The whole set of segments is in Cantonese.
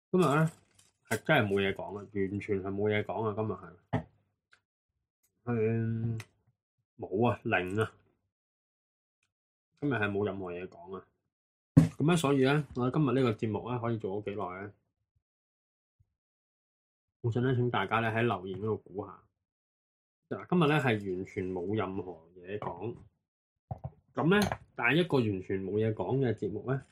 今日咧係真係冇嘢講啊，完全係冇嘢講啊！今日係冇啊，零啊！今日係冇任何嘢講啊！咁咧，所以咧，我哋今日呢個節目咧可以做咗幾耐咧？我想咧請大家咧喺留言嗰度估下。嗱，今日咧係完全冇任何嘢講。咁咧，但係一個完全冇嘢講嘅節目咧，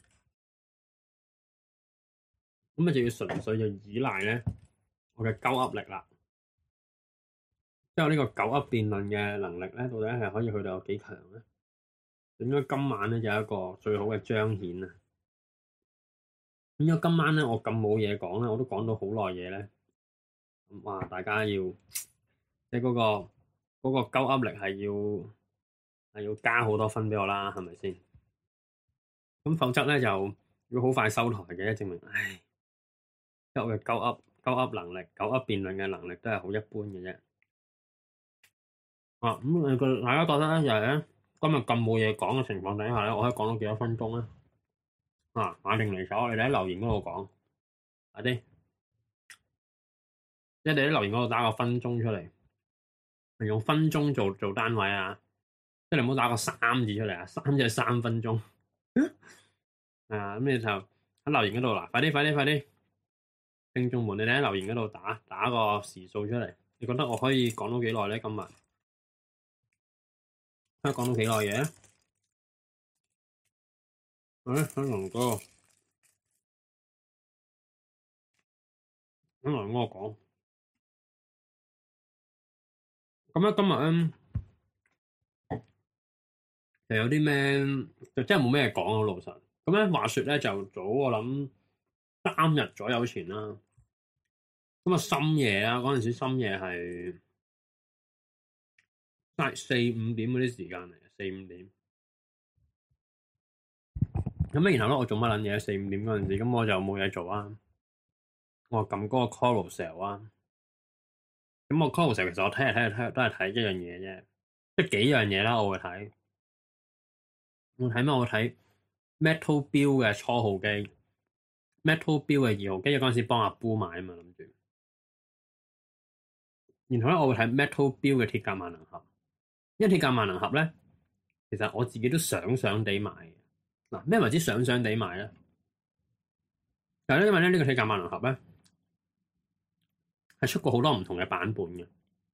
咁啊就要純粹就依賴咧我嘅鳩噏力啦。即係我呢個鳩噏辯論嘅能力咧，到底係可以去到有幾強咧？應該今晚咧就有一個最好嘅彰顯啊！咁因為今晚咧我咁冇嘢講咧，我都講到好耐嘢咧。哇！大家要即係嗰個鳩噏力係要加好多分俾我啦，係咪先？咁否則咧就要好快收台嘅，證明唉，即係我嘅鳩噏能力、鳩噏辯論嘅能力都係好一般嘅啫。咁大家覺得咧，就係咧今日咁冇嘢講嘅情況底下咧，我可以講到幾多分鐘咧？馬定離手，你哋喺留言嗰度講，快啲！即係你喺留言嗰度打個分鐘出嚟，用分鐘做單位啊！即係你唔好打個3字出嚟啊，3即係3分鐘。咁你就喺留言嗰度啦，快啲！聽眾們，你哋喺留言嗰度打個時數出嚟。你覺得我可以講到幾耐咧？今日可以講到幾耐嘢？新龍哥，新龍哥講。咁咧今日咧就有啲咩，就真係冇咩講啊！老實咁咧，話說咧就早我諗3日左右前啦。咁啊深夜啊，嗰陣時深夜係4-5點嗰啲時間嚟，4-5點。咁咧然後咧我做乜撚嘢？4-5點嗰陣時，咁我就冇嘢做啊。我撳嗰個 Carousell 啊。咁我 Carousell 其實我睇嚟都係睇一樣嘢啫，即係幾樣嘢啦。我會睇。我睇咩？我睇 Metal Build 嘅初號機 ，Metal Build 嘅2號機，嗰陣時幫阿 Boo 買啊嘛，諗住。然後咧，我會睇 Metal Build 嘅鐵甲萬能俠，因為鐵甲萬能俠咧，其實我自己都想地買嘅。嗱，咩為之想地買咧？但係咧，因為咧呢個鐵甲萬能俠咧係出過好多唔同嘅版本嘅。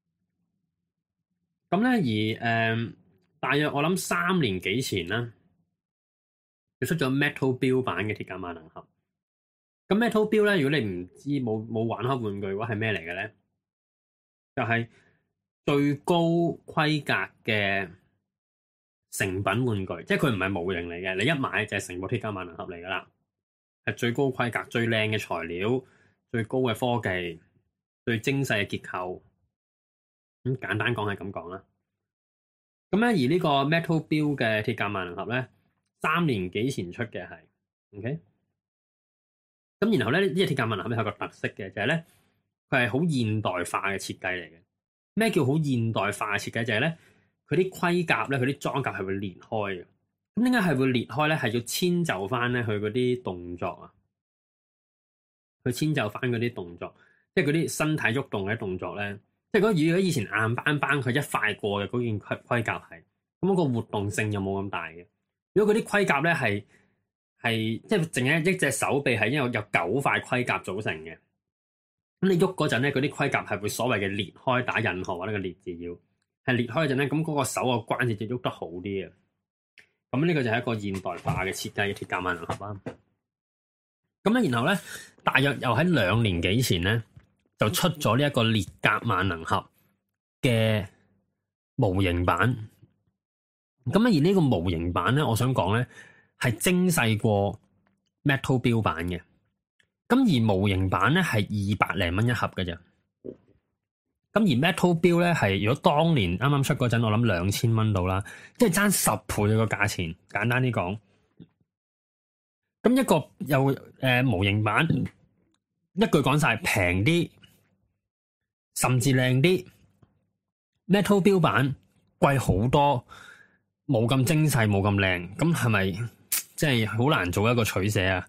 咁咧而大約我諗3年幾前啦，佢出咗 Metal Build 版嘅鐵甲萬能俠。咁 Metal Build 咧，如果你唔知冇玩開玩具嘅話，係咩嚟嘅咧？就係最高規格嘅成品玩具，即係佢唔係模型嚟嘅，你一買就係成部鐵甲萬能俠嚟噶啦，係最高規格、最靚嘅材料、最高嘅科技、最精細嘅結構。咁簡單講係咁講啦。咁咧而呢個 Metal Build 嘅鐵甲萬能俠咧，3年幾前出嘅係 ，OK。咁然後咧呢隻鐵甲萬能俠有個特色嘅，就係咧。佢係好現代化嘅設計嚟嘅。咩叫好現代化嘅設計？就係咧，佢啲盔甲咧，佢啲裝甲係會裂開嘅。咁點解係會裂開咧？係要遷就翻咧佢嗰啲動作啊，去遷就翻嗰啲動作，即係嗰啲身體喐動嘅動作咧。即係如果以前硬邦邦佢一塊過嘅嗰件盔甲係，咁嗰個活動性又冇咁大嘅。如果嗰啲盔甲咧係即係淨係一隻手臂係因為有9塊盔甲組成嘅。咁你喐嗰陣咧，嗰啲盔甲係會所謂嘅裂開，打引號或者個裂字要係裂開嗰陣咧，咁嗰個手個關節就喐得好啲嘅。咁呢個就係一個現代化嘅設計嘅鐵甲萬能俠啦。咁咧，然後咧，大約又喺2年幾前咧，就出咗呢一個裂甲萬能俠嘅模型版。咁而呢個模型版咧，我想講咧係精細過 Metal Build 版嘅。咁而模型版咧係200零蚊一盒嘅啫，咁而 Metal Build 咧係如果當年啱啱出嗰陣，我諗2000蚊到啦，即係爭10倍個價錢。簡單啲講，咁一個又模型版，一句講晒平啲，甚至靚啲。Metal Build 版貴好多，冇咁精細，冇咁靚，咁係咪即係好難做一個取捨啊？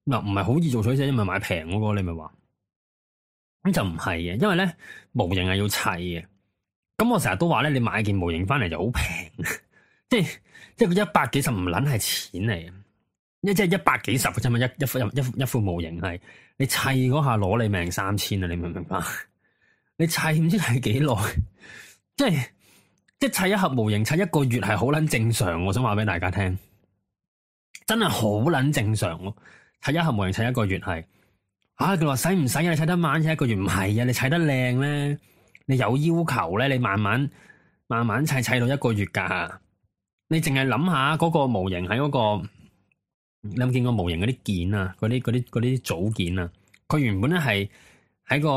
嗱，唔係好易做取捨，因為買平嗰個，你咪話咁就唔係嘅，因為咧模型係要砌嘅。咁我成日都話咧，你買件模型翻嚟就好平，即係即係佢100幾十唔撚係錢嚟嘅，即係100幾十嘅啫嘛，一副模型係你砌嗰下攞你命3000啊！你明唔明白？你砌唔知係幾耐，即係即係砌一盒模型砌一個月係好撚正常，我想話俾大家聽，真係好撚正常咯。砌一盒模型砌一個月係，佢話使唔使啊？你砌得慢砌一個月唔係啊？你砌得靚咧，你有要求咧，你慢慢砌砌到一個月噶。你淨係諗下嗰個模型喺嗰個，你有冇見過模型嗰啲件啊？嗰啲組件啊？佢原本咧係喺個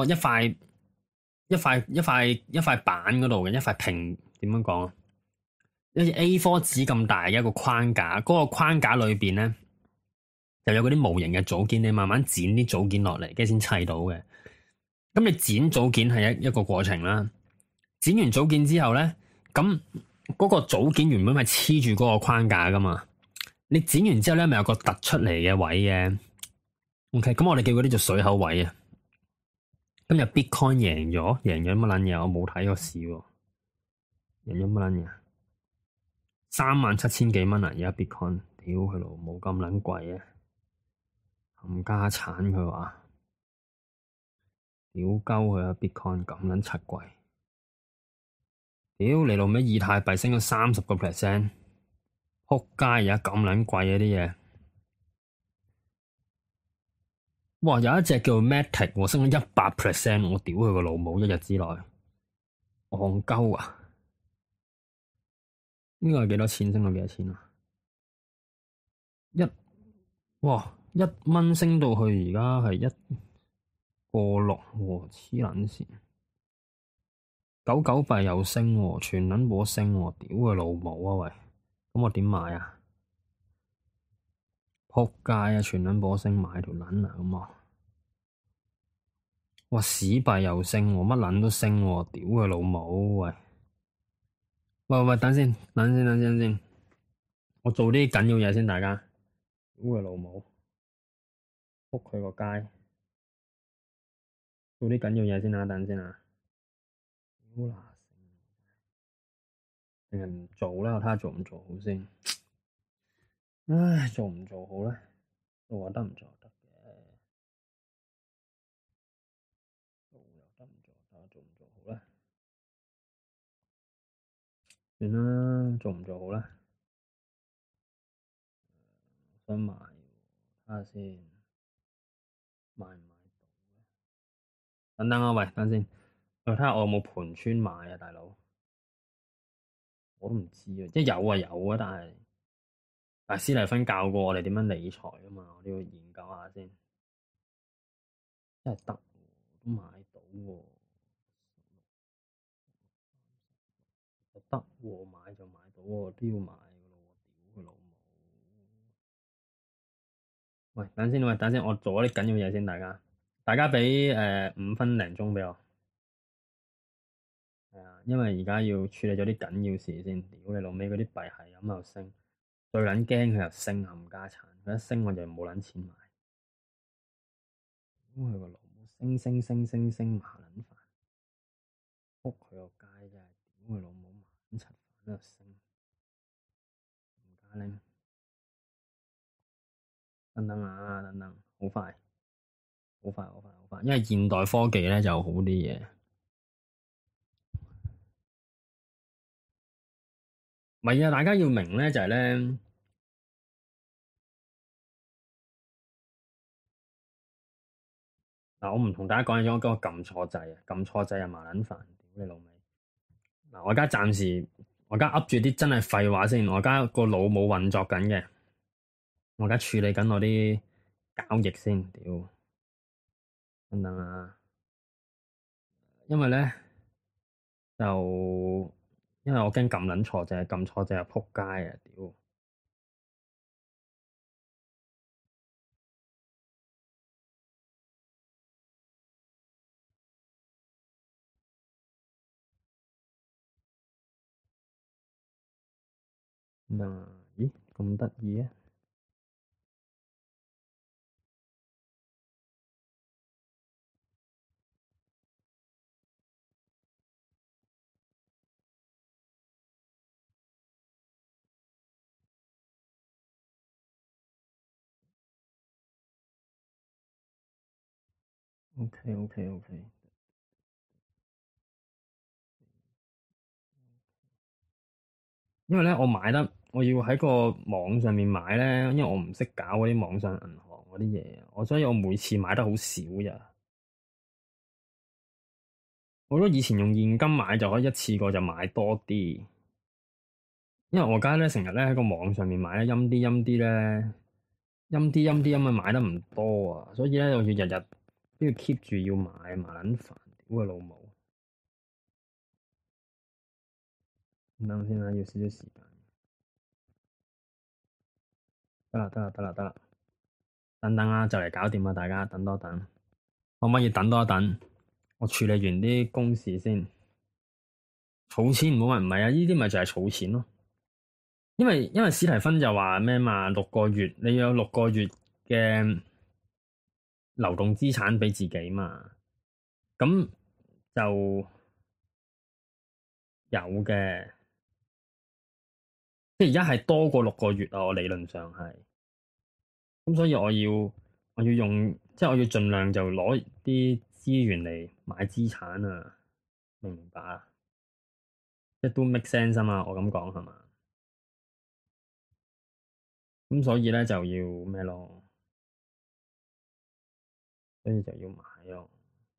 一塊板嗰度嘅一塊平，點樣講啊？好似 A4 紙咁大嘅一個框架，嗰個框架裏邊咧就有嗰啲模型嘅組件，你慢慢剪啲組件落嚟，跟住先砌到嘅。咁你剪組件係一個過程啦。剪完組件之後咧，咁嗰個組件原本係黐住嗰個框架噶嘛。你剪完之後咧，咪有個突出嚟嘅位嘅。OK，咁我哋叫嗰啲做水口位啊。今日 Bitcoin 贏咗乜撚嘢？我冇睇個市喎。贏咗乜撚嘢？37000幾蚊啊！而家 Bitcoin，屌佢老母咁撚貴啊！冚家產佢話，屌鳩佢啊！Bitcoin 咁撚柒貴，屌你老味！以太幣升咗30%，仆街而家咁撚貴啊啲嘢！哇！有一隻叫 Matic，升咗100%，我屌佢個老母！一日之內，戇鳩啊！呢個係幾多錢？升到幾多錢啊？1蚊升到去而家係1.6，黐撚線！狗狗幣又升，全撚冇升，屌佢老母啊喂！咁我點買啊？仆街啊！全撚冇升，買條撚啊咁啊！哇！屎幣又升，乜撚都升，屌佢老母喂！喂，等先，我做啲緊要嘢先，大家。屌佢老母，仆佢個街，做啲緊要嘢先啊！等先啊！屌嗱定係唔做啦？我睇下做唔做好先。唉，做唔做好咧？做得唔做得嘅？做又得唔做得？做唔做好咧？算啦，做唔做好咧？想買，睇下先，買唔買到？等等啊，喂，等先，我睇下我有冇盤村買啊，大佬。我都唔知啊，即係有啊有啊，但係斯麗芬教過我哋點樣理財啊嘛，我都要研究下先。真係得，都買到喎，得喎，買就買到喎，都要買噶咯喎，屌佢老母！喂，等先，我做咗啲緊要嘢先，大家畀5分零鐘畀我。係啊，因為而家要處理咗啲緊要事先。屌你老味，嗰啲幣係咁又升，最撚驚佢又升冚家產，佢一升我就冇撚錢買。屌佢個老母，升麻撚煩，仆佢個街真係，屌佢老母麻撚柒煩又升，唔加拎。等等啊，等等，好快，因為現代科技咧就好啲嘢。唔係啊，大家要明咧就係咧。嗱，我唔同大家講嘢，我撳錯掣啊，撳錯掣啊，麻撚煩，屌你老味！嗱，我而家暫時，我而家噏住啲真係廢話先，我而家個腦冇運作緊嘅，我而家處理緊我啲交易先，屌，等等啊，因為咧就因為我驚撳撚錯掣，撳錯掣啊撲街啊，屌！等等啊，咦咁得意啊？ OK。因為咧，我要喺個網上面買咧，因為我唔識搞嗰啲網上銀行嗰啲嘢，所以我每次買得好少咋。我覺得以前用現金買就可以一次過就買多啲，因為我而家咧成日咧喺個網上面買咧，陰啲咧，陰啲咁啊買得唔多啊，所以咧我要日日都要 keep 住要買，麻撚煩，屌佢老母！等先啦，要少少時間。得啦，等啊，就嚟搞掂啦，大家等多等，可唔可以等多一等？我處理完啲公事先。儲錢唔好話唔係啊，呢啲咪就係儲錢咯。因為史提芬就話咩嘛，6個月你要有6個月嘅流動資產俾自己嘛，咁就有嘅。即係而家係多過6個月啊，我理論上係。咁所以我要用，即係我要盡量就攞啲資源嚟買資產啊，明唔明白啊？即係都 make sense 啊嘛，我咁講係嘛？咁所以咧就要咩咯？所以就要買咯。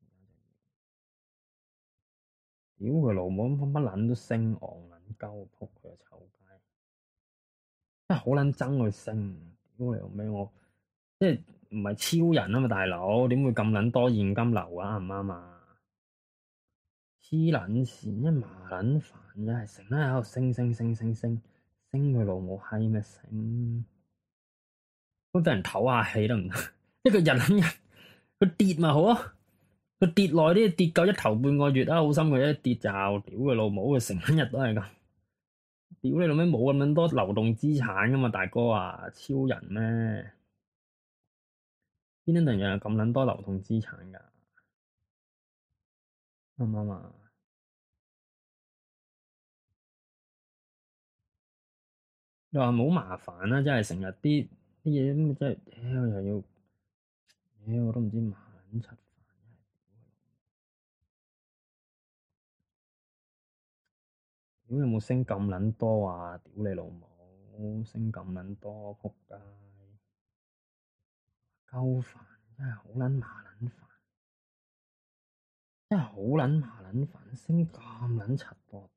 屌佢老母，乜撚都升，戇撚鳩，仆佢個臭街！真係好撚憎佢升，屌你老味我，即係唔係超人啊嘛，大佬點會咁撚多現金流啊？啱唔啱啊？黐撚線，一麻撚煩，真係成日喺度升佢老母閪咩升？都畀人唞下氣得唔得？一個人佢跌咪好啊？佢跌耐啲，跌夠一頭半個月啊，好心佢一跌就屌佢老母，佢成日都係咁。屌你老味，冇咁多流動資產噶嘛，大哥啊，超人咩？邊啲人有咁撚多流動資產噶？啱唔啱啊？又話冇麻煩啦，真係成日啲嘢咁，真係屌又要，屌我都唔知麻撚柒。屌有冇升咁撚多啊？屌你老母，升咁撚多，仆街！鳩煩，真係好撚麻撚煩，真係好撚麻撚煩，升咁撚柒多，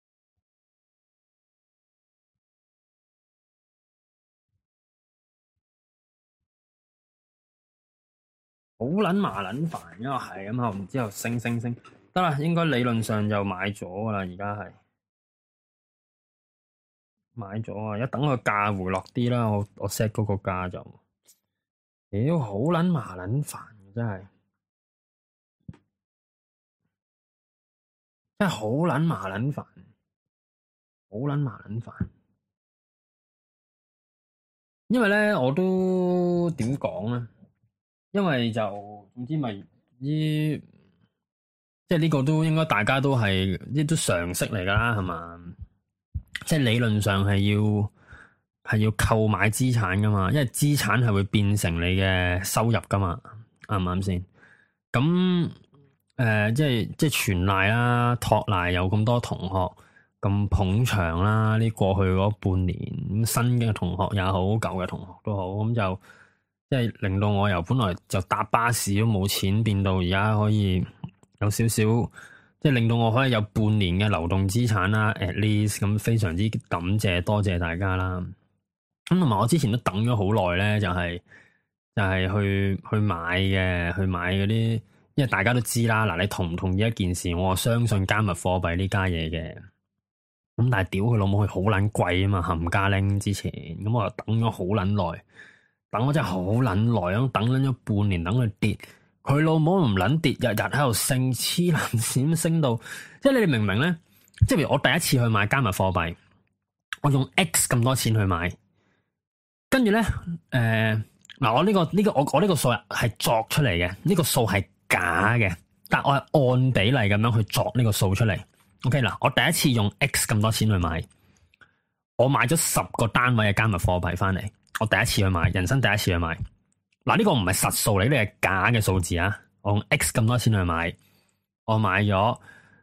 好撚麻撚煩，因為係咁後，然之後升，得啦，應該理論上就買咗㗎啦，而家係買咗啊！一等個價回落啲啦，我 set 嗰個價就，屌好撚麻撚煩，真係。真係好撚麻撚煩，好撚麻撚煩。因為咧，我都點講咧？因為就總之咪啲，即係呢個都應該大家都係呢都常識嚟噶啦，係嘛？即係理論上係要購買資產噶嘛，因為資產係會變成你嘅收入噶嘛，啱唔啱先？咁即係全賴啦，托賴有咁多同學咁捧場啦，呢過去嗰半年咁新嘅同學也好，舊嘅同學都好，咁就即係令到我由本來就搭巴士都冇錢，變到而家可以有少少，即係令到我可以有半年嘅流動資產啦，at least 咁非常之感謝，多謝大家啦。咁同埋我之前都等咗好耐咧，就係去買嘅，去買嗰啲。因為大家都知啦，嗱，你同唔同意一件事？我相信加密貨幣呢家嘢嘅，咁但係屌佢老母，佢好撚貴啊嘛，冚家拎之前，咁我又等咗好撚耐，等我真係好撚耐，咁等撚咗半年，等佢跌，佢老母唔撚跌，日日喺度升，黐撚線升到，即係你哋明唔明咧？即係譬如我第一次去買加密貨幣，我用 X 咁多錢去買，跟住咧，嗱，我呢個數係作出嚟嘅，呢個數係假嘅，但我係按比例咁樣去作呢個數出嚟。OK 嗱，我第一次用 X 咁多錢去買，我買咗10個單位嘅加密貨幣翻嚟。我第一次去買，人生第一次去買。嗱，呢個唔係實數嚟，呢個係假嘅數字啊。 我用 X 咁多錢去買，我買咗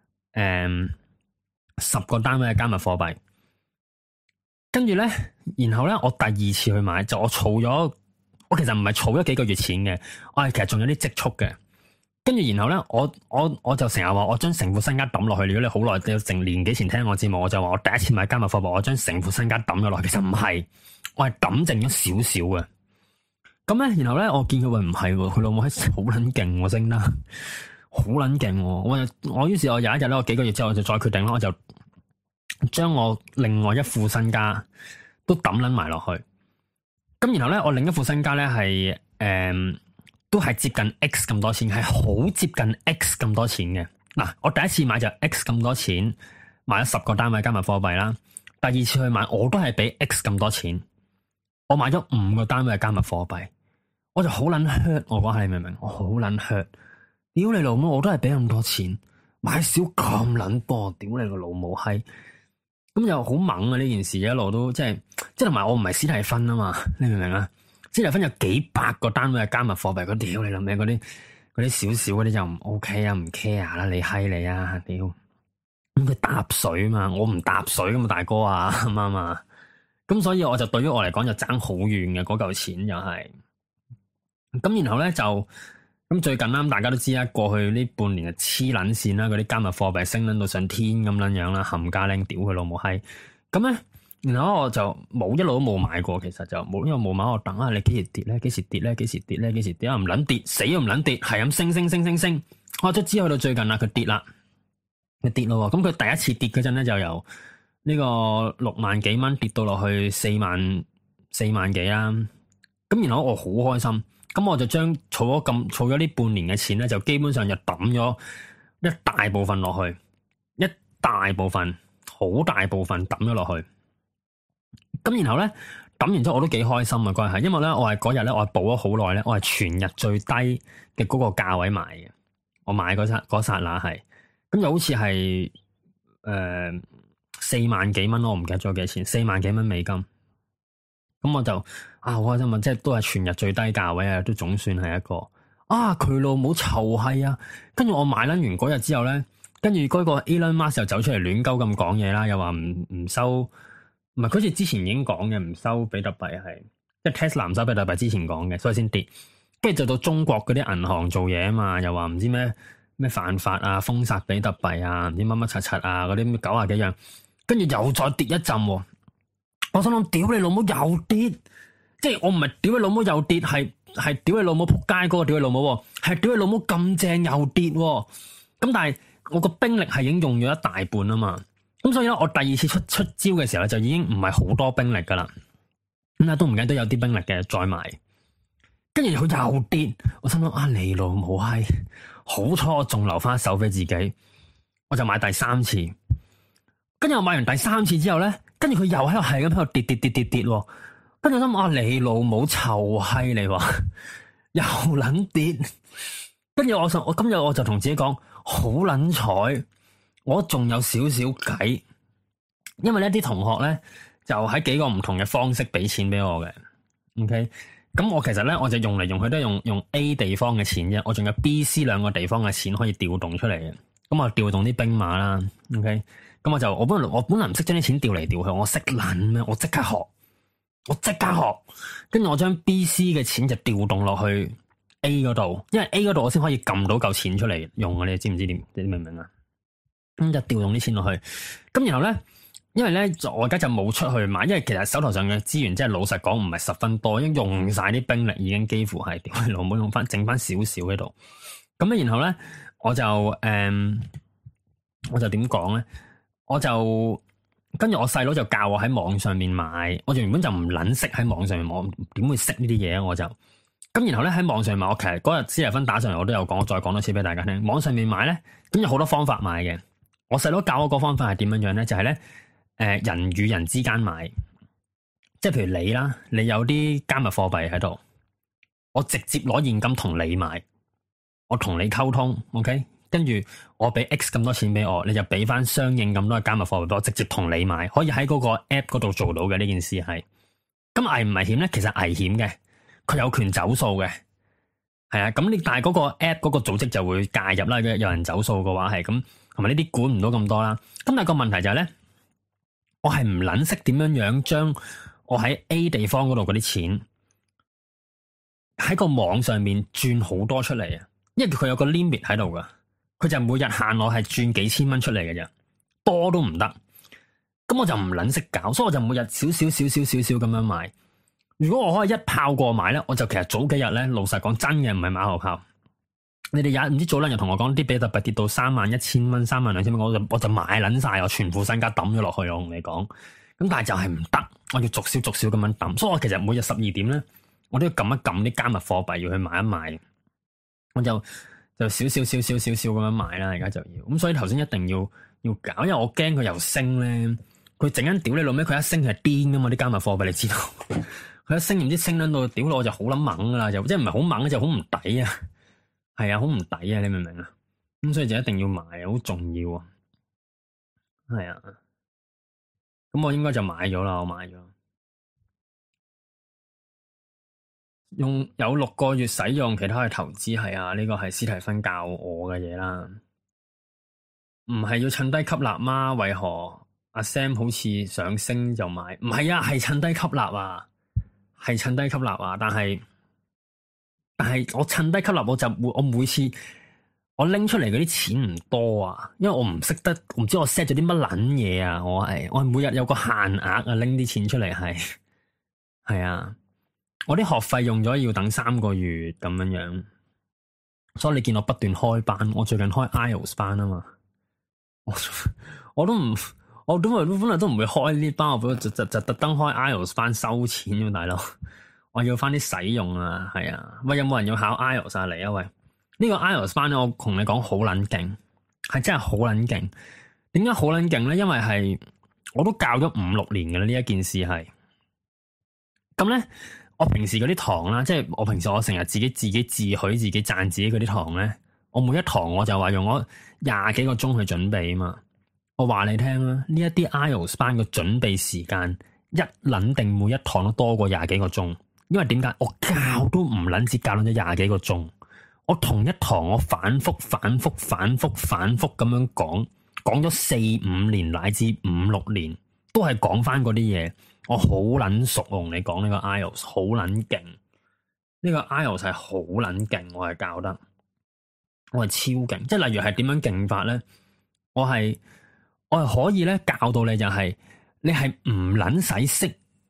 10個單位嘅加密貨幣，跟住咧，然後咧我第二次去買，就我儲咗，我其實唔係儲咗幾個月錢嘅，我係其實仲有啲積蓄嘅。跟住然後咧，我就成日話我將成副身家抌落去。如果你好耐，你成年幾前聽我節目，我就話我第一次買加密貨幣，我將成副身家抌咗落去。其實唔係，我係抌剩咗少少嘅。咁咧，然後咧，我見佢話唔係，佢老母係好撚勁，升得好撚勁。我於是我有一日咧，我幾個月之後我就再決定啦，我就將我另外一副身家都抌撚埋落去。咁然後咧，我另一副身家咧係都係接近 X 咁多錢，係好接近 X 咁多錢嘅。嗱，我第一次買就 X 咁多錢，買咗10個單位加密貨幣啦。第二次去買，我都係俾 X 咁多錢，我買咗5個單位嘅加密貨幣，我就好撚 hurt。我講下你明唔明？我好撚 hurt。屌你老母，我都係俾咁多錢，買少咁撚多，屌你個老母閪！咁又好猛啊！呢件事一路都即係同埋我唔係史蒂芬啊嘛，你明唔明啊？史蒂芬有幾百個單位嘅加密貨幣，屌你諗咩？嗰啲少少嗰啲就唔 OK 啊，唔 care 啦，你閪你啊，屌！咁佢搭水嘛，我唔搭水咁啊，大哥啊，啱唔啱啊？咁所以我就對於我嚟講就爭好遠嘅嗰嚿錢又係。咁然後咧就咁最近啦，大家都知啦，過去呢半年就黐撚線啦，嗰啲加密貨幣升撚到上天咁撚樣啦，冚家拎屌佢老母閪！咁咧。然後我就一路都冇買過，其實就冇，因為冇買，我等下你幾時跌咧？幾時跌咧？幾時跌咧？幾時跌啊？唔撚跌，死都唔撚跌，係咁升。我卒之去到最近啦，佢跌啦，佢跌咯。咁佢第一次跌嗰陣咧，就由呢個6萬幾蚊跌到落去4萬幾啦。咁然後我好開心，咁我就將儲咗呢半年嘅錢咧，就基本上就抌咗一大部分落去，好大部分抌咗落去。咁然後咧抌完之後我都幾開心啊！嗰日係因為咧我係嗰日咧我係補咗好耐咧，我係全日最低嘅嗰個價位買嘅。我買嗰剎那係咁就好似係4萬幾蚊咯，我唔記得咗幾多錢，4萬幾蚊美金。咁我就好開心啊！即係都係全日最低價位啊，都總算係一個佢老母臭閪啊！跟住我買撚完嗰日之後咧，跟住嗰個 Elon Musk 又走出嚟亂鳩咁講嘢啦，又話唔收。唔係，佢好似之前已經講嘅，唔收比特幣係，即係 Tesla 唔收比特幣之前講嘅，所以先跌。跟住就到中國嗰啲銀行做嘢啊嘛，又話唔知咩犯法啊，封殺比特幣啊，唔知乜乜柒柒啊，嗰啲90幾樣，跟住又再跌一陣。我想諗，屌你老母又跌，即係我唔係屌你老母又跌，係屌你老母仆街嗰個屌你老母，係屌你老母咁正又跌。咁但係我個兵力係已經用咗一大半啊嘛。咁所以咧，我第二次出招嘅時候咧，就已經唔係好多兵力噶啦。咁都唔緊都有啲兵力嘅，再買。跟住佢又跌，我心諗你老母閪，好彩我仲留翻一手俾自己，我就買第三次。跟住我買完第三次之後咧，跟住佢又喺度係咁喺度跌。跟住我心你老母臭閪你話又撚跌。跟住我今日我就同自己講，好撚彩。我仲有少少計，因為呢啲同學咧就喺幾個唔同嘅方式俾錢俾我嘅。OK，咁我其實咧我就用嚟用去都係用 A 地方嘅錢啫，我仲有 B、C 兩個地方嘅錢可以調動出嚟嘅。咁我調動啲兵馬啦。OK，咁我本來唔識將啲錢調嚟調去，我識撚咩？我即刻學，跟住我將 B、C 嘅錢就調動落去 A 嗰度，因為 A 嗰度我先可以撳到嚿錢出嚟用啊！你知唔知點？你明唔明啊？咁就調動啲錢落去，咁然後咧，因為咧我而家就冇出去買，因為其實手頭上嘅資源即係老實講唔係十分多，已經用晒啲兵力，已經幾乎係屌你老母用翻，剩翻少少喺度。咁咧，然後咧我就點講咧？我就跟住我細佬就教我喺網上面買，我原本就唔撚識喺網上面買，我點會識呢啲嘢啊？我就咁然後咧喺網上面買，我其實嗰日史蒂芬打上嚟，我都有講，我再講多次俾大家聽。網上面買咧，咁有好多方法買嘅。我細佬教我個方法係點樣樣咧？就係咧，人與人之間買，即係譬如你啦，你有啲加密貨幣喺度，我直接攞現金同你買，我同你溝通 ，OK，跟住我俾 X 咁多錢俾我，你就俾翻相應咁多嘅加密貨幣俾我，直接同你買，可以喺嗰個 app 嗰度做到嘅呢件事係。咁危唔危險咧？其實危險嘅，佢有權走數嘅。 係啊，咁你但係嗰個 app 嗰個組織就會介入啦，有人走數嘅話係咁，同埋呢啲管唔到咁多啦。咁但係個問題就係咧，我係唔撚識點樣將我喺 A 地方嗰度嗰啲錢喺個網上面轉好多出嚟啊，因為佢有個 limit 喺度噶，佢就每日限我係轉幾千蚊出嚟嘅啫，多都唔得。咁我就唔撚識搞，所以我就每日少少咁樣買。如果我可以一炮過買咧，我就其實早幾日咧，老實講真嘅唔係馬後炮。你哋唔知早兩日同我講啲比特幣跌到31,000蚊、32,000蚊，我就買撚晒，我全副身家抌咗落去。我同你講，咁但係就係唔得，我要逐少咁樣抌。所以我其實每日12點咧，我都要撳一撳啲加密貨幣要去買一買。我就少少咁樣買啦，而家就要。咁所以頭先一定要搞，因為我驚佢又升咧，佢陣間屌你老味，佢一升係癲噶嘛啲加密貨幣，你知道。佢一升唔知升撚到屌我就好撚猛噶啦，就即係唔係好猛，就好唔抵啊！係啊，好唔抵啊！你明唔明啊？咁所以就一定要買，好重要啊！係啊，咁我應該就買咗啦，我買咗，有6個月使用，其他去投資。係啊，呢個係史提芬教我嘅嘢啦，唔係要趁低吸納嗎？為何阿 Sam 好似想升就買？唔係啊，係趁低吸納啊！係趁低吸納啊！但係我趁低吸納，我每次我拎出嚟嗰啲錢唔多啊，因為我唔識得，唔知我 set 咗啲乜撚嘢啊！我係每日有個限額啊，拎啲錢出嚟係啊！我啲學費用咗要等3個月咁樣，所以你見我不斷開班，我最近開 IELTS 班啊嘛，我本來都唔會開呢班，我就特登開 IELTS 班收錢喎，大佬，我要翻啲使用啊，係啊，喂，有冇人要考 IELTS 嚟啊？喂，呢個 IELTS 班咧，我同你講好撚勁，係真係好撚勁。點解好撚勁咧？因為係我都教咗5-6年嘅啦，呢一件事係。咁咧，我平時嗰啲堂啦，即係我平時我成日自己自許自己讚自己嗰啲堂咧，我每一堂我就話用咗20幾個鐘去準備啊嘛。我話你聽啦，呢一啲 IELTS 班嘅準備時間一撚定每一堂都多過20幾個鐘，因為點解？我教都唔撚止教咗20幾個鐘，我同一堂我反覆咁樣講咗4-5年乃至5-6年，都係講翻嗰啲嘢，我好撚熟，我同你講呢個 IELTS 好撚勁，呢個 IELTS 係好撚勁，我係教得，我係超勁，即係例如係點樣勁法咧？我係可以咧教到你就係、是、你係唔撚使識，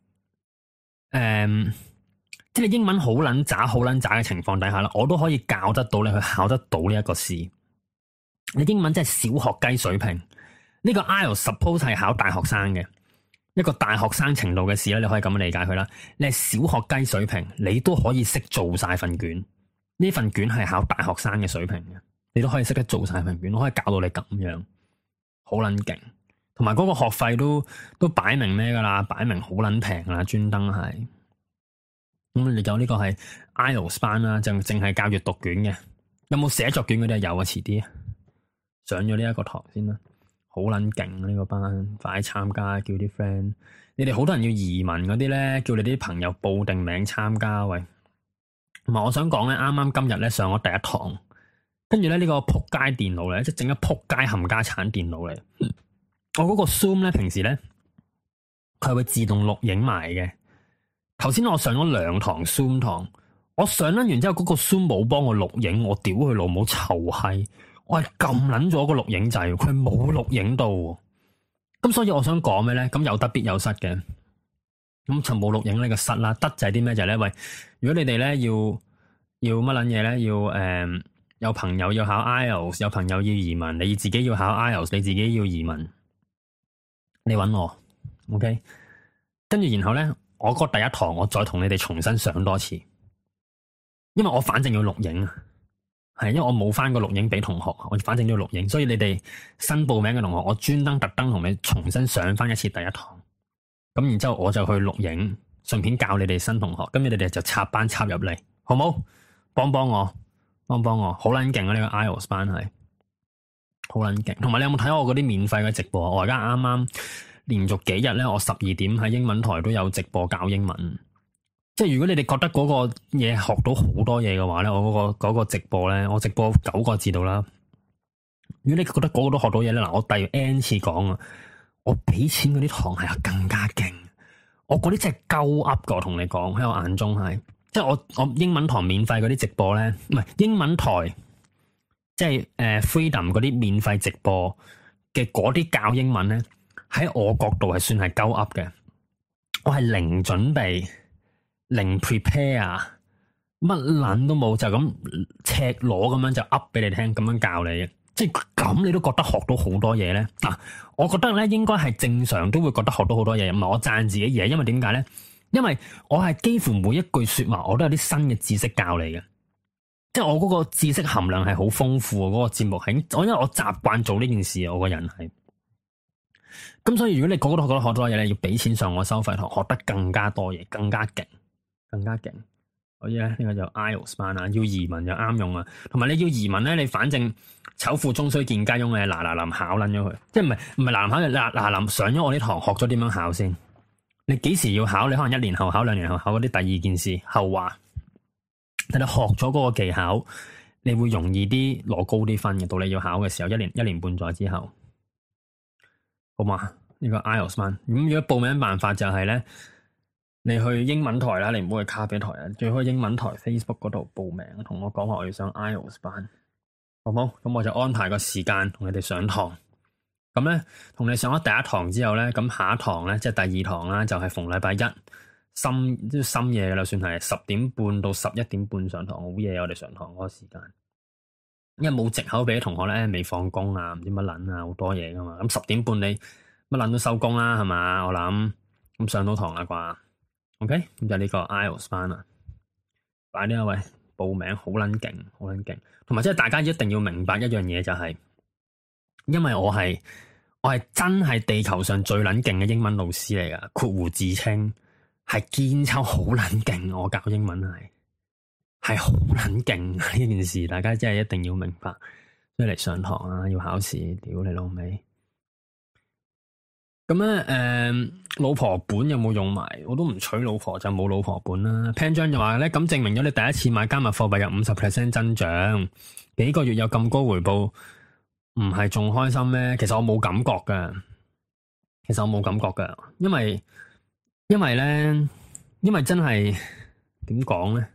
即係你英文好撚渣嘅情況底下啦，我都可以教得到你去考得到呢一個試。你英文真係小學雞水平，呢、這個 IELTS suppose 係考大學生嘅一個大學生程度嘅試啦，你可以咁樣理解佢啦。你係小學雞水平，你都可以識做晒份卷。呢份卷係考大學生嘅水平嘅，你都可以識得做晒份卷，我可以教到你咁樣。好撚勁，同埋嗰個學費都擺明咩噶啦，擺明好撚平啦，專登係。咁你有呢個係 IELTS 班啦，就淨係教閱讀卷嘅。有冇寫作卷嗰啲啊？有啊，遲啲上咗呢一個堂先啦。好撚勁呢個班，快參加，叫啲 friend。你哋好多人要移民嗰啲咧，叫你啲朋友報定名參加喂。同埋我想講咧，啱啱今日咧上咗第一堂。跟住咧呢個仆街電腦咧，即係整咗仆街冚家鏟電腦嚟。我嗰個 Zoom 咧，平時咧佢係會自動錄影埋嘅。頭先我上咗2堂 Zoom 堂，我上咗完之後，嗰個 Zoom 冇幫我錄影，我屌佢老母臭閪！我係撳撚咗個錄影掣，佢冇錄影到。咁所以我想講咩咧？咁有得必有失嘅。咁就冇錄影呢個失啦。得就係啲咩就係咧？喂，如果你哋咧要乜撚嘢咧？要有朋友要考 IELTS， 有朋友要移民，你自己要考 IELTS， 你自己要移民，你搵我 ，OK？ 跟住然後咧，我嗰第一堂我再同你哋重新上多次，因為我反正要錄影啊，係因為我冇翻個錄影俾同學，我反正都要錄影，所以你哋新報名嘅同學，我專登特登同你重新上翻一次第一堂，咁然之後我就去錄影，順便教你哋新同學，咁你哋就插班插入嚟，好冇？幫我，好撚勁啊！呢個 IELTS 班係好撚勁，同埋你有冇睇我嗰啲免費嘅直播？我而家啱啱連續幾日咧，我12點喺英文台都有直播教英文， 即係如果你哋覺得嗰個嘢學到好多嘢嘅話咧，我嗰個直播咧，我直播9個字度啦。如果你覺得嗰個都學到嘢咧，嗱，我第 N 次講啊，我俾錢嗰啲堂係更加勁。我嗰啲真係鳩噏㗎，我同你講，喺我眼中係，即係我英文堂免費嗰啲直播咧，唔係英文台，即係Freedom 嗰啲免費直播嘅嗰啲教英文咧，喺我角度係算係鳩噏嘅。我係零準備、零 prepare，乜撚都冇，就咁赤裸咁樣就噏俾你聽，咁樣教你嘅。即係咁，你都覺得學到好多嘢咧？嗱，我覺得咧應該係正常都會覺得學到好多嘢，唔係我讚自己嘢，因為點解咧？因為我係幾乎每一句說話我都有啲新嘅知識教你嘅，即係我嗰個知識含量係好豐富啊！嗰個節目係因為我習慣做呢件事啊，我個人係。咁所以如果你個個都覺得學多嘢咧，要俾錢上我收費堂，學得更加多嘢，更加勁，更加勁。所以咧，呢個就 IELTS 班啊，要移民就啱用啊。同埋你要移民咧，你反正醜婦終須見家翁嘅，嗱臨考撚咗佢，即係唔係嗱考嘅，嗱臨上咗我啲堂，學咗點樣考先。你幾時要考？你可能1年後考，2年後考嗰啲第二件事後話。但你學咗嗰個技巧，你會容易啲攞高啲分嘅。到你要考嘅時候，一年半載之後，好嘛？呢個 IELTS 班咁，如果報名辦法就係咧。你去英文台啦，你唔好去咖啡台啊！最好去英文台 Facebook 嗰度報名，同我講話我要上 IELTS 班，好冇？咁我就安排個時間同你哋上堂。咁咧，同你上咗第一堂之後咧，咁下一堂咧，即係第二堂啦，就係逢禮拜一深夜啦，算係10點半到11點半上堂，好夜我哋上堂嗰個時間。因為冇藉口俾啲同學咧未放工啊，唔知乜撚啊，好多嘢噶嘛。咁10點半你乜撚都收工啦，係嘛？我諗咁上到堂啦啩。OK，咁就呢個 IELTS 班啦，快啲啊喂，報名好撚勁，好撚勁，同埋即係大家一定要明白一樣嘢就係，因為我係真係地球上最撚勁嘅英文老師嚟噶，括弧自稱係堅抽好撚勁，我教英文係好撚勁呢件事，大家真係一定要明白，所以嚟上堂啊，要考試，屌你老味。咁咧，老婆本有冇用埋？我都唔娶老婆就冇老婆本啦。Pan 張就話咧，咁證明咗你第一次買加密貨幣有50% 增長，幾個月有咁高回報，唔係仲開心咩？其實我冇感覺噶，因為真係點講咧？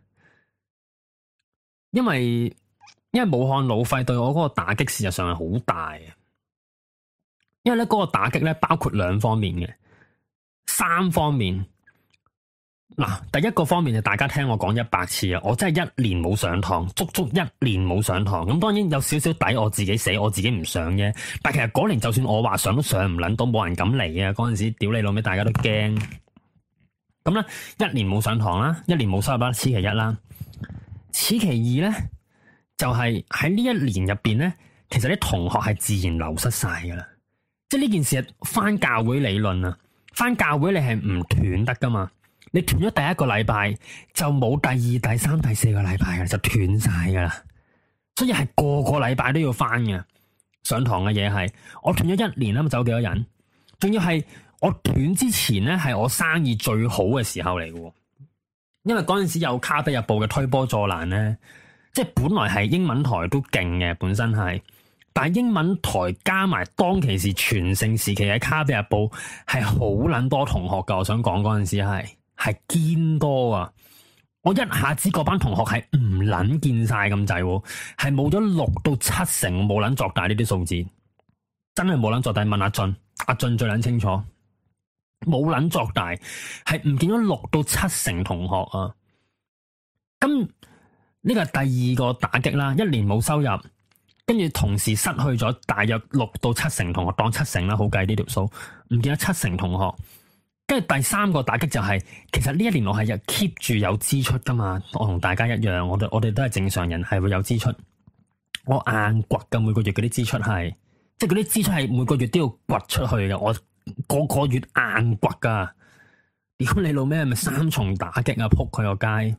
因為武漢老費對我嗰個打擊事實上係好大嘅。因為咧嗰個打擊咧包括2方面嘅，3方面。嗱，第一個方面就大家聽我講100次啊，我真係1年冇上堂，足足1年冇上堂。咁當然有少少底我自己死，我自己唔上啫。但其實嗰年就算我話上都上唔撚到，冇人敢嚟啊！嗰陣時屌你老味，大家都驚。咁咧1年冇上堂啦，1年冇收入啦，此其一啦。此其二咧，就係喺呢1年入邊咧，其實啲同學係自然流失晒噶啦。即係呢件事係翻教會理論啊，翻教會你係唔斷得噶嘛，你斷咗第一個禮拜就冇第2、第3、第4個禮拜嘅，就斷晒噶啦。所以係個個禮拜都要翻嘅，上堂嘅嘢係我斷咗1年啦，走幾多人？仲要係我斷之前咧，係我生意最好嘅時候嚟嘅，因為嗰陣時有咖啡日報嘅推波助瀾咧，即係本來係英文台都勁嘅，本身係。但係英文台加埋當其時全盛時期嘅咖啡日報係好撚多同學噶，我想講嗰陣時係堅多啊！我一下子嗰班同學係唔撚見晒咁滯，係冇咗6到7成，冇撚作大呢啲數字，真係冇撚作大。問阿俊最撚清楚，冇撚作大，係唔見咗6到7成同學啊！咁呢個係第2個打擊啦，1年冇收入。跟住同時失去咗大約6到7成同學，當7成啦，好計呢條數，唔見咗7成同學。跟住第3個打擊就係，其實呢1年我係 keep 住有支出噶嘛，我同大家一樣，我哋都係正常人，係會有支出。我硬掘噶，每個月嗰啲支出係，即係嗰啲支出係每個月都要掘出去嘅，我個個月硬掘噶。屌你老咩，係咪3重打擊啊？撲佢個街，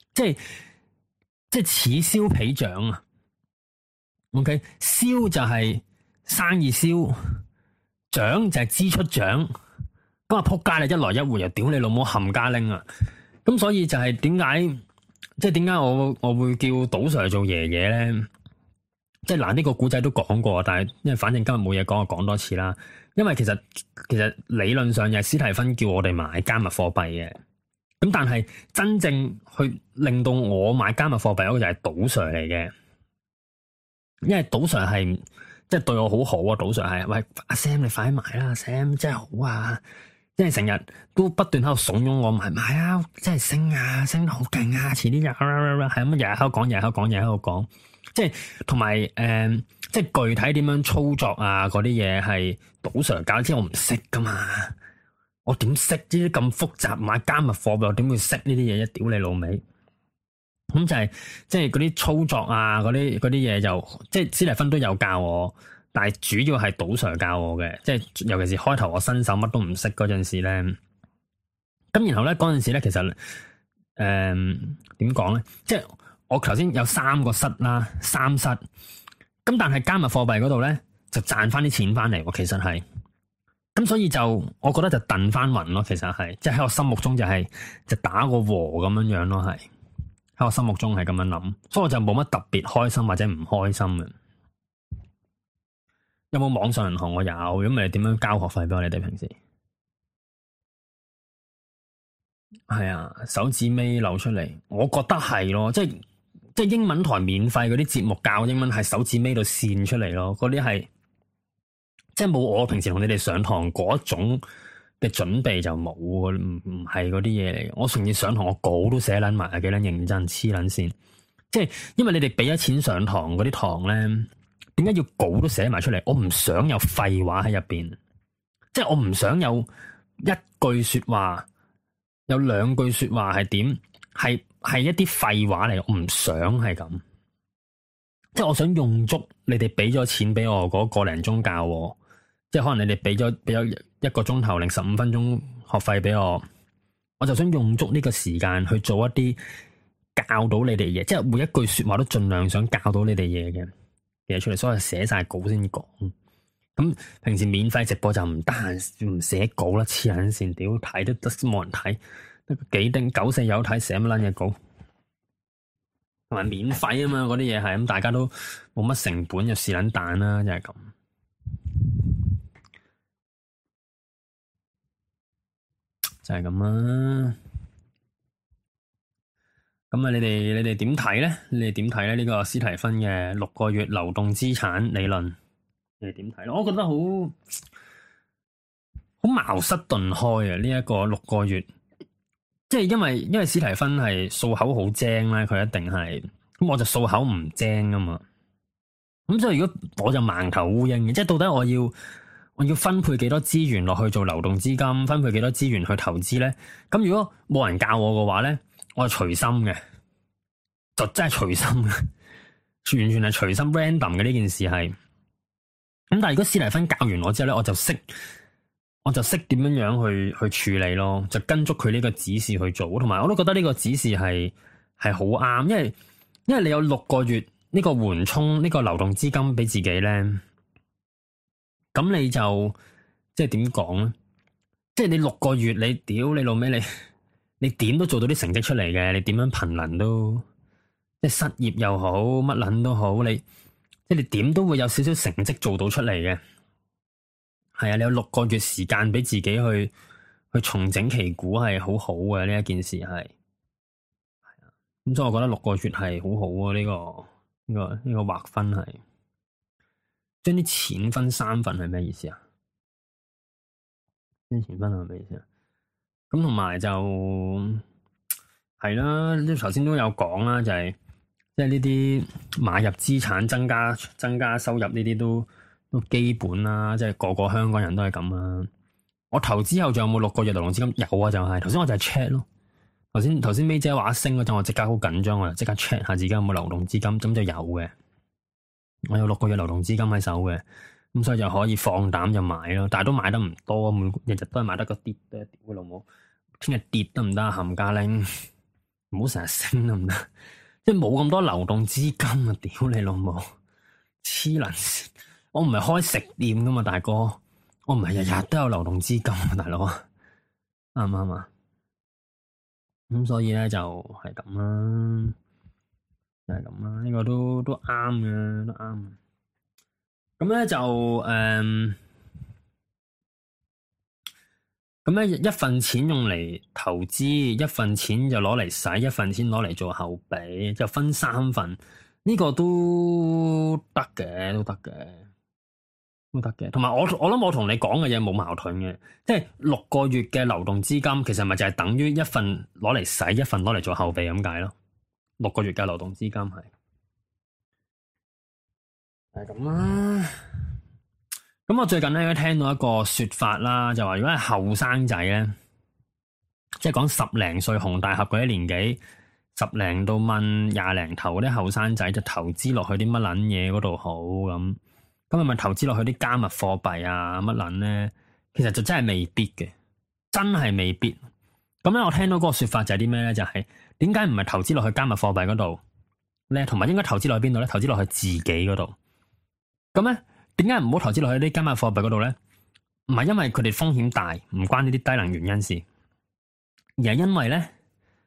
即係此消彼長啊！OK， 燒就係生意燒，漲就係支出漲，咁啊撲街啦！一來一回又屌你老母冚家拎啊！ 咁所以就係點解，即係點解我會叫賭 Sir 做爺爺咧？即係嗱，呢個古仔都講過，但係因為反正今日冇嘢講，我講多次啦。因為其實理論上又係史提芬叫我哋買加密貨幣嘅，咁但係真正去令到我買加密貨幣嗰個就係賭 Sir 嚟嘅，因為賭 Sir 係即係對我好好啊。賭 Sir 係，喂，阿 Sam 你快啲買啦，阿 Sam 真係好啊，即係成日都不斷喺度慫恿我買啊，真係升啊，升得好勁啊，遲啲又係咁日日喺度講，日日喺度講，日日喺度講。即係同埋即係具體點樣操作啊？嗰啲嘢係賭 Sir 教，即係我唔識噶嘛，我點識呢啲咁複雜買加密貨幣？我點會識呢啲嘢？一屌你老味！咁就係即係嗰啲操作啊，嗰啲嘢就即係史提芬都有教我，但係主要係賭 Sir 教我嘅。即係尤其是開頭我新手乜都唔識嗰陣時咧，咁然後咧嗰陣時咧，其實點講咧，即係。我頭先有3個室啦，3室，咁但係加密貨幣嗰度咧就賺翻啲錢翻嚟喎，其實係，咁所以就我覺得就燉翻勻咯，其實係，即係喺我心目中就打個和咁樣樣咯，係喺我心目中係咁樣諗，所以我就冇乜特別開心或者唔開心嘅。有冇網上銀行？我有，咁咪點樣交學費俾我哋平時？係啊，手指尾流出嚟，我覺得係咯，即係英文台免費嗰啲節目教英文係手指尾度線出嚟咯，嗰啲係即係冇我平時同你哋上堂嗰種嘅準備就冇，唔係嗰啲嘢嚟。我甚至上堂我稿都寫捻埋，幾捻認真，黐捻線。即係因為你哋俾咗錢上堂嗰啲堂咧，點解要稿都寫埋出嚟？我唔想有廢話喺入邊，即係我唔想有一句說話，有2句說話係點係一啲廢話嚟，我唔想係咁，即係我想用足你哋俾咗錢俾我嗰個零鐘教我，即係可能你哋俾咗1個鐘頭零15分鐘學費俾我，我就想用足呢個時間去做一啲教到你哋嘢，即係每一句說話都盡量想教到你哋嘢嘅嘢出嚟，所以寫晒稿先講。咁平時免費直播就唔得閒唔寫稿啦，黐撚線，屌睇都得冇人睇。幾丁94有睇，寫乜撚嘢稿，同埋免費啊嘛，嗰啲嘢係咁，大家都冇乜成本，就試撚彈啦，就係咁，就係咁啦。咁啊，你哋點睇咧？你哋點睇咧？呢個史提芬嘅6個月流動資產理論，你哋點睇咧？我覺得好茅塞頓開啊！呢一個6個月。即係因為史提芬係數口好精咧，佢一定係，咁我就數口唔精啊嘛。咁所以如果我就盲頭烏蠅嘅，即係到底我要分配幾多資源落去做流動資金，分配幾多資源去投資咧？咁如果冇人教我嘅話咧，我係隨心嘅，就真係隨心嘅，完全係隨心 random 嘅呢件事係。咁但係如果史提芬教完我之後咧，我就識點樣樣去處理咯，就跟足佢呢個指示去做，同埋我都覺得呢個指示係好啱，因為你有6個月呢個緩衝呢個流動資金俾自己咧，咁你就即係點講咧？即係你6個月你屌你老味你點都做到啲成績出嚟嘅，你點樣貧能都即係失業又好乜捻都好，即係你點都會有少少成績做到出嚟嘅。係啊，你有6個月時間俾自己去重整旗鼓，係好好嘅呢一件事係。係啊，咁所以我覺得6個月係好好啊，呢個劃分係將啲錢分3份係咩意思啊？將錢分係咩意思啊？咁同埋就係啦，即係頭先都有講啦，就係即係呢啲買入資產增加收入呢啲都基本啦，即係個個香港人都係咁啦。我投資後仲有冇6個月流動資金？有啊，就係頭先我就係 check 咯。頭先 May 姐話升嗰陣，我即刻好緊張，我就即刻 check 下自己有冇流動資金，咁就有嘅。我有6個月流動資金喺手嘅，咁所以就可以放膽就買咯。但係都買得唔多，日日都係買得個跌嘅，屌佢老母！聽日跌得唔得？冚家拎，唔好成日升得唔得？即係冇咁多流動資金啊！屌你老母，黐撚線！我唔係開食店噶嘛，大哥，我唔係日日都有流動資金啊，大佬，啱唔啱啊？ 咁所以咧就係咁啦，就係咁啦，呢個都啱嘅，都啱。咁咧就咁咧一份錢用嚟投資，一份錢就攞嚟使，一份錢攞嚟做後備，就分三份，呢個都得嘅，都得嘅。都得嘅，同埋我諗我同你講嘅嘢冇矛盾嘅，即係6個月嘅流動資金，其實咪就係等於一份攞嚟使，一份攞嚟做後備咁解咯。6個月嘅流動資金係咁啦。咁我最近咧聽到一個說法啦，就話如果係後生仔咧，即係講10零歲紅大俠嗰啲年紀，10零到問20零頭嗰啲後生仔，就投資落去啲乜撚嘢嗰度好咁。咁係咪投資落去啲加密貨幣啊乜撚咧？其實就真係未必嘅，真係未必。咁咧，我聽到嗰個說法就係啲咩咧？就係點解唔係投資落去加密貨幣嗰度咧？同埋應該投資落去邊度咧？投資落去自己嗰度。咁咧，點解唔好投資落去啲加密貨幣嗰度咧？唔係因為佢哋風險大，唔關呢啲低能原因事，而係因為咧，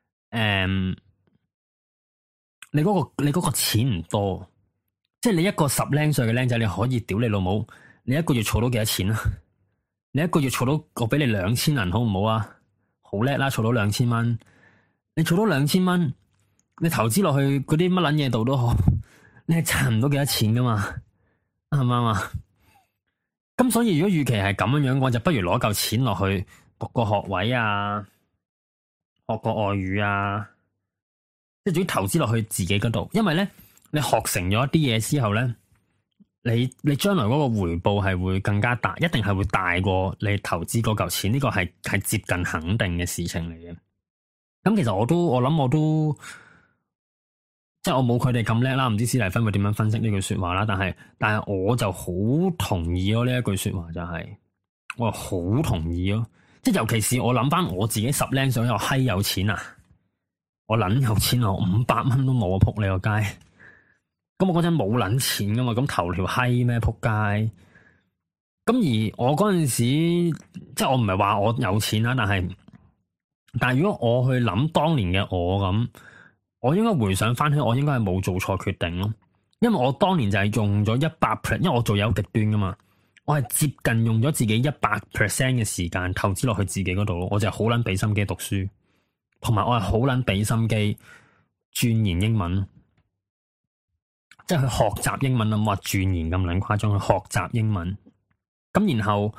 你嗰個錢唔多。即係你一個10零歲嘅僆仔，你可以屌你老母，你一個月儲到幾多錢啊？你一個月儲到我俾你2000銀好唔好啊？好叻啦，儲到2000蚊。你儲到2000蚊，你投資落去嗰啲乜撚嘢度都好，你係賺唔到幾多錢噶嘛？啱唔啱啊？咁所以如果預期係咁樣樣，我就不如攞嚿錢落去讀個學位啊，學個外語啊，即係總之投資落去自己嗰度，因為咧。你學成咗一啲嘢之後咧，你將來嗰個回報係會更加大，一定係會大過你投資嗰嚿錢，呢個係接近肯定嘅事情嚟嘅。咁其實我諗我都，即係我冇佢哋咁叻啦，唔知史蒂芬會點樣分析呢句說話啦。但係我就好同意咯，呢一句說話就係，我好同意咯。即係尤其是我諗翻我自己10零歲又閪有錢啊，我捻有錢啊，我500蚊都冇啊，扑你個街！咁我嗰陣冇捻錢噶嘛，咁投條閪咩撲街？咁而我嗰陣時，即係我唔係話我有錢啦，但係如果我去諗當年嘅我咁，我應該回想翻起，我應該係冇做錯決定咯。因為我當年就係用咗100%，因為我做有極端噶嘛，我係接近用咗自己100% 嘅時間投資落去自己嗰度咯。我就係好捻俾心機讀書，同埋我係好捻俾心機鑽研英文。即係去學習英文啦，冇話鑽研咁撚誇張，去學習英文。咁然後，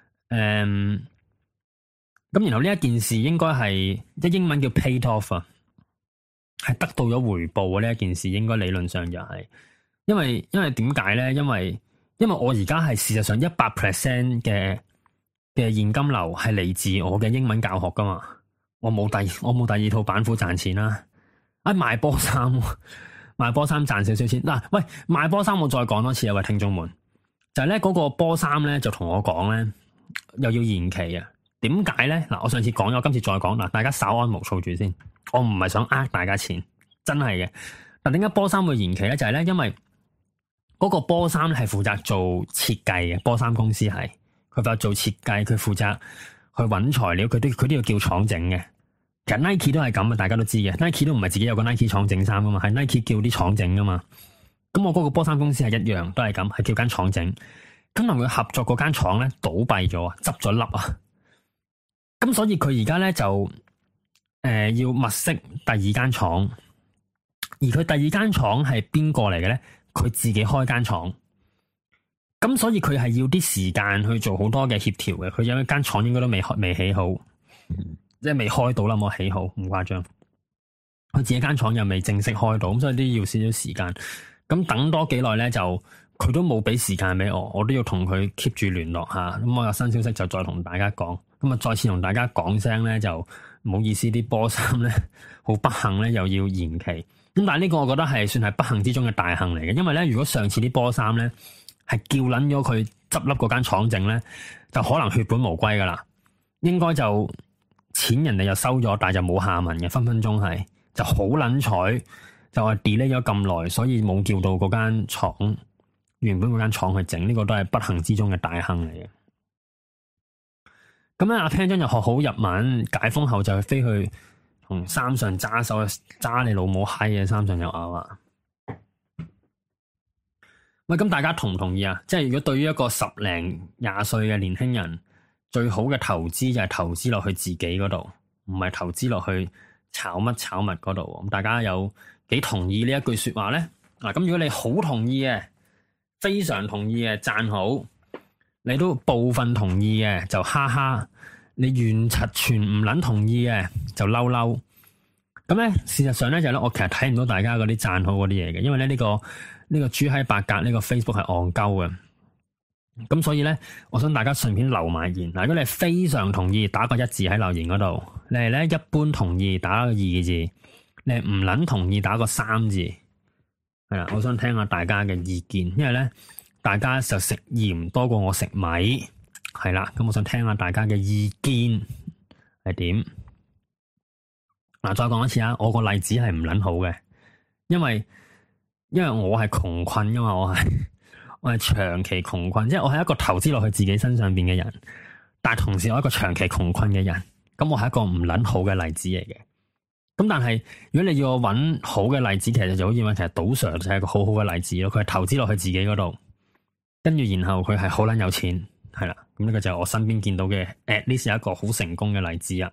咁然後呢一件事應該係即英文叫 paid off 啊，係得到咗回報啊！呢一件事應該理論上就係，因為點解咧？因為我而家係事實上100% 嘅現金流係嚟自我嘅英文教學噶嘛，我冇第二套板斧賺錢啦，賣波衫。賣波衫賺少少錢嗱，喂，賣波衫我再講多次啊，喂，聽眾們，就係咧嗰個波衫咧就同我講咧又要延期啊，點解咧？嗱，我上次講咗，今次再講嗱，大家稍安毋躁住先，我唔係想呃大家錢，真係嘅。但點解波衫會延期咧？就係咧，因為嗰個波衫係負責做設計嘅，波衫公司係佢負責做設計，佢負責去搵材料，佢都要叫廠整嘅。其實 Nike 都係咁啊，大家都知嘅。Nike 都唔係自己有個 Nike 廠整衫噶嘛，係 Nike 叫啲廠整噶嘛。咁我嗰個波衫公司係一樣，都係咁，係叫間廠整。咁同佢合作嗰間廠咧倒閉咗啊，執咗笠啊。咁所以佢而家咧就要物色第二間廠，而佢第二間廠係邊個嚟嘅咧？佢自己開間廠。咁所以佢係要啲時間去做好多嘅協調嘅。佢有一間廠應該都未起好。即係未開到啦，冇起好，唔誇張。佢自己間廠又未正式開到，咁所以都要少少時間。咁等多幾耐咧，就佢都冇俾時間俾我，我都要同佢 keep 住聯絡下。咁我有新消息就再同大家講。咁啊，再次同大家講聲咧，就唔好意思，啲波衫咧好不幸咧，又要延期。咁但係呢個我覺得係算係不幸之中嘅大幸嚟嘅，因為咧，如果上次啲波衫咧係叫撚咗佢執笠嗰間廠整咧，就可能血本無歸噶啦，應該就。錢人哋又收咗，但係就冇下文嘅，分分鐘係就好撚彩，就話 delay 咗咁耐，所以冇叫到嗰間廠原本嗰間廠去整，呢個都係不幸之中嘅大幸嚟嘅。咁咧，阿 Pan 真又學好日文，解封後就飛去同三上揸手揸你老母閪嘅三上悠亞啊！喂，咁大家同唔同意啊？即係如果對於一個10零20歲嘅年輕人，最好嘅投資就係投資落去自己嗰度，唔係投資落去炒乜炒物嗰度。咁大家有幾同意呢一句說話咧？嗱，咁如果你好同意嘅，非常同意嘅，讚好；你都部分同意嘅，就哈哈；你完全唔捻同意嘅，就嬲嬲。咁咧，事實上咧就咧，我其實睇唔到大家嗰啲讚好嗰啲嘢嘅，因為咧呢個豬閪八格呢個 Facebook 係戇鳩嘅。咁所以咧，我想大家順便留埋言。嗱，如果你係非常同意，打個1字喺留言嗰度；你係咧一般同意，打個2字；你係唔捻同意，打個3字。係啦，我想聽下大家嘅意見，因為咧大家就食鹽多過我食米，係啦。咁我想聽下大家嘅意見係點。嗱，再講一次啊，我個例子係唔捻好嘅，因為我係窮困噶嘛，我係長期窮困，即係我係一個投資落去自己身上邊嘅人，但係同時我係一個長期窮困嘅人，咁我係一個唔捻好嘅例子嚟嘅。咁但係如果你要我揾好嘅例子，其實就好似話，其實賭 Sir 就係一個好好嘅例子咯。佢係投資落去自己嗰度，跟住然後佢係好捻有錢，係啦。咁呢個就係我身邊見到嘅，at least係一個好成功嘅例子啊。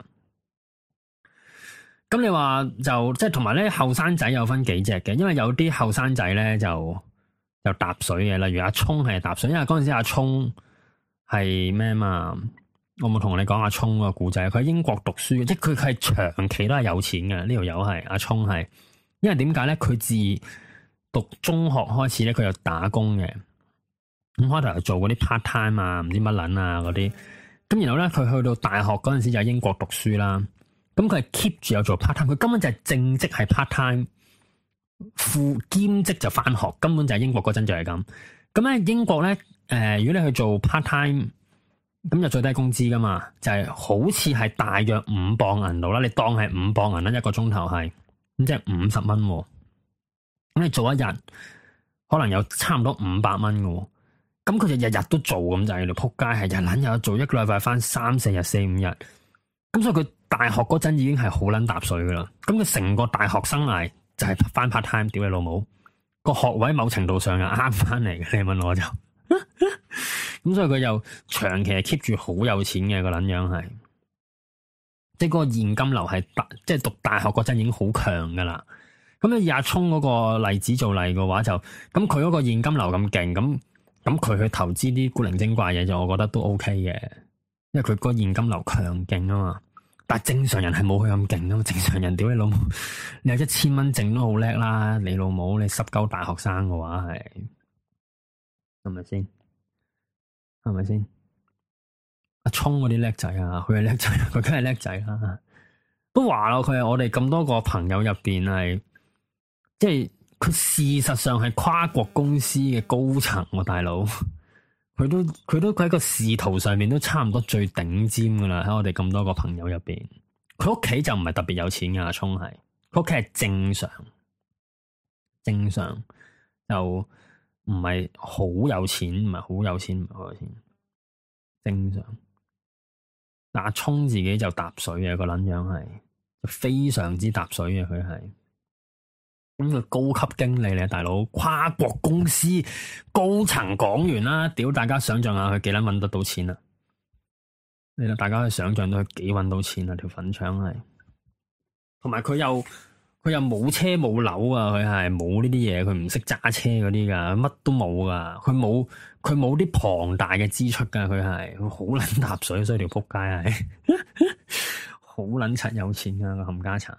咁你話就即係同埋咧，後生仔有分幾隻嘅，因為有啲後生仔咧就搭水嘅，例如阿聰係搭水，因為嗰陣時阿聰係咩嘛？我冇同你講阿聰個故仔，佢喺英國讀書，即係佢係長期都係有錢嘅。呢條友係阿聰係，因為點解咧？佢自讀中學開始咧，佢有打工嘅，咁開頭又做嗰啲 part time 啊，唔知乜撚啊嗰啲，咁然後咧佢去到大學嗰陣時就喺英國讀書啦，咁佢係 keep 住有做 part time，佢根本就係正職係 part time，副兼職就返學，根本就係英國嗰陣就係咁。咁咧英國咧，如果你去做 part time。咁就最低工資噶嘛，就係好似係大約5磅銀度啦，你當係5磅銀啦，一個鐘頭係，咁即係50蚊。咁你做一日，可能有差唔多500蚊嘅。咁佢就日日都做咁就係，你仆街係日撚有做，一個禮拜翻3-4日、4-5日。咁所以佢大學嗰陣已經係好撚搭水噶啦。咁佢成個大學生涯就係翻 part time，屌你老母，個學位某程度上又啱翻嚟嘅。你問我就。咁所以佢又長期係 keep 住好有錢嘅個撚樣係，即係嗰個現金流係即係讀大學嗰陣已經好強噶啦。咁以阿聰嗰個例子做例嘅話就，咁佢嗰個現金流咁勁，咁佢去投資啲古靈精怪嘢就我覺得都 OK 嘅，因為佢個現金流強勁啊嘛。但係正常人係冇佢咁勁啊嘛，正常人屌你老母，你有1000蚊剩都好叻啦，你老母你濕鳩大學生嘅話係咪先？係咪先？阿聰嗰啲叻仔啊，佢係叻仔，佢梗係叻仔啦。都話咯，佢係我哋咁多個朋友入邊係，即係佢事實上係跨國公司嘅高層喎，大佬。佢喺個仕途上面都差唔多最頂尖噶啦。喺我哋咁多個朋友入邊，佢屋企就唔係特別有錢噶。阿聰係，佢屋企係正常就。唔係好有錢，唔係好有錢，正常。阿聰自己就搭水嘅個撚樣係，非常之搭水嘅佢係。咁佢高級經理嚟，大佬，跨國公司高層講完啦，屌大家想象下佢幾撚搵得到錢啊？你大家可以想象到佢幾搵到錢啊？條粉腸係，同埋佢又冇車冇樓啊！佢係冇呢啲嘢，佢唔識揸車嗰啲噶，乜都冇噶。佢冇啲龐大嘅支出噶，佢好撚搭水，所以條撲街係好撚柒有錢噶個冚家鏟。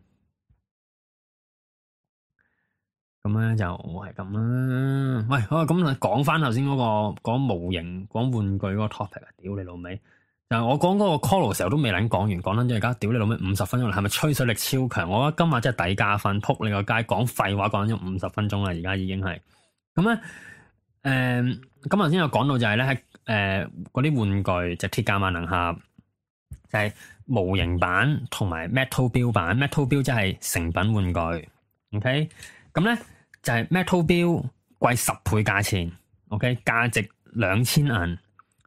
咁咧就係咁啦。喂，好啊，咁講翻頭先嗰個講模型、講玩具嗰個 topic 啊！屌你老味。但係我講嗰個 call 嘅時候都未撚講完，講撚咗而家，屌你老味50分鐘啦，係咪吹水力超強？我覺得今日真係抵加分，撲你個街，講廢話講咗50分鐘啦，而家已經係咁咧。咁頭先有講到就係咧，喺嗰啲玩具就鐵甲萬能俠，就係模型版同埋 Metal Build 版。Metal Build 即係成品玩具 ，OK？ 咁咧就係 Metal Build 貴10倍價錢 ，OK？ 價值2000銀。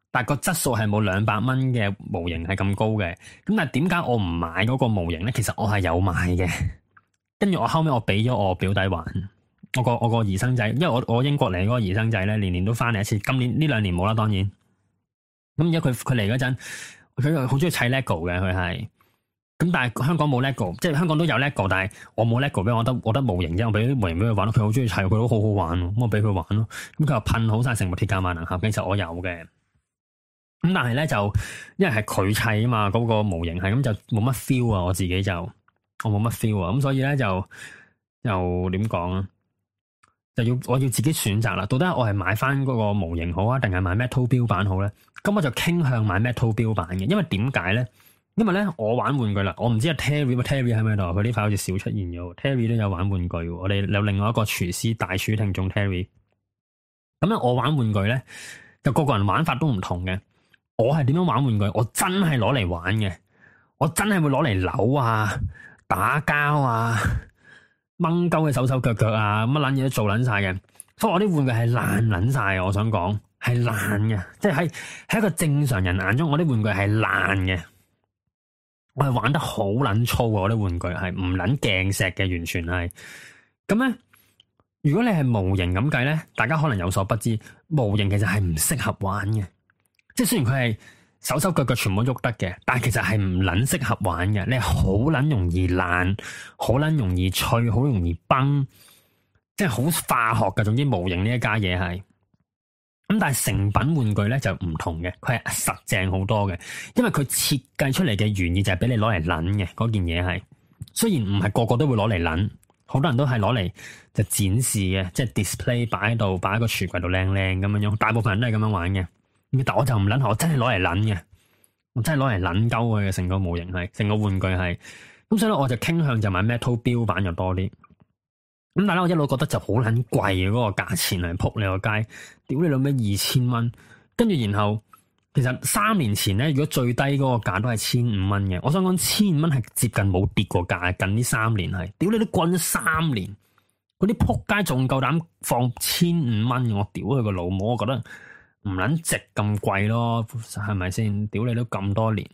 但係個質素係冇200蚊嘅模型係咁高嘅。咁但係點解我唔買嗰個模型咧？其實我係有買嘅，跟住我後尾我俾咗我表弟玩，我個兒生仔，因為我英國嚟嗰個兒生仔咧，年年都翻嚟一次，今年呢2年冇啦，當然。咁而家佢嚟嗰陣，佢好中意砌 LEGO 嘅，佢係。咁但係香港冇 LEGO，即係香港都有 LEGO，但係我冇 LEGO 俾我得模型啫，我俾啲模型俾佢玩，佢好中意砌，佢都好好玩，咁我俾佢玩咯。咁佢又噴好晒成部鐵甲萬能俠，其實我有嘅。咁但係咧就，因為係佢砌啊嘛，嗰個模型係咁就冇乜 feel 啊，我自己就我冇乜 feel 啊，咁所以咧就點講啊？我要自己選擇啦，到底我係買翻嗰個模型好啊，定係買 metal 標版好咧？咁我就傾向買 metal 標版嘅，因為點解咧？因為咧我玩玩具啦，我唔知阿 Terry 喺咪度，佢呢排好似少出現咗。Terry 都有玩玩具，我哋有另外一個廚師大廚聽眾 Terry。咁咧我玩玩具咧，就個人玩法都唔同嘅。我係點樣玩玩具？我真係攞嚟玩嘅，我真係會攞嚟扭啊、打膠啊、掹鳩嘅手腳腳啊，乜撚嘢都做撚晒嘅。所以我啲玩具係爛撚晒，我想講係爛嘅，即係喺一個正常人眼中，我啲玩具係爛嘅。我係玩得好撚粗啊！我啲玩具係唔撚鏡石嘅，完全係。咁咧，如果你係模型咁計咧，大家可能有所不知，模型其實係唔適合玩嘅。即係雖然佢係手腳腳全部喐得嘅，但係其實係唔撚適合玩嘅。你係好撚容易爛，好撚容易脆，好容易崩，即係好化學嘅。總之模型呢一家嘢係。咁但係成品玩具咧就唔同嘅，佢係實淨好多嘅，因為佢設計出嚟嘅原意就係俾你攞嚟撚嘅嗰件嘢係。雖然唔係個個都會攞嚟撚，好多人都係攞嚟就展示嘅，即係 display 擺喺度，擺喺個櫥櫃度靚靚咁樣樣。大部分人都係咁樣玩嘅，但我就唔撚，我真係攞嚟撚嘅，我真係攞嚟撚鳩佢嘅成個模型係，成個玩具係。咁所以咧，我就傾向就買 metal 標版就多啲。咁但係我一路覺得就好撚貴嘅嗰個價錢嚟，撲你個街，屌你老味2000蚊，跟住然後其實3年前咧，如果最低嗰個價都係1500蚊嘅，我想講1500蚊係接近冇跌過價，近呢3年係，屌你都滾咗3年，嗰啲撲街仲夠膽放1500蚊，我屌佢個老母，我覺得唔撚值咁貴咯，係咪先？屌你都咁多年，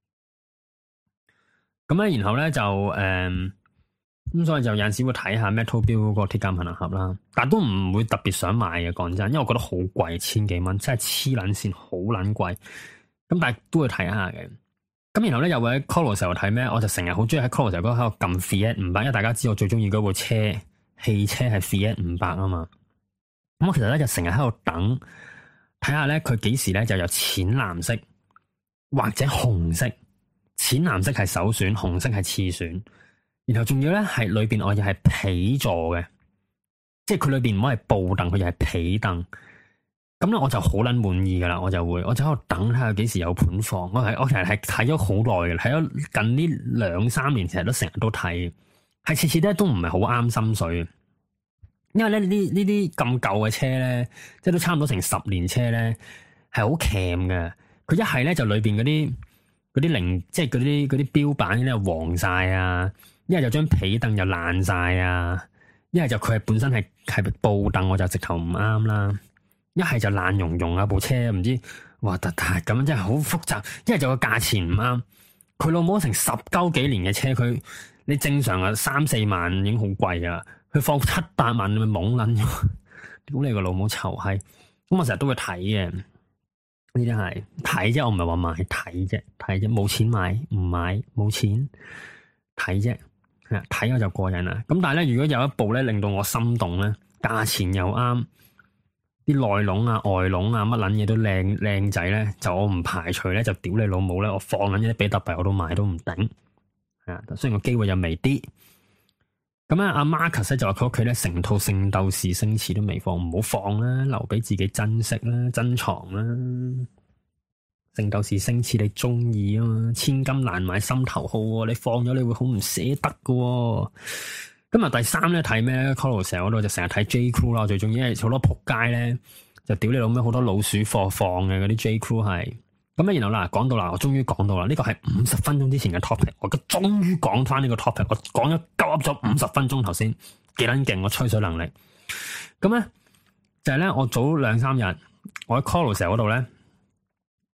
咁咧然後咧就咁所以就有陣時會睇下 Metal Build 嗰個鐵甲萬能俠啦，但都唔會特別想買嘅，講真，因為我覺得好貴，1000幾蚊，真係黐撚線，好撚貴。咁但係都會睇下嘅。咁然後咧又會喺 Colo 時候睇咩？我就成日好中意喺 Colo 時候喺度撳 Fiat 500，因為大家知我最中意嗰部車，汽車係 Fiat 500啊嘛。咁我其實咧就成日喺度等，睇下咧佢幾時咧就有淺藍色或者紅色，淺藍色係首選，紅色係次選。然後仲要咧係裏邊我又係皮座嘅，即係佢裏邊唔可以布凳，佢又係皮凳。咁咧我就好撚滿意噶啦，我就喺度等睇下幾時有盤放。我其實係睇咗好耐嘅，睇咗近呢2-3年，成日都睇，係次次咧都唔係好啱心水。因為咧呢啲咁舊嘅車咧，即係都差唔多成10年車咧，係好鉗嘅。佢一係咧就裏邊嗰啲零，即係嗰啲標板咧黃晒啊。一係就張皮凳又爛晒啊，一係就佢係本身係布凳，我就直頭唔啱啦。一係就爛溶溶啊，部車唔知哇突突咁樣，真係好複雜。一係就個價錢唔啱，佢老母成10幾年嘅車，佢你正常啊3-4萬已經好貴噶啦，佢放7-8萬你咪懵撚咗，屌你個老母臭閪！咁我成日都會睇嘅，呢啲係睇啫，我唔係話買，睇啫，冇錢買唔買，冇錢睇啫。睇我就過癮啦，咁但係咧，如果有一部咧令到我心動咧，價錢又啱，啲內籠啊、外籠啊乜撚嘢都靚仔咧，就我唔排除咧就屌你老母咧，我放緊啲比特幣我都買都唔頂，係啊，雖然個機會又微啲。咁啊，阿 Marcus 咧就話佢屋企咧成套聖鬥士星矢都未放，唔好放啦，留俾自己珍惜啦、珍藏啦。聖鬥士星矢你中意啊嘛，千金難買心頭好喎，你放咗你會好唔捨得噶喎。今日第3咧睇咩咧 Carousel 嗰度就成日睇 J Crew 啦，最中意，因為好多仆街咧就屌你老咩，好多老鼠貨放嘅嗰啲 J Crew 係。咁咧然後啦，講到啦，我終於講到啦，呢個係50分鐘之前嘅 topic， 我而家終於講翻呢個 topic， 我講咗鳩噏咗50分鐘頭先，幾撚勁，我吹水能力。咁咧就係咧，我早2-3日我喺 Carousel 嗰度咧。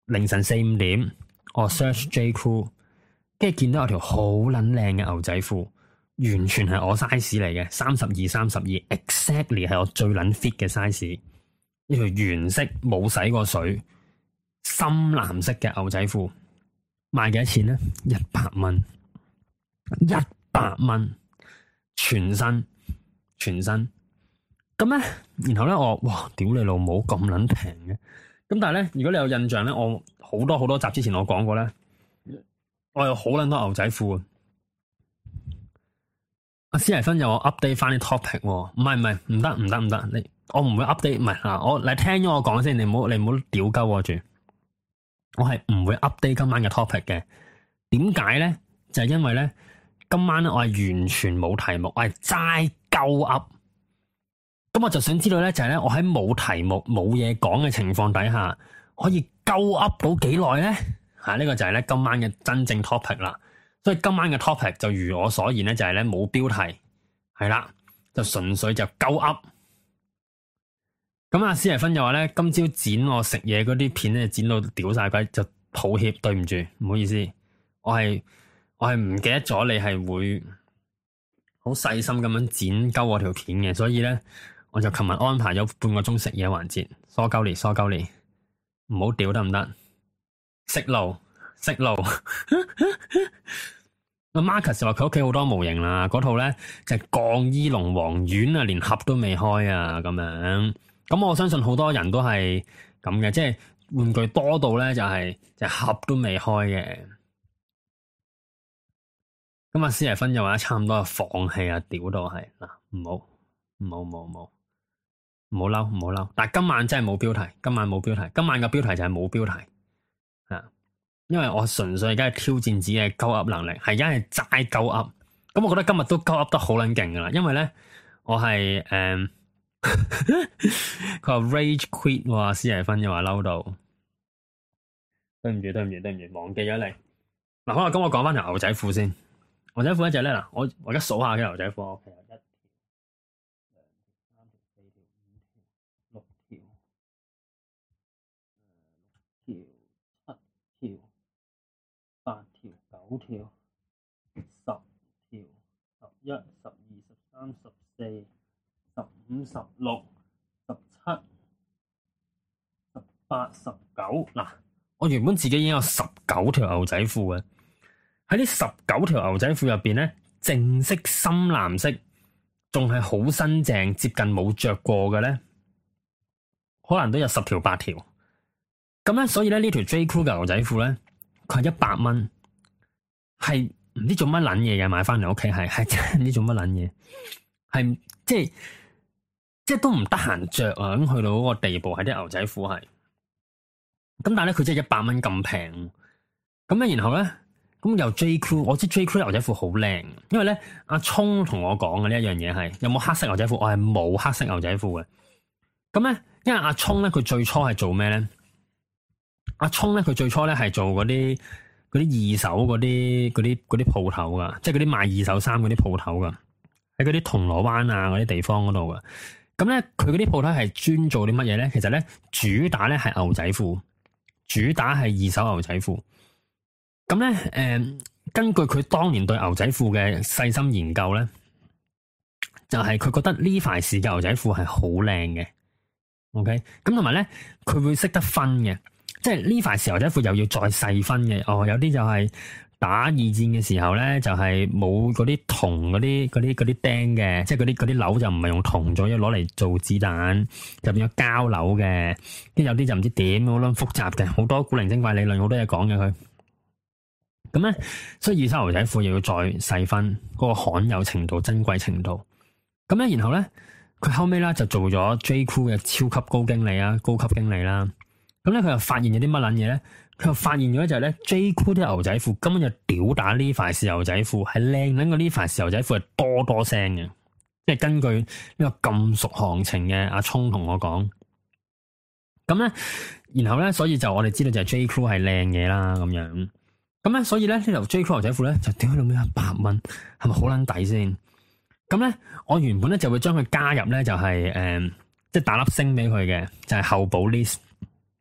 凌晨4、5點，我 search J Crew， 跟住見到有條好撚靚嘅牛仔褲，完全係我 size 嚟嘅，32，exactly 係我最撚 fit 嘅 size。呢條原色冇洗過水，深藍色嘅牛仔褲，賣幾多錢咧？100蚊，100蚊，全身。咁咧，然後咧我哇，屌你老母咁撚平嘅！咁但係咧，如果你有印象咧，我好多集之前我講過咧，我有好撚多牛仔褲。阿施麗芬又我 update 翻啲 topic， 唔係，唔得，我唔會 update， 唔係嗱，你聽咗我講先，你唔好屌鳩我住，我係唔會 update 今晚嘅 topic 嘅。點解咧？就係因為咧，今晚咧我係完全冇題目，我係齋鳩噏。咁我就想知道咧，就係咧，我喺冇題目、冇嘢講嘅情況底下，可以鳩噏到幾耐咧？呢個就係咧今晚嘅真正 topic 啦。所以今晚嘅 topic 就如我所言咧，就係咧冇標題，係啦，就純粹就鳩噏。咁阿施麗芬就話咧，今朝剪我食嘢嗰啲片咧，剪到屌晒鬼，就抱歉，對唔住，唔好意思，我係唔記得咗你係會好細心咁樣剪鳩我條片嘅，所以咧。我就琴日安排咗半個鐘食嘢環節，疏鳩你，唔好屌得唔得？識路。阿 Marcus 就話佢屋企好多模型啦，嗰套咧就係鋼衣龍王丸啊，連盒都未開啊，咁樣。咁我相信好多人都係咁嘅，即係玩具多到咧就係盒都未開嘅。咁阿施麗芬又話差唔多放棄啊，屌到係嗱，唔好嬲，但係今晚真係冇標題，今晚嘅標題就係冇標題，因為我純粹而家係挑戰自己嘅鳩噏能力，係而家係齋鳩噏，咁我覺得今日都鳩噏得好撚勁噶啦，因為咧我係佢話 rage quit 喎，施麗芬又話嬲到，對唔住，忘記咗你，嗱好啦，咁我講翻條牛仔褲先，牛仔褲一隻咧嗱，我而家數下嘅牛仔褲，OK。8條、9條、10條、11、12、13、14、15、16、17、18、19。嗱，我原本自己已經有19條牛仔褲嘅，喺呢19條牛仔褲入邊咧，正色深藍色，仲係好新淨，接近冇着過嘅咧，可能都有10條8條。咁咧，所以咧呢條 J Crew 嘅牛仔褲咧。佢係100蚊，係唔知做乜撚嘢嘅，買翻嚟屋企係真係唔知做乜撚嘢，係即係都唔得閒着啊！咁去到嗰個地步，係啲牛仔褲係，咁但係咧佢真係100蚊咁平，咁咧然後咧咁又 J Crew， 我知 J Crew 牛仔褲好靚，因為咧阿聰同我講嘅呢一樣嘢係有冇黑色牛仔褲，我係冇黑色牛仔褲嘅，咁咧因為阿聰咧佢最初係做咩咧？阿聰咧，佢最初咧係做嗰啲二手嗰啲鋪頭噶，即係嗰啲賣二手衫嗰啲鋪頭噶，喺嗰啲銅鑼灣啊嗰啲地方嗰度噶。咁咧，佢嗰啲鋪頭係專做啲乜嘢咧？其實咧，主打咧係牛仔褲，主打係二手牛仔褲。咁咧，根據佢當年對牛仔褲嘅細心研究咧，就係佢覺得Levi's嘅牛仔褲係好靚嘅。OK，咁同埋咧，佢會識得分嘅。即係呢塊牛仔褲又要再細分嘅，有啲就係打二戰嘅時候咧，就係冇嗰啲銅嗰啲釘嘅，即係嗰啲鈕就唔係用銅咗，要攞嚟做子彈，就變咗膠鈕嘅。跟住有啲就唔知點，好撚複雜嘅，好多古靈精怪理論，好多嘢講嘅佢。咁咧，所以二手牛仔褲又要再細分嗰個罕有程度、珍貴程度。咁咧，然後咧，佢後尾咧就做咗 J Crew 嘅超級高經理啦、高級經理啦。咁咧，佢又發現咗啲乜撚嘢咧？佢又發現咗就係咧 ，J Crew 啲牛仔褲根本就屌打呢塊是牛仔褲，係靚撚過呢塊是牛仔褲係多聲嘅。即係根據呢個咁熟行情嘅阿聰同我講，咁咧，然後咧，所以就我哋知道就係 J Crew 係靚嘢啦，咁樣。咁咧，所以咧呢條 J Crew 牛仔褲咧就屌到咩100蚊，係咪好撚抵先？咁咧，我原本咧就會將佢加入咧就係即係打粒星俾佢嘅，就係候補 list。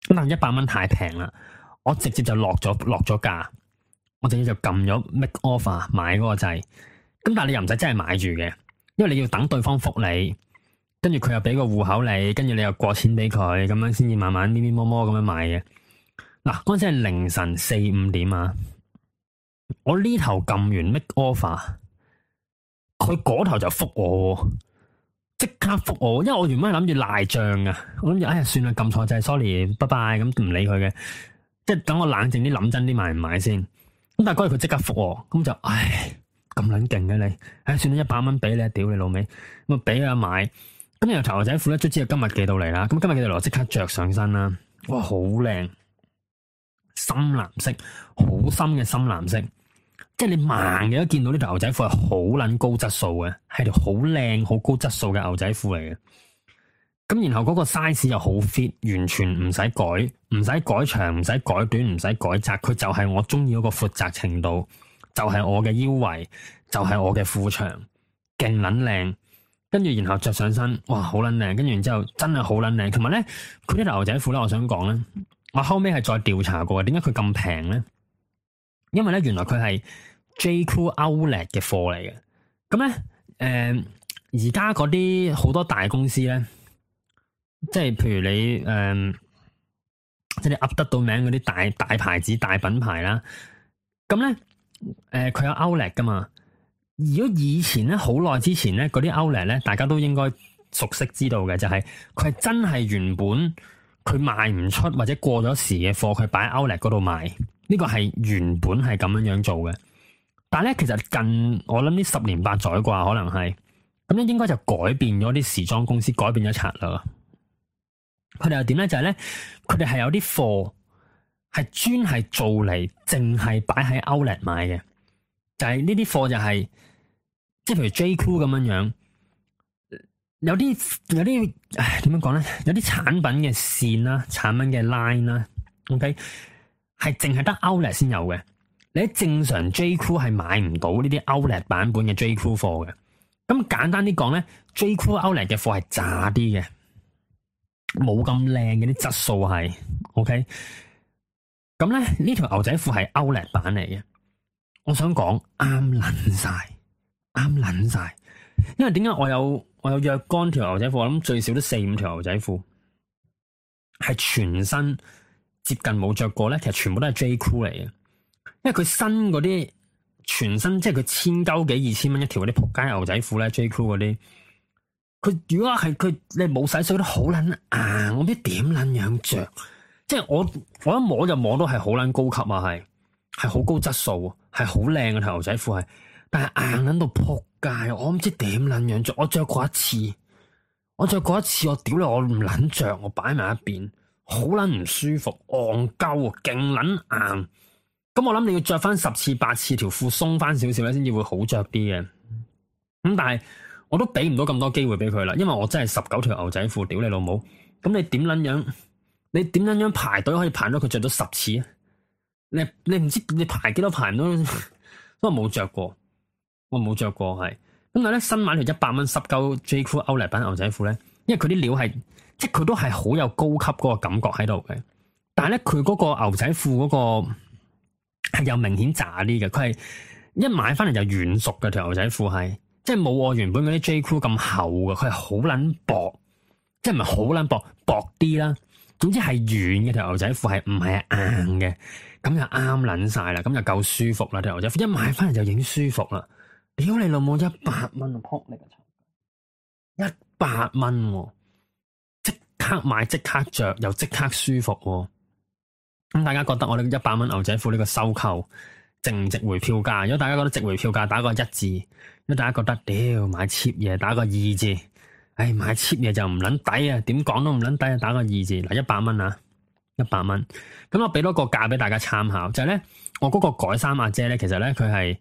咁但係100蚊太平啦，我直接就落咗價，我直接就撳咗 make offer 買嗰個掣。咁但係你又唔使真係買住嘅，因為你要等對方覆你，跟住佢又俾個戶口你，跟住你又過錢俾佢，咁樣先至慢慢咪咪摸摸咁樣買嘅。嗱，嗰陣時係凌晨4、5點啊，我呢頭撳完 make offer，佢嗰頭就覆我，即刻覆我，因為我原本係諗住賴賬啊，我諗住哎呀算啦，撳錯掣，sorry，拜拜，咁唔理佢嘅，即係等我冷靜啲諗真啲買唔買先。咁但係嗰日佢即刻覆我，咁就唉咁撚勁嘅你，唉算啦，100蚊俾你，屌你老味，咁啊俾啊買。咁然後條牛仔褲咧，卒之今日寄到嚟啦，咁今日寄到嚟我即刻着上身啦，哇好靚！深藍色，好深嘅深藍色，即係你盲嘅都見到呢條牛仔褲係好捻高質素嘅，係條好靚、好高質素嘅牛仔褲嚟嘅。咁然後嗰個 size 又好 fit，完全唔使改，唔使改長，唔使改短，唔使改窄，佢就係我中意嗰個闊窄程度，就係我嘅腰圍，就係我嘅褲長，勁捻靚。跟住然後着上身，哇好捻靚。跟住然之後真係好捻靚，同埋咧佢呢條牛仔褲咧，我想講咧。我後尾係再調查過，點解佢咁平咧？因為咧，原來佢係 J.Crew Outlet 嘅貨嚟嘅。咁咧，而家嗰啲好多大公司咧，即係譬如你即係你噏得到名嗰啲大牌子、大品牌啦。咁咧，佢有 Outlet 噶嘛？如果以前咧，好耐之前咧，嗰啲 Outlet 咧，大家都應該熟悉知道嘅，就係佢係真係原本。佢賣唔出或者過咗時嘅貨，佢擺喺 Outlet 嗰度賣，呢個係原本係咁樣樣做嘅。但係咧，其實近我諗呢10年8載啩，可能係咁樣，應該就改變咗啲時裝公司，改變咗策略。佢哋又點咧？就係咧，佢哋係有啲貨係專係做嚟，淨係擺喺 Outlet 買嘅。就係呢啲貨就係，即係譬如 J.Crew 咁樣樣。有啲點樣講咧？有啲產品嘅線啦，產品嘅 line 啦，OK，係淨係得 Outlet 先有嘅。你喺正常 J.Crew 係買唔到呢啲 Outlet 版本嘅 J.Crew 貨嘅。咁簡單啲講咧，J.Crew Outlet 嘅貨係渣啲嘅，冇咁靚嘅啲質素係 OK。咁咧呢條牛仔褲係 Outlet 版嚟嘅，我想講啱撚晒，因為點解我有若干條牛仔褲，我諗最少都4、5條牛仔褲係全身接近冇着過咧，其實全部都係 J.Crew 嚟嘅，因為佢新嗰啲全身即係佢1000幾2000蚊一條嗰啲仆街牛仔褲咧 J.Crew 嗰啲，佢如果係佢你冇洗水都好撚硬，我唔知點撚樣着，即係我一摸就摸到係好撚高級啊，係好高質素，係好靚嘅條牛仔褲係，但係硬撚到仆街，我唔知點撚樣着，我着過一次，我屌你，我唔撚着，我擺埋一邊，好撚唔舒服，戇鳩，勁撚硬。咁我諗你要着翻10次8次條褲鬆翻少少咧，先至會好着啲嘅。咁但係我都俾唔到咁多機會俾佢啦，因為我真係19條牛仔褲，屌你老母！咁你點撚樣排隊可以排到佢着到10次啊？你唔知你排幾多排唔到，都冇着過，我冇着過係。咁但係咧新買條100蚊濕鳩 J.Crew Outlet 版牛仔褲咧，因為佢啲料係即係佢都係好有高級嗰個感覺喺度嘅，但係咧佢嗰個牛仔褲嗰個。係有明顯渣啲嘅，佢係一買翻嚟就軟熟嘅條牛仔褲係，即係冇我原本嗰啲 J.Crew 咁厚嘅，佢係好撚薄，即係唔係好撚薄，薄啲啦。總之係軟嘅條牛仔褲係唔係硬嘅，咁就啱撚晒啦，咁就夠舒服啦。條牛仔褲一買翻嚟就已經舒服啦。屌你老母100蚊啊，撲你個臭！100蚊，即刻買即刻着又即刻舒服。咁大家覺得我呢100蚊牛仔褲呢個收購值唔值回票價？如果大家覺得值回票價，打個1字；如果大家覺得屌買 cheap 嘢，打個2字。唉，買 cheap 嘢就唔撚抵啊！點講都唔撚抵啊！打個2字。嗱，100蚊啊，100蚊。咁我俾多個價俾大家參考，就係咧，我嗰個改衫阿姐咧，其實咧佢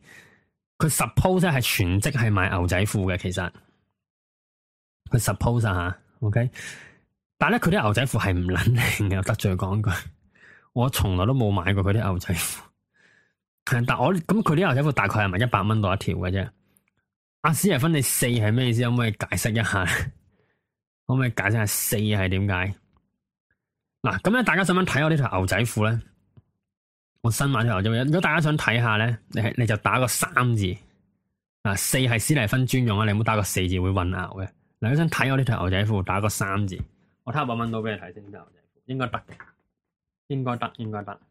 suppose 係全職係買牛仔褲嘅，其實佢 suppose 啊吓，OK。但係咧佢啲牛仔褲係唔撚靚嘅，得罪講句。我從來都冇買過佢啲牛仔褲，但我咁佢啲牛仔褲大概係咪100蚊到一條嘅啫？阿史提芬，你4係咩意思？可唔可以解釋一下？可唔可以解釋下4係點解？ 嗱，咁咧大家想唔想睇我呢條牛仔褲咧？我新買條牛仔褲，如果大家想睇下咧，你就打個3字。嗱，4係史蒂芬專用啊，你唔好打個4字會混淆嘅。嗱，如果想睇我呢條牛仔褲，打個3字。我睇下搵到俾你睇先，呢條牛仔褲應該得嘅，應該得，應該得。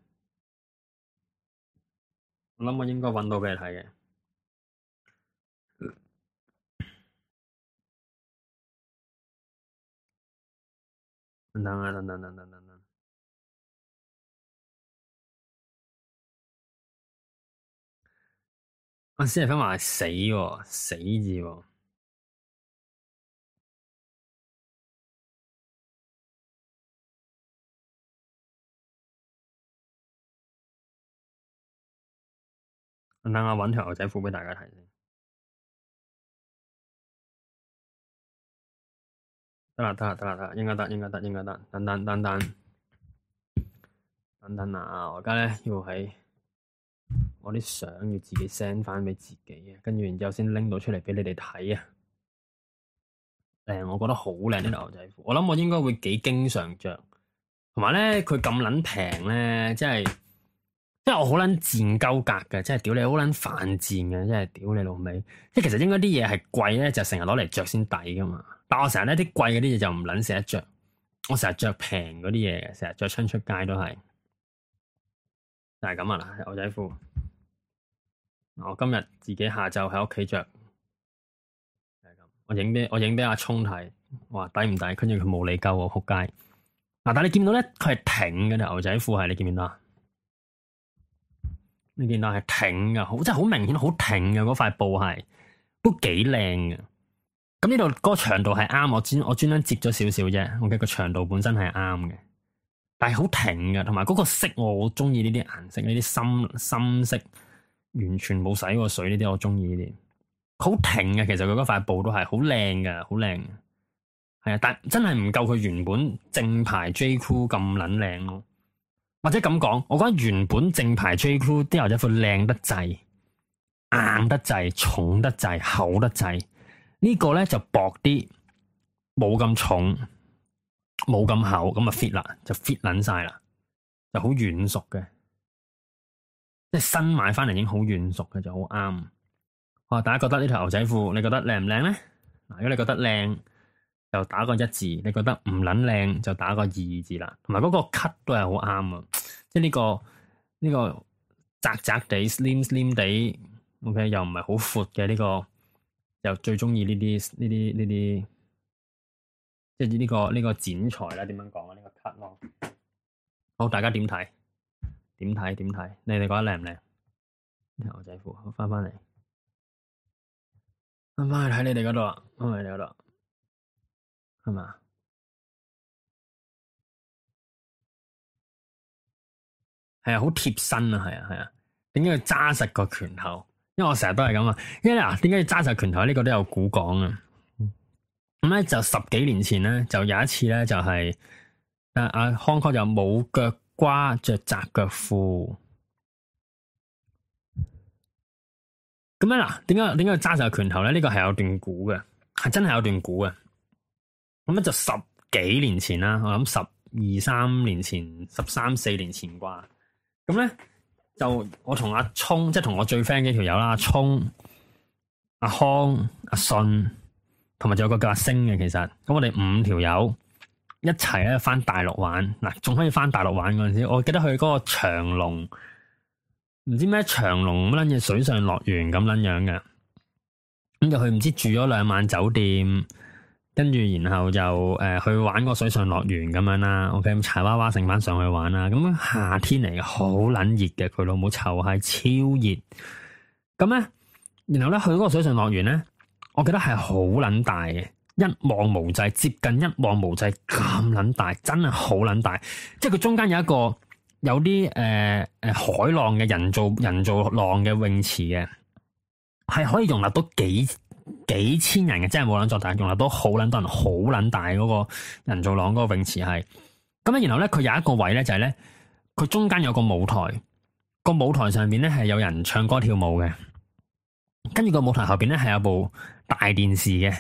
我諗我應該搵到俾你睇嘅。等等啊，等等等等等等。啊，史蒂芬話係死喎，死字喎。等等我搵條牛仔褲俾大家睇先。得啦，得啦，得啦，得啦，應該得，應該得，應該得。等等，等等，等等啊！我而家咧要喺我啲相要自己 send 翻俾自己啊，跟住然之後先拎到出嚟俾你哋睇啊。我覺得好靚呢條牛仔褲，我諗我應該會幾經常着，同埋咧佢咁撚平咧，即係我好撚賤鳩格嘅，即係屌你好撚犯賤嘅，即係屌你老味。即係其實應該啲嘢係貴咧，就成日攞嚟着先抵噶嘛。但我成日咧啲貴嗰啲嘢就唔撚捨得着，我成日着平嗰啲嘢嘅，成日着親出街都係，就係咁啊啦，牛仔褲。我今日自己下晝喺屋企着，就係咁。我影俾阿聰睇，話抵唔抵？跟住佢冇理鳩我仆街。嗱，但係你見到咧，佢係挺嘅牛仔褲係，你見唔見到啊？你見到係挺嘅，好即係好明顯，好挺嘅嗰塊布係，都幾靚嘅。咁呢度嗰個長度係啱，我專登折咗少少啫。我嘅個長度本身係啱嘅，但係好挺嘅，同埋嗰個色我好中意呢啲顏色，呢啲深色，完全冇洗過水呢啲，我中意呢啲。好挺嘅，其實佢嗰塊布都係好靚嘅，好靚嘅。係啊，但真係唔夠佢原本正牌 J Crew 咁撚靚咯。或者咁講，我覺得原本正牌 J Crew 啲牛仔褲靚得滯，硬得滯，重得滯，厚得滯。呢個咧就薄啲，冇咁重，冇咁厚，咁啊 fit 啦，就 fit 撚晒啦，就好軟熟嘅，即係新買翻嚟已經好軟熟嘅，就好啱。哇！大家覺得呢條牛仔褲，你覺得靚唔靚咧？嗱，如果你覺得靚，就打個1字；你覺得唔撚靚，就打個2字啦。同埋嗰個 cut 都係好啱啊！即係呢個窄窄地、slim 地，OK 又唔係好闊嘅呢個，又最中意呢啲，即係呢個剪裁啦。點樣講啊？呢個 cut 咯。好，大家點睇？點睇？你哋覺得靚唔靚？呢條牛仔褲，好翻嚟，翻去睇你哋嗰度啊！翻去你嗰度。係嘛？係啊，好貼身啊，係啊。點解要揸實個拳頭？因為我成日都係咁啊。因為嗱，點解要揸實拳頭？呢個都有古講啊。咁咧就10幾年前咧，就有一次咧，就係阿康哥就冇腳瓜着窄腳褲。咁咧嗱，點解要揸實個拳頭咧？呢個係有段古嘅，係真係有段古嘅。咁咧就10幾年前啦，我諗12、13年前，13、14年前啩。咁咧就我同阿聰，即係同我最 friend 嘅條友啦，阿聰、阿康、阿信，同埋仲有個叫阿星嘅。其實咁我哋5條友一齊咧翻大陸玩，嗱仲可以翻大陸玩嗰陣時，我記得去嗰個長隆，唔知咩長隆乜撚嘢水上樂園咁撚樣嘅。咁就去唔知住咗2晚酒店。跟住，然後就去玩個水上樂園咁樣啦。OK，咁柴娃娃成班上去玩啦。咁夏天嚟嘅，好撚熱嘅，佢老母臭係超熱。咁咧，然後咧去嗰個水上樂園咧，我記得係好撚大嘅，一望無際，接近一望無際咁撚大，真係好撚大。即係佢中間有一個有啲海浪嘅人造浪嘅泳池嘅，係可以容納到幾千人嘅，真係冇撚作大，容納到好撚多人，好撚大嗰個人造浪嗰個泳池係。咁咧，然後咧佢有一個位咧就係咧，佢中間有個舞台，個舞台上面咧係有人唱歌跳舞嘅，跟住個舞台後邊咧係有部大電視嘅，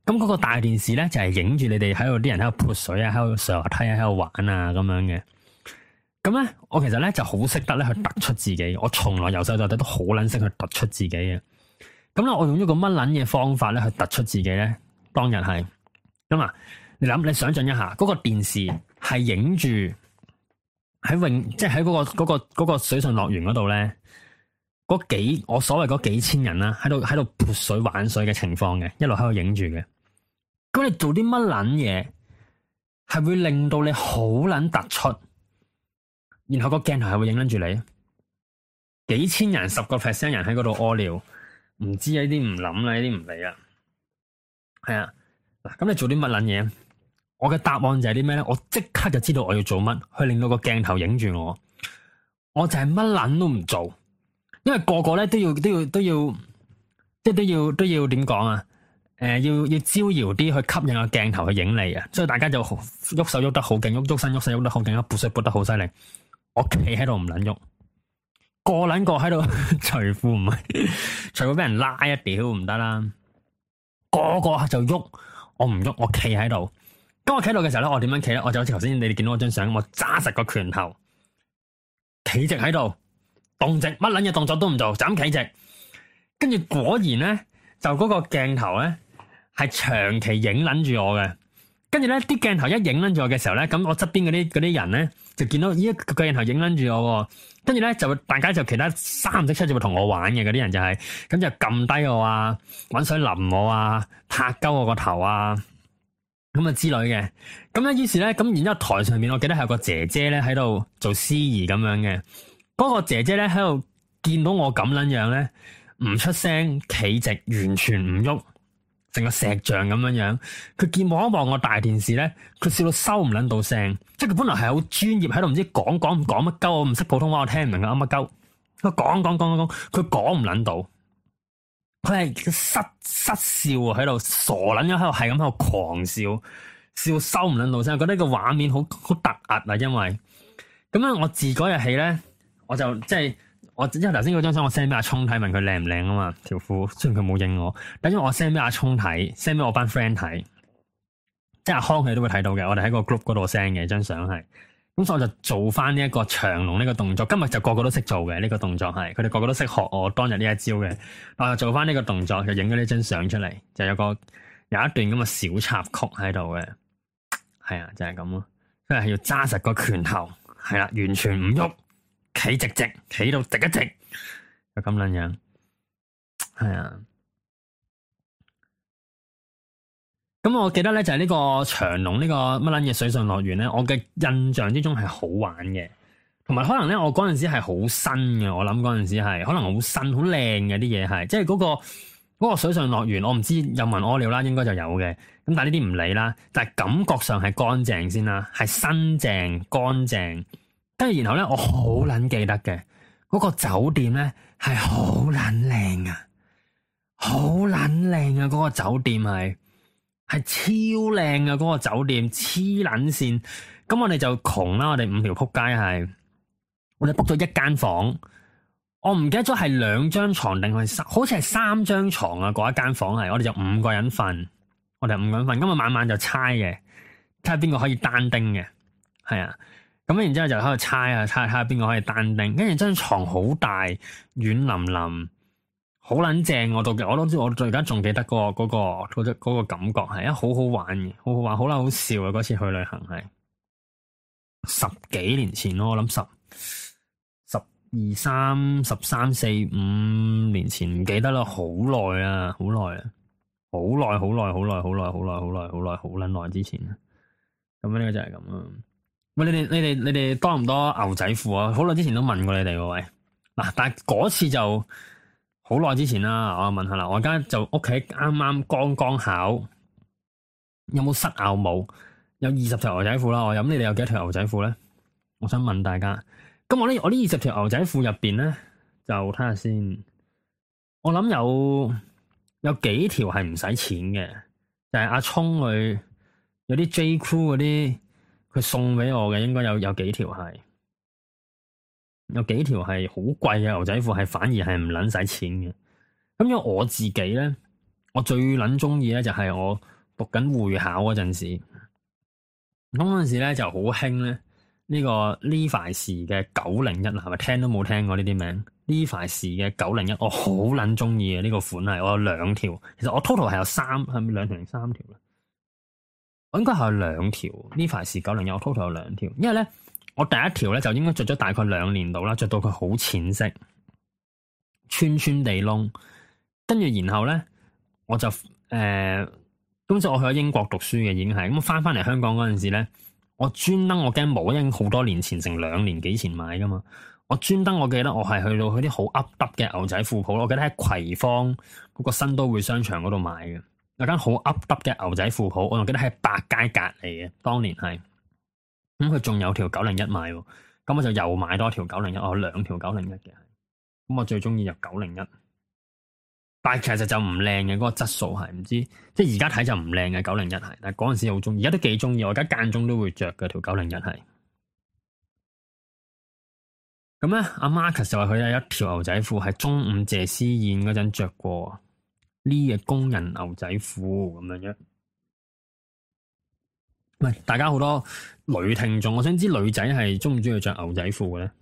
咁嗰個大電視咧就係影住你哋喺度啲人喺度潑水啊，喺度上滑梯啊，喺度玩啊咁樣嘅。咁咧，我其實咧就好識得咧去突出自己。我從來由細到大都好撚識去突出自己嘅。咁咧，我用咗個乜撚嘢方法咧去突出自己咧？當日係咁啊！你想象一下，嗰個電視係影住喺即係喺嗰個水上樂園嗰度咧，我所謂嗰幾千人啦，喺度潑水玩水嘅情況嘅，一路喺度影住嘅。咁你做啲乜撚嘢，係會令到你好撚突出？然後個鏡頭係會影撚住你，幾千人10%人喺嗰度屙尿，唔知啊，呢啲唔諗啦，呢啲唔理啦。係啊，嗱，咁你做啲乜撚嘢？我嘅答案就係啲咩咧？我即刻就知道我要做乜，去令到個鏡頭影住我。我就係乜撚都唔做，因為個個咧都要，即係都要點講啊？要招搖啲去吸引個鏡頭去影你啊！所以大家就喐手喐得好勁，喐身喐勢喐得好勁，撥水撥得好犀利。我企喺度唔撚喐，個撚個喺度除褲唔係，除褲俾人拉一屌唔得啦。個個就喐，我唔喐，我企喺度。當我企喺度嘅時候咧，我點樣企咧？我就好似頭先你哋見到我張相，我揸實個拳頭，企直喺度，動直乜撚嘢動作都唔做，就咁企直。跟住果然咧，就嗰個鏡頭咧係長期影撚住我嘅。跟住咧，啲鏡頭一影撚住我嘅時候咧，咁我側邊嗰啲人咧就見到咦個鏡頭影撚住我。跟住咧就大家就其他3唔識7就會同我玩嘅嗰啲人就係咁就撳低我啊，搵水淋我啊，拍鳩我個頭啊，咁啊之類嘅。咁咧於是咧咁，然之後台上面我記得係有個姐姐咧喺度做司儀咁樣嘅。嗰個姐姐咧喺度見到我咁撚樣咧，唔出聲，企直，完全唔喐，成個石像咁樣樣。佢望一望我大電視咧，佢笑到收唔撚到聲。即係佢本來係好專業喺度，唔知講乜鳩，我唔識普通話，我聽唔明佢乜鳩。佢講，佢講唔撚到。佢係失笑喺度，傻撚咗喺度，係咁喺度狂笑，笑收唔撚到聲。我覺得個畫面好突兀啊，因為咁樣我自嗰日起咧，我就即係因為頭先嗰張相我 send 俾阿聰睇，問佢靚唔靚啊嘛條褲，雖然佢冇應我，但因為我 send 俾阿聰睇，send 俾我班 friend 睇。即係阿康佢都會睇到嘅，我哋喺個 group 嗰度 send 嘅張相係，咁所以我就做翻呢一個長龍呢個動作。今日就個個都識做嘅呢個動作係，佢哋個個都識學我當日呢一招嘅。我就做翻呢個動作，就影咗呢張相出嚟，就有一段咁嘅小插曲喺度嘅，係啊，就係咁咯。所以係要揸實個拳頭，係啦，完全唔喐，企直，企到直一直，就咁樣樣，係啊。咁我記得咧就係呢個長隆呢個乜撚嘢水上樂園咧，我嘅印象之中係好玩嘅，同埋可能咧我嗰陣時係好新嘅，我諗嗰陣時係可能好新好靚嘅啲嘢係，即係嗰個水上樂園，我唔知有冇人屙尿啦，應該就有嘅。咁但係呢啲唔理啦，但係感覺上係乾淨先啦，係新淨乾淨。跟住然後咧，我好撚記得嘅嗰個酒店咧係好撚靚啊，好撚靚啊！嗰個酒店係超靚啊！嗰個酒店黐撚線，咁我哋就窮啦，我哋5條撲街係，我哋 book 咗一間房，我唔記得咗係2張床定係好似係3張床啊！嗰一間房係，我哋就5個人瞓，我哋5個人瞓，咁啊晚晚就猜嘅，睇下邊個可以單丁嘅，係啊，咁然之後就喺度猜下邊個可以單丁，跟住張床好大，軟腍腍。好撚正，我都知，我而家仲記得嗰個感覺係好好玩嘅，好好玩，好啦，好笑啊！嗰次去旅行係10幾年前咯，我諗13、14、15年前唔記得啦，好耐啊，好耐啊，好撚耐之前啊！咁呢個就係咁啊！喂，你哋多唔多牛仔褲啊？好耐之前都問過你哋喎，喂，嗱，但係嗰次就。好耐之前啦，我問下啦，我而家就屋企啱剛考，有冇塞拗帽？有20條牛仔褲啦，我諗你哋有幾多條牛仔褲咧？我想問大家，咁我呢20條牛仔褲入邊咧，就睇下先，我諗有幾條係唔使錢嘅，就係阿聰佢有啲 J Crew 嗰啲，佢送俾我嘅，應該有幾條係。有幾條係好貴嘅牛仔褲，係反而係唔撚使錢嘅。咁因為我自己咧，我最撚中意咧就係我讀緊會考嗰陣時，咁嗰陣時咧就好興咧呢個 Levi's 嘅901啦，係咪聽都冇聽過呢啲名？Levi's 嘅901，我好撚中意嘅呢個款係，我有2條，其實我 total 係有係咪2條定3條咧？我應該係有2條 Levi's 901，我 total 有2條，因為咧我第一條咧就應該着咗大概2年度啦，着到佢好淺色，穿地窿，跟住然後咧我就咁就我去咗英國讀書嘅，已經係咁翻嚟香港嗰陣時咧，我專登我驚冇，因為好多年前成2年幾前買噶嘛，我專登我記得我係去到啲好噏耷嘅牛仔褲鋪，我記得喺葵芳嗰個新都會商場嗰度買嘅，有間好噏耷嘅牛仔褲鋪，我仲記得喺百佳隔離嘅，當年係，咁佢仲有條901賣喎，咁我就又買多條901，我有2條901嘅，咁我最中意就901。但係其實就唔靚嘅，嗰個質素係唔知，即係而家睇就唔靚嘅901係，但係嗰陣時好中意，而家都幾中意，我而家間中都會着嘅條901係。咁咧，阿 Marcus 就話佢有一條牛仔褲係中午謝師宴嗰陣着過呢嘅工人牛仔褲咁樣樣。喂，大家好多女聽眾，我想知女仔係中唔中意着牛仔褲嘅咧？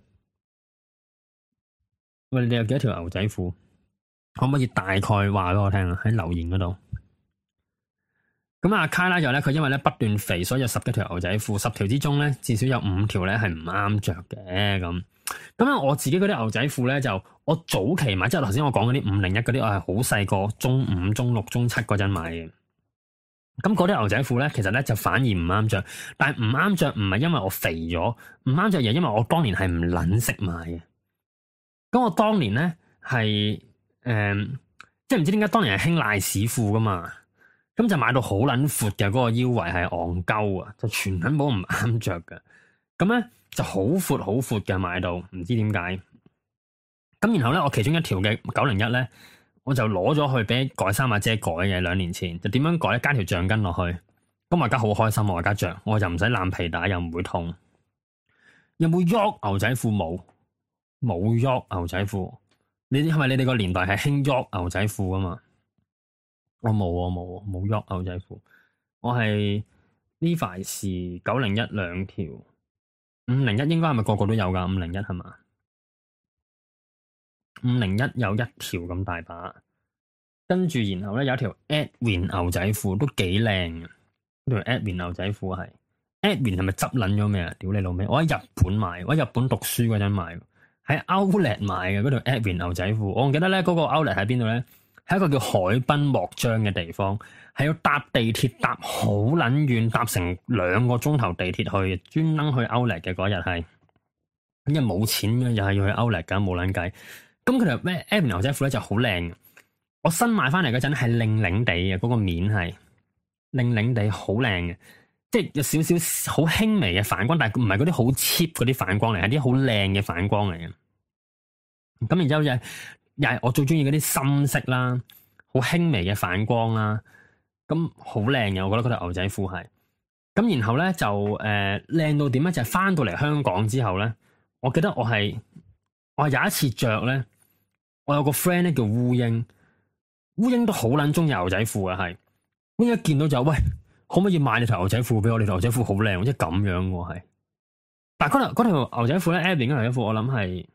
喂，你有幾多條牛仔褲？可唔可以大概話俾我聽啊？喺留言嗰度。咁阿卡拉就咧，佢因為咧不斷肥，所以有10幾條牛仔褲，10條之中咧至少有5條咧係唔啱着嘅咁。咁啊，我自己嗰啲牛仔褲咧就我早期買，即係頭先我講嗰啲501嗰啲，我係好細個，中5、中6、中7嗰陣買嘅。咁嗰啲牛仔褲咧，其實咧就反而唔啱着，但係唔啱着唔係因為我肥咗，唔啱着而係因為我當年係唔撚識買嘅。咁我當年咧係。即係唔知點解當年係興賴屎褲噶嘛，咁就買到好撚闊嘅，嗰個腰圍係戇鳩啊，就全撚部唔啱着嘅，咁咧就好闊嘅買到，唔知點解。咁然後咧，我其中一條嘅901咧，我就攞咗去俾改衫阿姐改嘅，2年前就點樣改咧？加條橡筋落去，咁我而家好開心，我而家着，我就唔使攬皮帶，又唔會痛。有冇喐牛仔褲？冇喐牛仔褲。你係咪你哋個年代係興喐牛仔褲啊嘛？我冇喐牛仔褲，我係 Levi's 901 2條，501應該係咪個個都有噶？501係嘛？501有1條咁大把，跟住然後咧有一條 Edwin 牛仔褲都幾靚嘅，條 Edwin 牛仔褲係 Edwin 係咪執撚咗咩啊？屌你老味！我喺日本買，我喺日本讀書嗰陣買。喺 Outlet 買嘅嗰條 Edwin 牛仔褲，我記得咧嗰個 Outlet 喺邊度咧？喺一個叫海濱莫章嘅地方，係要搭地鐵搭好撚遠，搭成2個鐘頭地鐵去，專登去 Outlet 嘅嗰日係，因為冇錢嘅，又係要去 Outlet 噶，冇撚計。咁佢條咩 Edwin 牛仔褲咧就好靚，我新買翻嚟嗰陣係靚靚地嘅，嗰個面係靚靚地，好靚嘅。即係有少少好輕微嘅反光，但係唔係嗰啲好 cheap 嗰啲反光嚟，係啲好靚嘅反光嚟嘅。咁然之後又係我最中意嗰啲深色啦，好輕微嘅反光啦，咁好靚嘅。我覺得嗰條牛仔褲係。咁然後咧就靚到點咧？就係翻到嚟香港之後咧，我記得我係有一次着咧，我有個 friend 咧叫烏蠅，烏蠅都好撚中意牛仔褲嘅係，烏蠅一見到就喂。可唔可以買你條牛仔褲俾我？你條牛仔褲好靚，即係咁樣喎係。但係嗰條牛仔褲咧 Edwin 嘅牛仔褲，我諗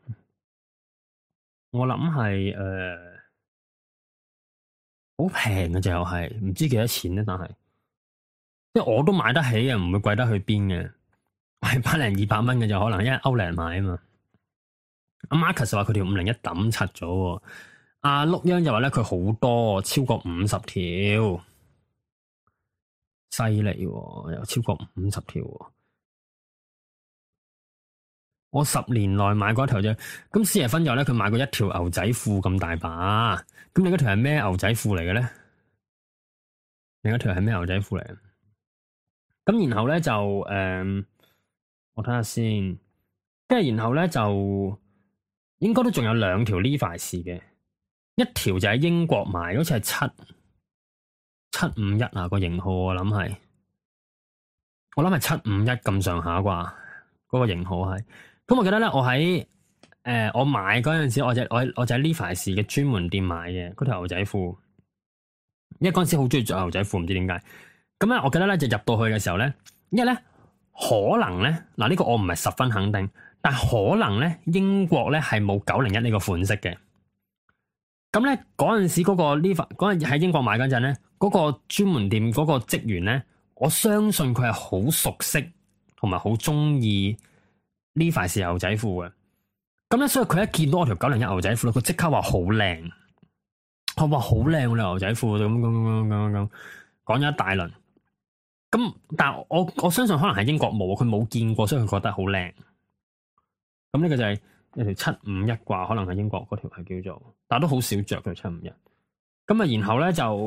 係好平嘅，就係唔知幾多錢咧。但係即係我都買得起嘅，唔會貴得去邊嘅。係100-200蚊嘅就可能，因為 Outlet 買啊嘛。阿 Marcus 話佢條501抌柒咗，阿碌央就話咧佢好多，超過50條。犀利喎，有超過50條喎。我10年內買過一條啫。咁施爺芬又咧，佢買過一條牛仔褲咁大把。咁你嗰條係咩牛仔褲嚟嘅咧？另一條係咩牛仔褲嚟？咁然後咧就我睇下先。跟住然後咧就應該都仲有2條 Levi's 嘅，一條就喺英國買，好似係751啊個型號，我諗係751咁上下啩，嗰個型號係。咁我記得咧，我喺我買嗰陣時，我就喺 Levi's 嘅專門店買嘅嗰條牛仔褲，因為嗰陣時好中意着牛仔褲，唔知點解。 咁咧，我記得咧就入到去嘅時候咧，因為咧可能咧嗱呢個我唔係十分肯定，但係可能咧英國咧係冇901呢個款式嘅。咁咧嗰陣時嗰個 Levi 嗰陣喺英國買嗰陣咧，嗰個專門店嗰個職員咧，我相信佢係好熟悉同埋好中意 Levi 牛仔褲嘅。咁咧，所以佢一見到我條901牛仔褲咧，佢即刻話好靚。我話好靚喎，牛仔褲咁講咗一大輪。咁但係我相信可能係英國冇，佢冇見過，所以佢覺得好靚。咁呢個就係有條751啩，可能係英國嗰條係叫做，但係都好少着嘅751。咁啊，然後咧就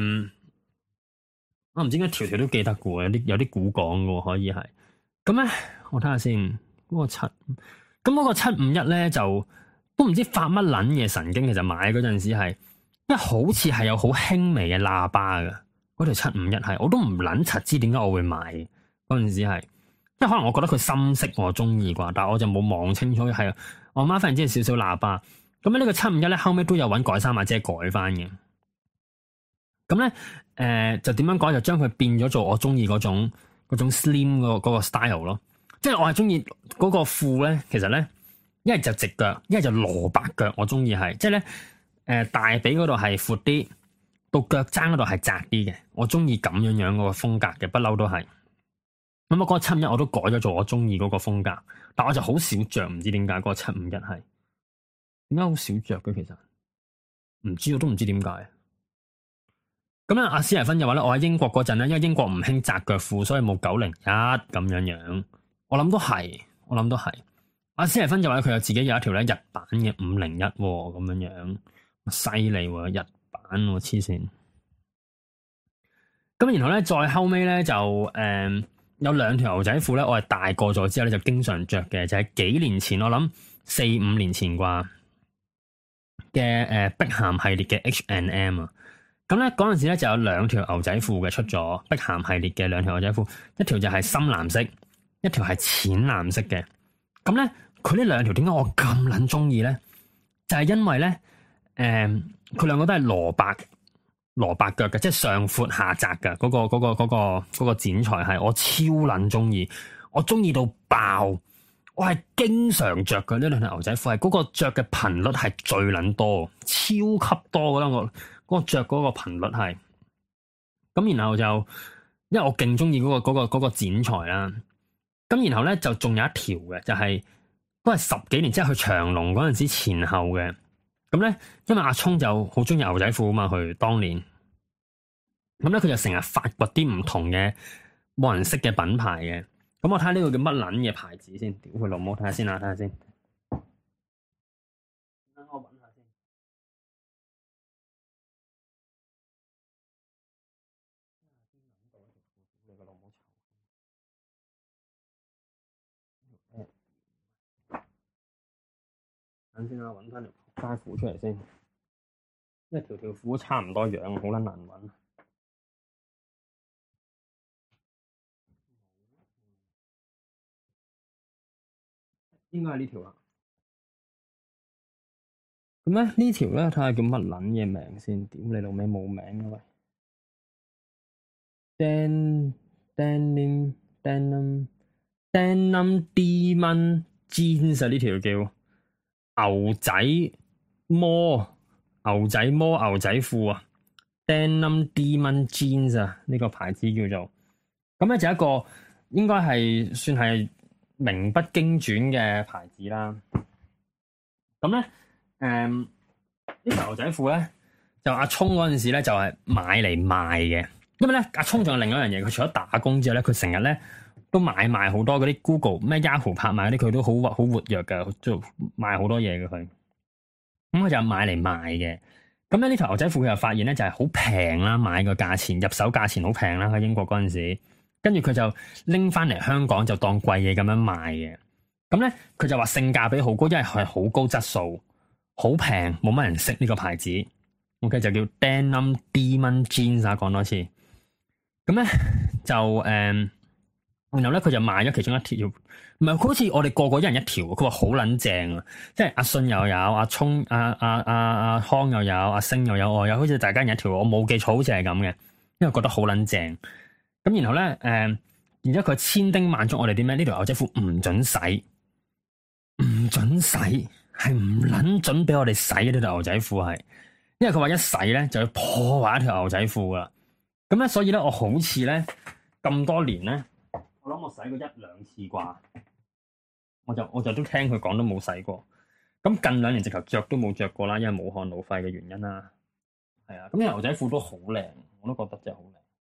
我唔知點解條條都記得嘅喎，有啲古講嘅喎，可以係。咁咧，我睇下先，嗰個咁嗰個751咧就都唔知發乜撚嘢神經，其實買嗰陣時係，因為好似係有好輕微嘅喇叭嘅，嗰條751係，我都唔撚柒知點解我會買嗰陣時係，因為可能我覺得佢深色我中意啩，但係我就冇望清楚係，我媽發現只係少少喇叭，咁呢個751咧後尾都有揾改衫阿姐改翻嘅，咁咧就點樣改就將佢變咗做我中意嗰種 slim 嗰個 style 咯。即係我係中意嗰個褲咧，其實咧一係就直腳，一係就蘿蔔腳。我中意係，即係咧大髀嗰度係闊啲，到腳踭嗰度係窄啲嘅。我中意咁樣樣嗰個風格嘅，不嬲都係。咁啊，嗰個751我都改咗做我中意嗰個風格，但我就好少着，唔知點解嗰個751係點解好少着嘅？其實唔知，我都唔知點解。咁咧，阿史提芬就話咧，我喺英國嗰陣咧，因為英國唔興窄腳褲，所以冇901咁樣樣。我諗都係。阿史提芬就話佢有自己有一條咧日版嘅501咁樣樣，犀利喎，日版喎，黐線。咁然後咧，再後尾咧就有2條牛仔褲咧，我係大個咗之後咧就經常着嘅，就係幾年前，我諗4-5年前啩嘅碧咸系列嘅 H&M 啊。咁咧嗰陣時咧就有2條牛仔褲嘅出咗，碧咸系列嘅2條牛仔褲，一條就係深藍色，一條係淺藍色嘅。咁咧佢呢2條點解我咁撚中意咧？就係因為咧佢2個都係蘿蔔腳嘅，即係上闊下窄嘅嗰個剪裁係我超撚中意，我中意到爆，我係經常着嘅呢2條牛仔褲，係嗰個着嘅頻率係最撚多，超級多，覺得我。嗰個着嗰個頻率係，咁然後就，因為我勁中意嗰個剪裁啦，咁然後咧就仲有一條嘅，就係都係10幾年即係去長隆嗰陣時前後嘅，咁咧因為阿聰就好中意牛仔褲啊嘛，佢當年，咁咧佢就成日發掘啲唔同嘅冇人識嘅品牌嘅，咁我睇下呢個叫乜撚嘢牌子先，屌佢老母，睇下先啊，睇下先。等先啦，搵翻條街褲出嚟先，因為條褲都差唔多樣，好撚難搵。應該係呢條啦。咁咧呢條咧睇下叫乜撚嘢名先，屌你老味冇名嘅喂。Denim Demon Jeans 啊，呢條叫。牛仔魔牛仔褲啊 ，Denim Demon Jeans 啊，呢個牌子叫做，咁咧就一個應該係算係名不經傳嘅牌子啦。咁咧，呢條牛仔褲咧就阿聰嗰陣時咧就係買嚟賣嘅，因為咧阿聰仲有另一樣嘢，佢除咗打工之後咧，佢成日咧。都買賣好多嗰啲 Google 咩 Yahoo 拍賣嗰啲，佢都好活躍嘅，做賣好多嘢嘅佢。咁佢就買嚟賣嘅。咁咧呢條牛仔褲佢又發現咧就係好平啦，買個價錢入手價錢好平啦，喺英國嗰陣時。跟住佢就拎翻嚟香港就當貴嘢咁樣賣嘅。咁咧佢就話性價比好高，因為係好高質素，好平，冇乜人識呢個牌子。OK 就叫 Denim Demon Jeans 啊，講多次。咁咧就然後咧，佢就賣咗其中一條，唔係佢好似我哋個個一人一條，佢話好撚正啊！即係阿信又有，阿聰、阿康又有，阿星又有，我有，好似大家一人一條，我冇記錯，好似係咁嘅，因為覺得好撚正。 咁然後咧，然之後佢千叮萬囑我哋啲咩？呢條牛仔褲唔准洗，唔准洗，係唔撚准俾我哋洗呢條牛仔褲係，因為佢話一洗咧就要破壞一條牛仔褲噶啦。咁咧，所以咧我好似咧咁多年咧，我諗我洗過一兩次啩，我就都聽佢講都冇洗過。咁近2年直頭着都冇着過啦，因為武漢老廢嘅原因啦。係啊，咁呢條牛仔褲都好靚，我都覺得真係好靚。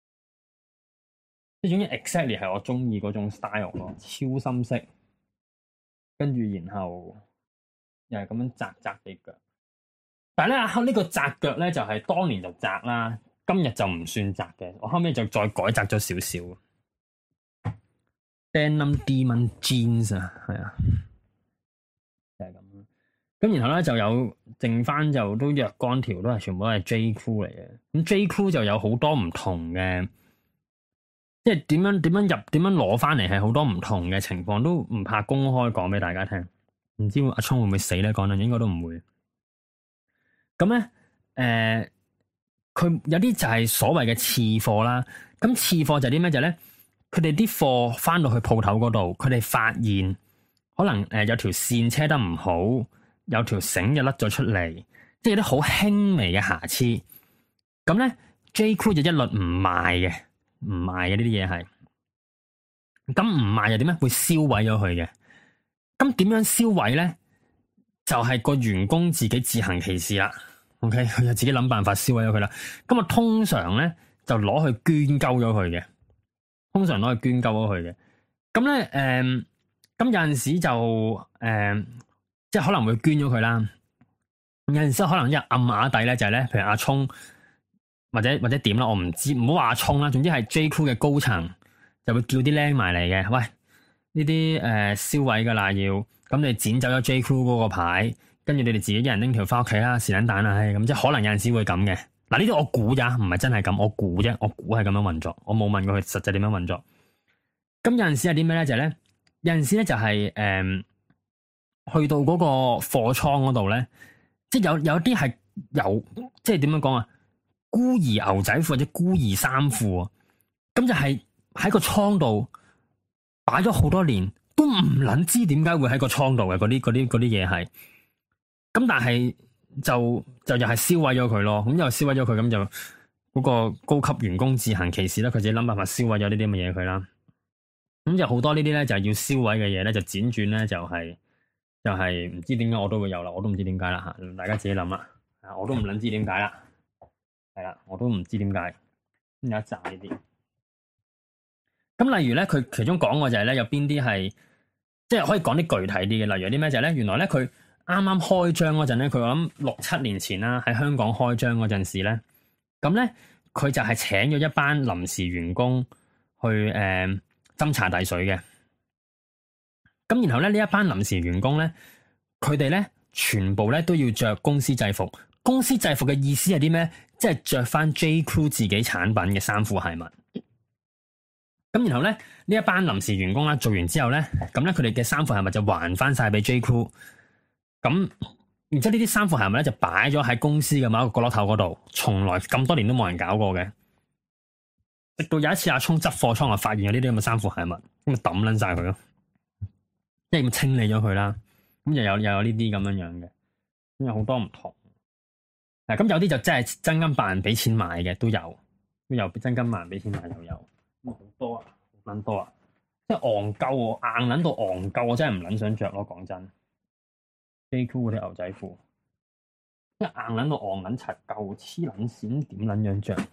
即係總之 exactly 係我中意嗰種 style 咯，超深色，跟住然後又係咁樣窄窄地腳。但係咧呢個窄腳咧就係當年就窄啦，今日就唔算窄嘅。我後尾就再改窄咗少少。Denim Demon Jeans 啊，係啊，就係咁。咁然後咧就有剩翻就都若干條都係全部都係 J Crew 嚟嘅。咁 J Crew 就有好多唔同嘅，即係點樣攞翻嚟係好多唔同嘅情況，都唔怕公開講俾大家聽。唔知阿聰會唔會死咧？講緊應該都唔會。咁咧佢有啲就係所謂嘅次貨啦。咁次貨就係啲咩？就係咧，佢哋啲貨翻到去鋪頭嗰度，佢哋發現可能有條線車得唔好。有條繩就甩咗出嚟，即係有啲好輕微嘅瑕疵。咁咧 J Crew 就一律唔賣嘅，唔賣嘅呢啲嘢係。咁唔賣又點咧？會銷毀咗佢嘅。咁點樣銷毀咧？就係個員工自己自行其事啦。OK，佢就自己諗辦法銷毀咗佢啦。咁啊，通常咧就攞去捐鳩咗佢嘅。通常攞去捐鳩咗佢嘅。咁咧咁有陣時就即係可能會捐咗佢啦，有陣時可能一暗啞底咧就係咧，譬如阿聰或者點啦，我唔知，唔好話阿聰啦，總之係 J Crew 嘅高層就會叫啲僆埋嚟嘅，喂，呢啲銷毀噶啦要，咁你剪走咗 J Crew 嗰個牌，跟住你哋自己一人拎條翻屋企啦，是撚蛋啊，咁即係可能有陣時會咁嘅。嗱呢啲我估咋，唔係真係咁，我估啫，我估係咁樣運作，我冇問過佢實際點樣運作。咁有陣時係啲咩咧？就係咧，有陣時咧就係去到嗰個貨倉嗰度咧，即係有啲係有，即係點樣講啊？孤兒牛仔褲或者孤兒衫褲，咁就係喺個倉度擺咗好多年，都唔撚知點解會喺個倉度嘅嗰啲嘢係。咁但係就又係銷毀咗佢咯。咁又銷毀咗佢，咁就嗰個高級員工自行其事啦。佢自己諗辦法銷毀咗呢啲咁嘅嘢佢啦。咁就好多呢啲咧，就係要銷毀嘅嘢咧，就輾轉咧就係唔知點解我都會有啦，我都唔知點解啦吓，大家自己諗啦，我都唔捻知點解啦，係啦，我都唔知點解有一紮呢啲。咁例如咧，佢其中講過就係咧，有邊啲係即係可以講啲具體啲嘅，例如有啲咩就係咧，原來咧佢啱啱開張嗰陣咧，佢我諗6、7年前啦，喺香港開張嗰陣時咧，咁咧佢就係請咗一班臨時員工去斟茶遞水嘅。咁然後咧呢一班臨時員工咧，佢哋咧全部咧都要着公司制服。公司制服嘅意思係啲咩？即係着翻 J Crew 自己產品嘅衫褲鞋襪。咁然後咧呢一班臨時員工啦，做完之後咧，咁咧佢哋嘅衫褲鞋襪就還翻晒俾 J Crew。咁然之後呢啲衫褲鞋襪咧就擺咗喺公司嘅某一個角落頭嗰度，從來咁多年都冇人搞過嘅。直到有一次阿聰執貨倉啊，發現有呢啲咁嘅衫褲鞋襪，咁就抌撚晒佢咯。即係咁清理咗佢啦，咁又有呢啲咁樣樣嘅，咁有好多唔同。咁有啲就真係真金白銀俾錢買嘅都有真金白銀俾錢買又有，咁好多啊，好撚多啊，即係戇鳩我硬撚到戇鳩，我真係唔撚想着咯，講真。J Crew 嗰啲牛仔褲，即係硬撚到戇撚柒鳩，黐撚線，點撚樣着？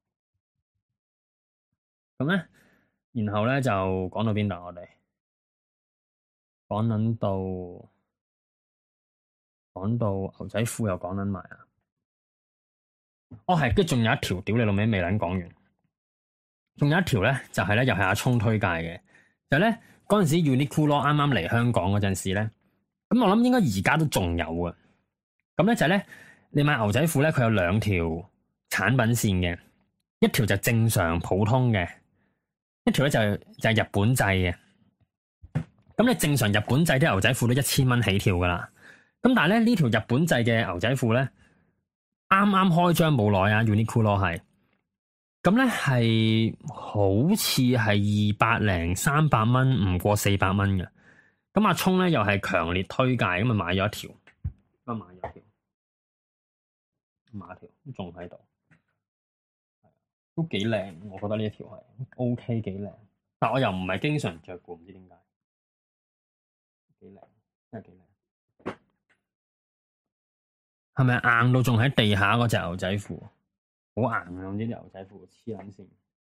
咁咧，然後咧就講到邊度我哋？講到牛仔褲又講撚埋啊！哦係，跟住仲有一條屌你老味未撚講完，仲有一條咧就係咧又係阿聰推介嘅，就咧嗰陣時 Uniqlo 啱啱嚟香港嗰陣時咧，咁我諗應該而家都仲有嘅。咁咧就係咧你買牛仔褲咧，佢有2條產品線嘅，一條就正常普通嘅，一條咧就係日本製嘅。咁你正常日本製啲牛仔褲都1000蚊起跳噶啦，咁但係咧呢條日本製嘅牛仔褲咧，啱啱開張冇耐啊 Uniqlo 係， 咁咧係好似係200-300蚊，唔過400蚊嘅。咁阿聰咧又係強烈推介，咁啊買咗一條，買咗一條都仲喺度，都幾靚，我覺得呢一條係 OK 幾靚，但我又唔係經常着過，唔知點解，幾靚，真係幾靚。係咪硬到仲喺地下嗰隻牛仔褲？好硬啊！呢啲牛仔褲黐撚線。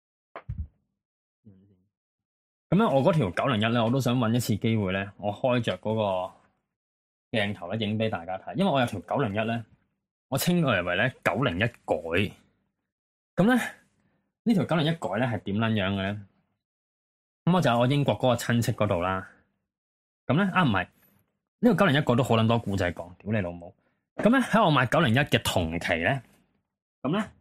咁咧，我嗰條901咧，我都想揾一次機會咧，我開着嗰個鏡頭咧，影俾大家睇。因為我有條901咧，我稱佢為咧901改。咁咧呢條901改咧係點撚樣嘅咧？咁我就喺我英國嗰個親戚嗰度啦。咁咧唔係呢個901改都好撚多故仔講，屌你老母！咁咧喺我買901嘅同期咧，咁咧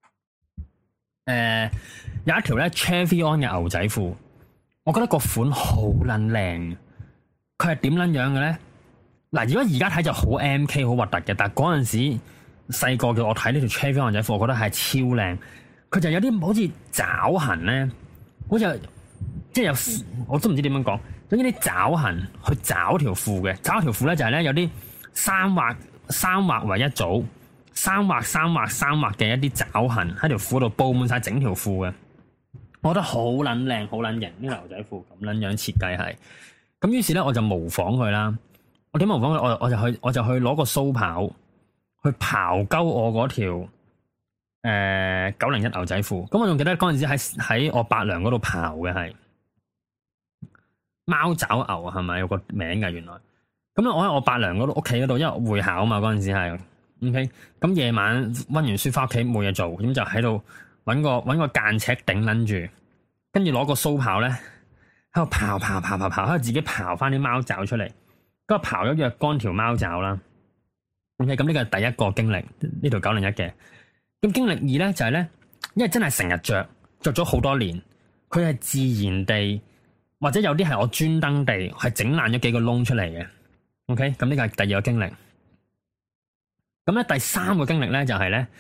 有一條咧 Chevion 嘅牛仔褲，我覺得個款好撚靚。佢係點撚樣嘅咧？嗱，如果而家睇就好 MK 好核突嘅，但係嗰陣時細個嘅我睇呢條 Chevion 牛仔褲，我覺得係超靚。佢就有啲好似爪痕咧，好似即係有，我都唔知點樣講，總之啲爪痕去爪條褲嘅，爪條褲咧就係咧有啲三畫為一組，三畫嘅一啲爪痕喺條褲度布滿晒整條褲嘅，我覺得好撚靚，好撚型。呢個牛仔褲咁撚樣設計係，咁於是咧我就模仿佢啦。我點模仿佢？我就去攞個鬚刨去刨鳩我嗰條901牛仔褲。咁我仲記得嗰陣時喺我伯娘嗰度刨嘅係貓爪牛，係咪有個名㗎？原來咁咧，我喺我伯娘嗰度屋企嗰度，因為會考啊嘛，嗰陣時係 OK。咁夜晚溫完書翻屋企冇嘢做，咁就喺度揾個間尺頂撚住，跟住攞個鬚刨咧喺度刨，喺度自己刨翻啲貓爪出嚟。咁刨咗若干條貓爪啦。OK，咁呢個係第一個經歷，呢條901嘅。咁經歷2咧就係咧，因為真係成日着咗好多年，佢係自然地或者有啲係我專登地係整爛咗幾個窿出嚟嘅。OK，咁呢個係第二個經歷。咁咧第三個經歷咧就係咧，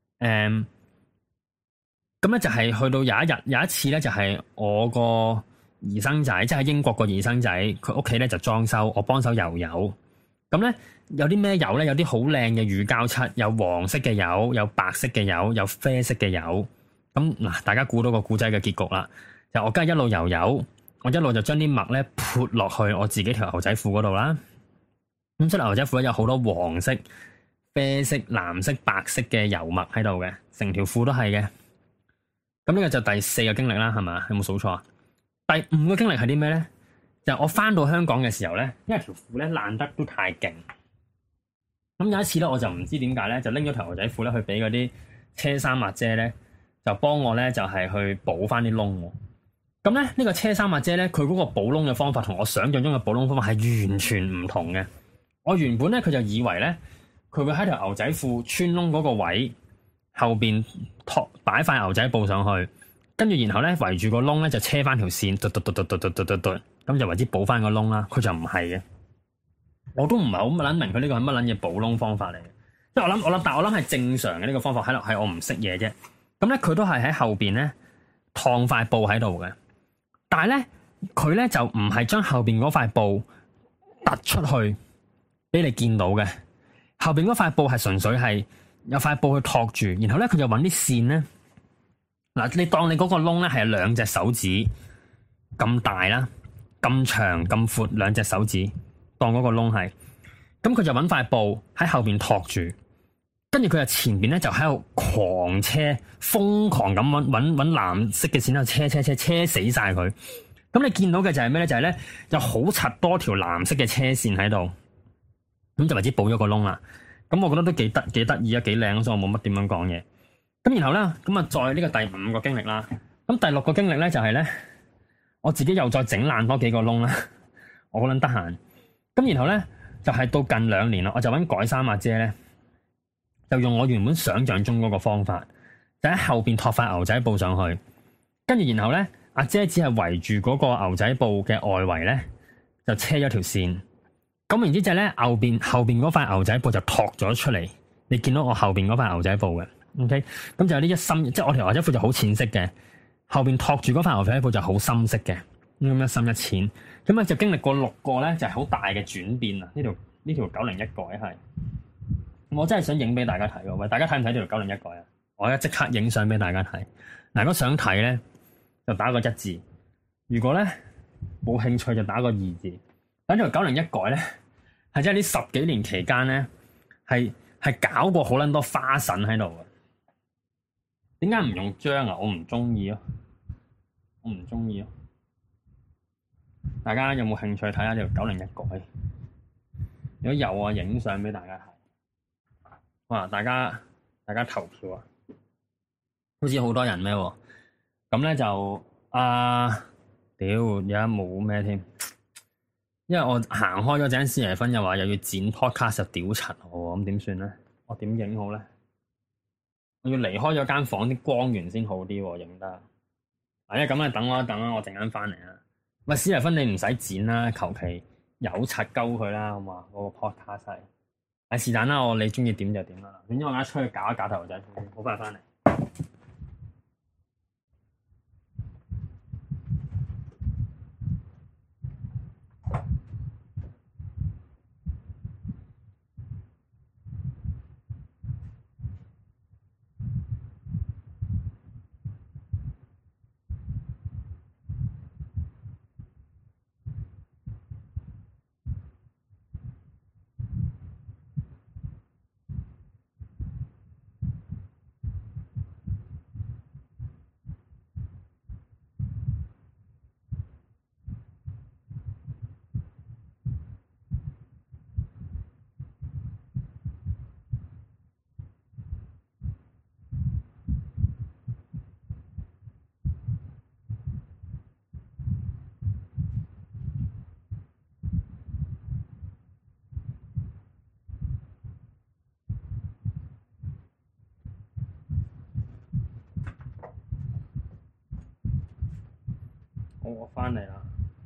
咁咧就係去到有一次咧就係我個姨甥仔，即係喺英國個姨牲仔，佢屋企咧就裝修，我幫手油油。咁咧有啲咩油咧？有啲好靚嘅乳膠漆，有黃色嘅油，有白色嘅油，有啡色嘅油。咁嗱，大家估到個故仔嘅結局啦。就我梗係一路油油，我一路就將啲墨咧潑落去我自己條牛仔褲嗰度啦。咁出嚟牛仔褲咧有好多黃色、啡色、藍色、白色嘅油墨喺度嘅，成條褲都係嘅。咁呢個就第4個經歷啦，係嘛？有冇數錯啊？第5個經歷係啲咩咧？就我翻到香港嘅時候咧，因為條褲咧爛得都太勁。咁有一次咧，我就唔知點解咧，就拎咗條牛仔褲咧去俾嗰啲車衫抹姐咧，就幫我咧就係去補翻啲窿。咁咧呢個車衫抹姐咧，佢嗰個補窿嘅方法同我想象中嘅補窿方法係完全唔同嘅。我原本咧佢就以為咧，佢會喺條牛仔褲穿窿嗰個位後邊擺塊牛仔布上去，跟住然後咧圍住個窿咧就車翻條線，嘟，咁就為之補翻個窿啦。佢就唔係嘅，我都唔係好諗明佢呢個係乜撚嘢補窿方法嚟嘅。即係但我諗係正常嘅呢個方法，係我唔識嘢啫。咁咧佢都係喺後邊咧燙塊布喺度嘅，但係咧佢咧就唔係將後邊嗰塊布突出去俾你見到嘅，後邊嗰塊布係純粹係有塊布去托住，然後咧佢就揾啲線咧，嗱，你當你嗰個窿咧係2隻手指咁大啦，咁長咁闊2隻手指，當嗰個窿係，咁佢就揾塊布喺後邊托住，跟住佢就前邊咧就喺度狂車，瘋狂咁揾藍色嘅線喺度車死晒佢。咁你見到嘅就係咩咧？就係咧有好柒多條藍色嘅車線喺度。咁就為之補咗個窿啦，咁我覺得都幾得意啊，幾靚，所以我冇乜點樣講嘢。咁然後咧，咁啊再呢個第5個經歷啦。咁第6個經歷咧就係咧，我自己又再整爛多幾個窿啦。我好撚得閒。咁然後咧就係到近2年啦，我就揾改衫阿姐咧，就用我原本想象中嗰個方法，就喺後邊托塊牛仔布上去，跟住然後咧阿姐只係圍住嗰個牛仔布嘅外圍咧，就車咗條線。咁然之後咧，後邊嗰塊牛仔布就托咗出嚟，你見到我後邊嗰塊牛仔布嘅。 OK， 咁就有啲一深，即係我條牛仔褲就好淺色嘅，後邊托住嗰塊牛仔褲就好深色嘅，咁一深一淺，咁啊就經歷過6個咧，就係好大嘅轉變啊！呢條901改係，我真係想影俾大家睇喎，喂，大家睇唔睇呢條901改啊？我而家即刻影相俾大家睇。嗱，如果想睇咧，就打個1字；如果咧冇興趣，就打個2字。等呢條901改咧，係真係呢10幾年期間咧，係搞過好撚多花神喺度嘅。點解唔用章啊？我唔中意咯，我唔中意咯。大家有冇興趣睇下呢條901改？如果有啊，影相俾大家睇。哇！大家投票啊！好似好多人咩？咁咧就屌而家冇咩添，因為我行開咗陣時，4分又話又要剪 podcast 就屌柒我，咁點算咧？我點影好咧？我要離開咗間房，啲光源先好啲，影得。因為咁啊，等我一等啦，我陣間翻嚟啊。喂，4分你唔使剪啦，求其有柒鳩佢啦，好嘛？嗰個 podcast 係是但啦，你中意點就點啦。總之我而家出去搞一搞頭仔，好快翻嚟。我翻嚟啦，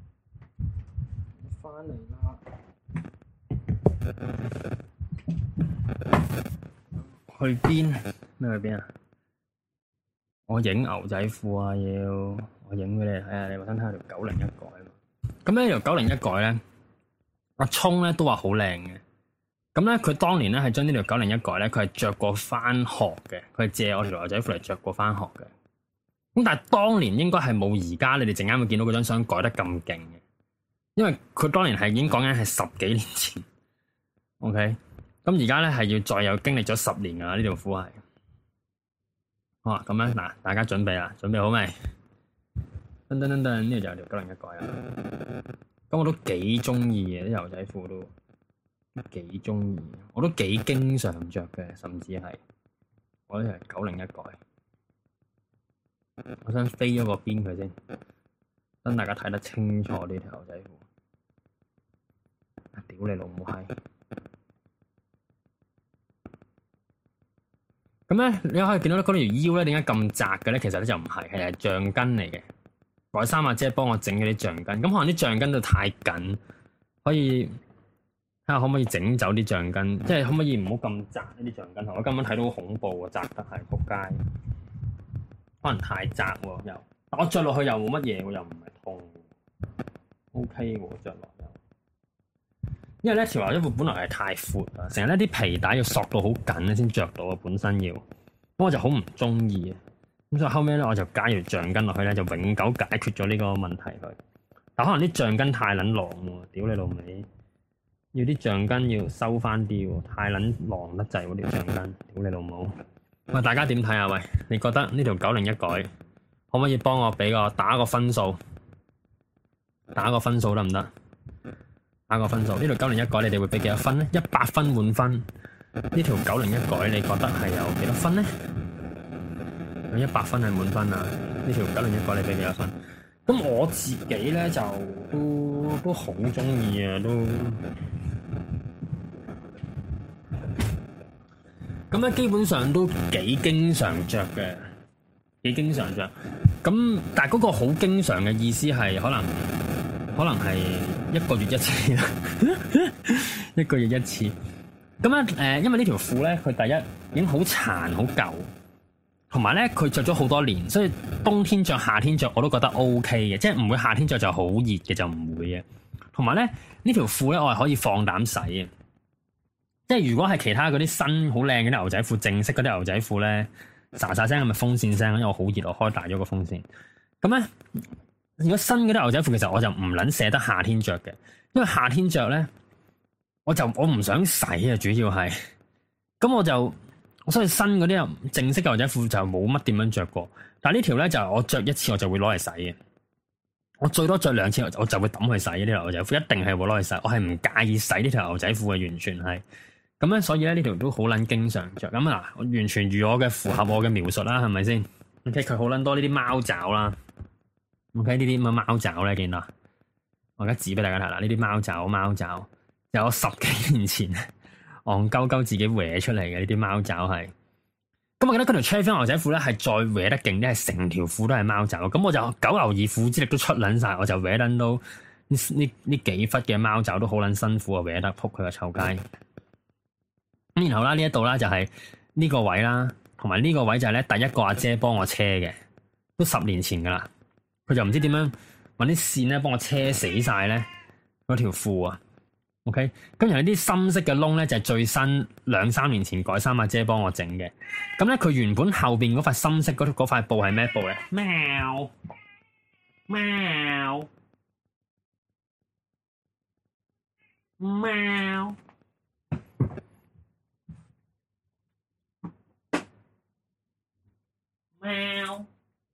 去邊？咩去邊啊？我影牛仔褲啊，我影俾你睇下，你話想睇下條901改嘛？咁呢條901改咧，阿聰咧都話好靚嘅。咁咧佢當年咧係將呢條901改咧，佢係着過翻學嘅，佢係借我條牛仔褲嚟着過翻學嘅。咁但係當年應該係冇而家你哋陣間會見到嗰張相改得咁勁嘅，因為佢當年係已經講緊係10幾年前。OK， 咁而家咧係要再有經歷咗10年噶啦，呢條褲係。好啊，咁樣嗱，大家準備啦，準備好未？噔噔噔噔，呢度就有條901改啦。咁我都幾中意嘅，啲牛仔褲都幾中意，我都幾經常着嘅，甚至係我呢條901改。我想飛咗個邊佢先，等大家睇得清楚呢條牛仔褲。屌你老母閪！咁咧，你可以見到咧，嗰條腰咧點解咁窄嘅咧？其實咧就唔係，係橡筋嚟嘅。改衫阿姐幫我整嗰啲橡筋，咁可能啲橡筋都太緊，可以睇下可唔可以整走啲橡筋，即係可唔可以唔好咁窄呢啲橡筋？我根本睇到好恐怖喎，窄得係仆街。可能太窄喎，又我着落去又冇乜嘢喎，又唔係痛 ，OK 喎，着落又，因為咧條牛仔褲本來係太闊啊，成日咧啲皮帶要索到好緊咧先着到啊，本身要，咁我就好唔中意啊，咁所以後尾咧我就加條橡筋落去咧，就永久解決咗呢個問題佢。但可能啲橡筋太撚狼喎，屌你老味，要啲橡筋要收翻啲喎，太撚狼得滯喎條橡筋，屌你老母！喂，大家點睇啊？喂，你覺得呢條901改可唔可以幫我俾個打個分數？打個分數得唔得？打個分數，呢條901改你哋會俾幾多分咧？100分滿分，呢條901改你覺得係有幾多分咧？有100分係滿分啊！呢條901改你俾幾多分？咁我自己咧就都好中意啊，都。咁咧基本上都幾經常着嘅，幾經常着。咁但係嗰個好經常嘅意思係可能係1個月1次啦，1個月1次。 咁咧因為呢條褲咧，佢第一已經好殘好舊，同埋咧佢着咗好多年，所以冬天着、夏天着我都覺得 OK 嘅，即係唔會夏天着就好熱嘅，就唔會嘅。同埋咧呢條褲咧，我係可以放膽洗嘅。即係如果係其他嗰啲新好靚嗰啲牛仔褲，正式嗰啲牛仔褲咧，沙沙聲係咪風扇聲？因為我好熱，我開大咗個風扇。咁咧，如果新嗰啲牛仔褲，其實我就唔撚捨得夏天着嘅，因為夏天着咧，我唔想洗啊，主要係。咁所以新嗰啲正式嘅牛仔褲就冇乜點樣着過。但係呢條咧就我着一次我就會攞嚟洗嘅，我最多着2次我就會抌去洗呢條牛仔褲，一定係會攞嚟洗。我係唔介意洗呢條牛仔褲嘅，完全係。咁咧，所以咧呢條都好撚經常着。咁啊，我完全如我嘅符合我嘅描述啦，係咪先 ？OK，佢好撚多呢啲貓爪啦。OK，呢啲咁嘅貓爪咧，見到？我而家指俾大家睇啦，呢啲貓爪，有我10幾年前戇鳩鳩自己搲出嚟嘅呢啲貓爪係。咁我記得嗰條 Chaffee 牛仔褲咧係再搲得勁啲，係成條褲都係貓爪。咁我就九牛二虎之力都出撚晒，我就搲撚到呢幾忽嘅貓爪都好撚辛苦啊，搲得仆佢個臭街。咁然後啦，呢一度啦就係呢個位啦，同埋呢個位就係咧第一個阿姐幫我車嘅，都10年前噶啦，佢就唔知點樣搵啲線咧幫我車死晒咧嗰條褲啊。OK，咁然後啲深色嘅窿咧就係最新2-3年前改衫阿姐幫我整嘅。咁咧佢原本後邊嗰塊深色嗰塊布係咩布咧？喵喵喵。貓，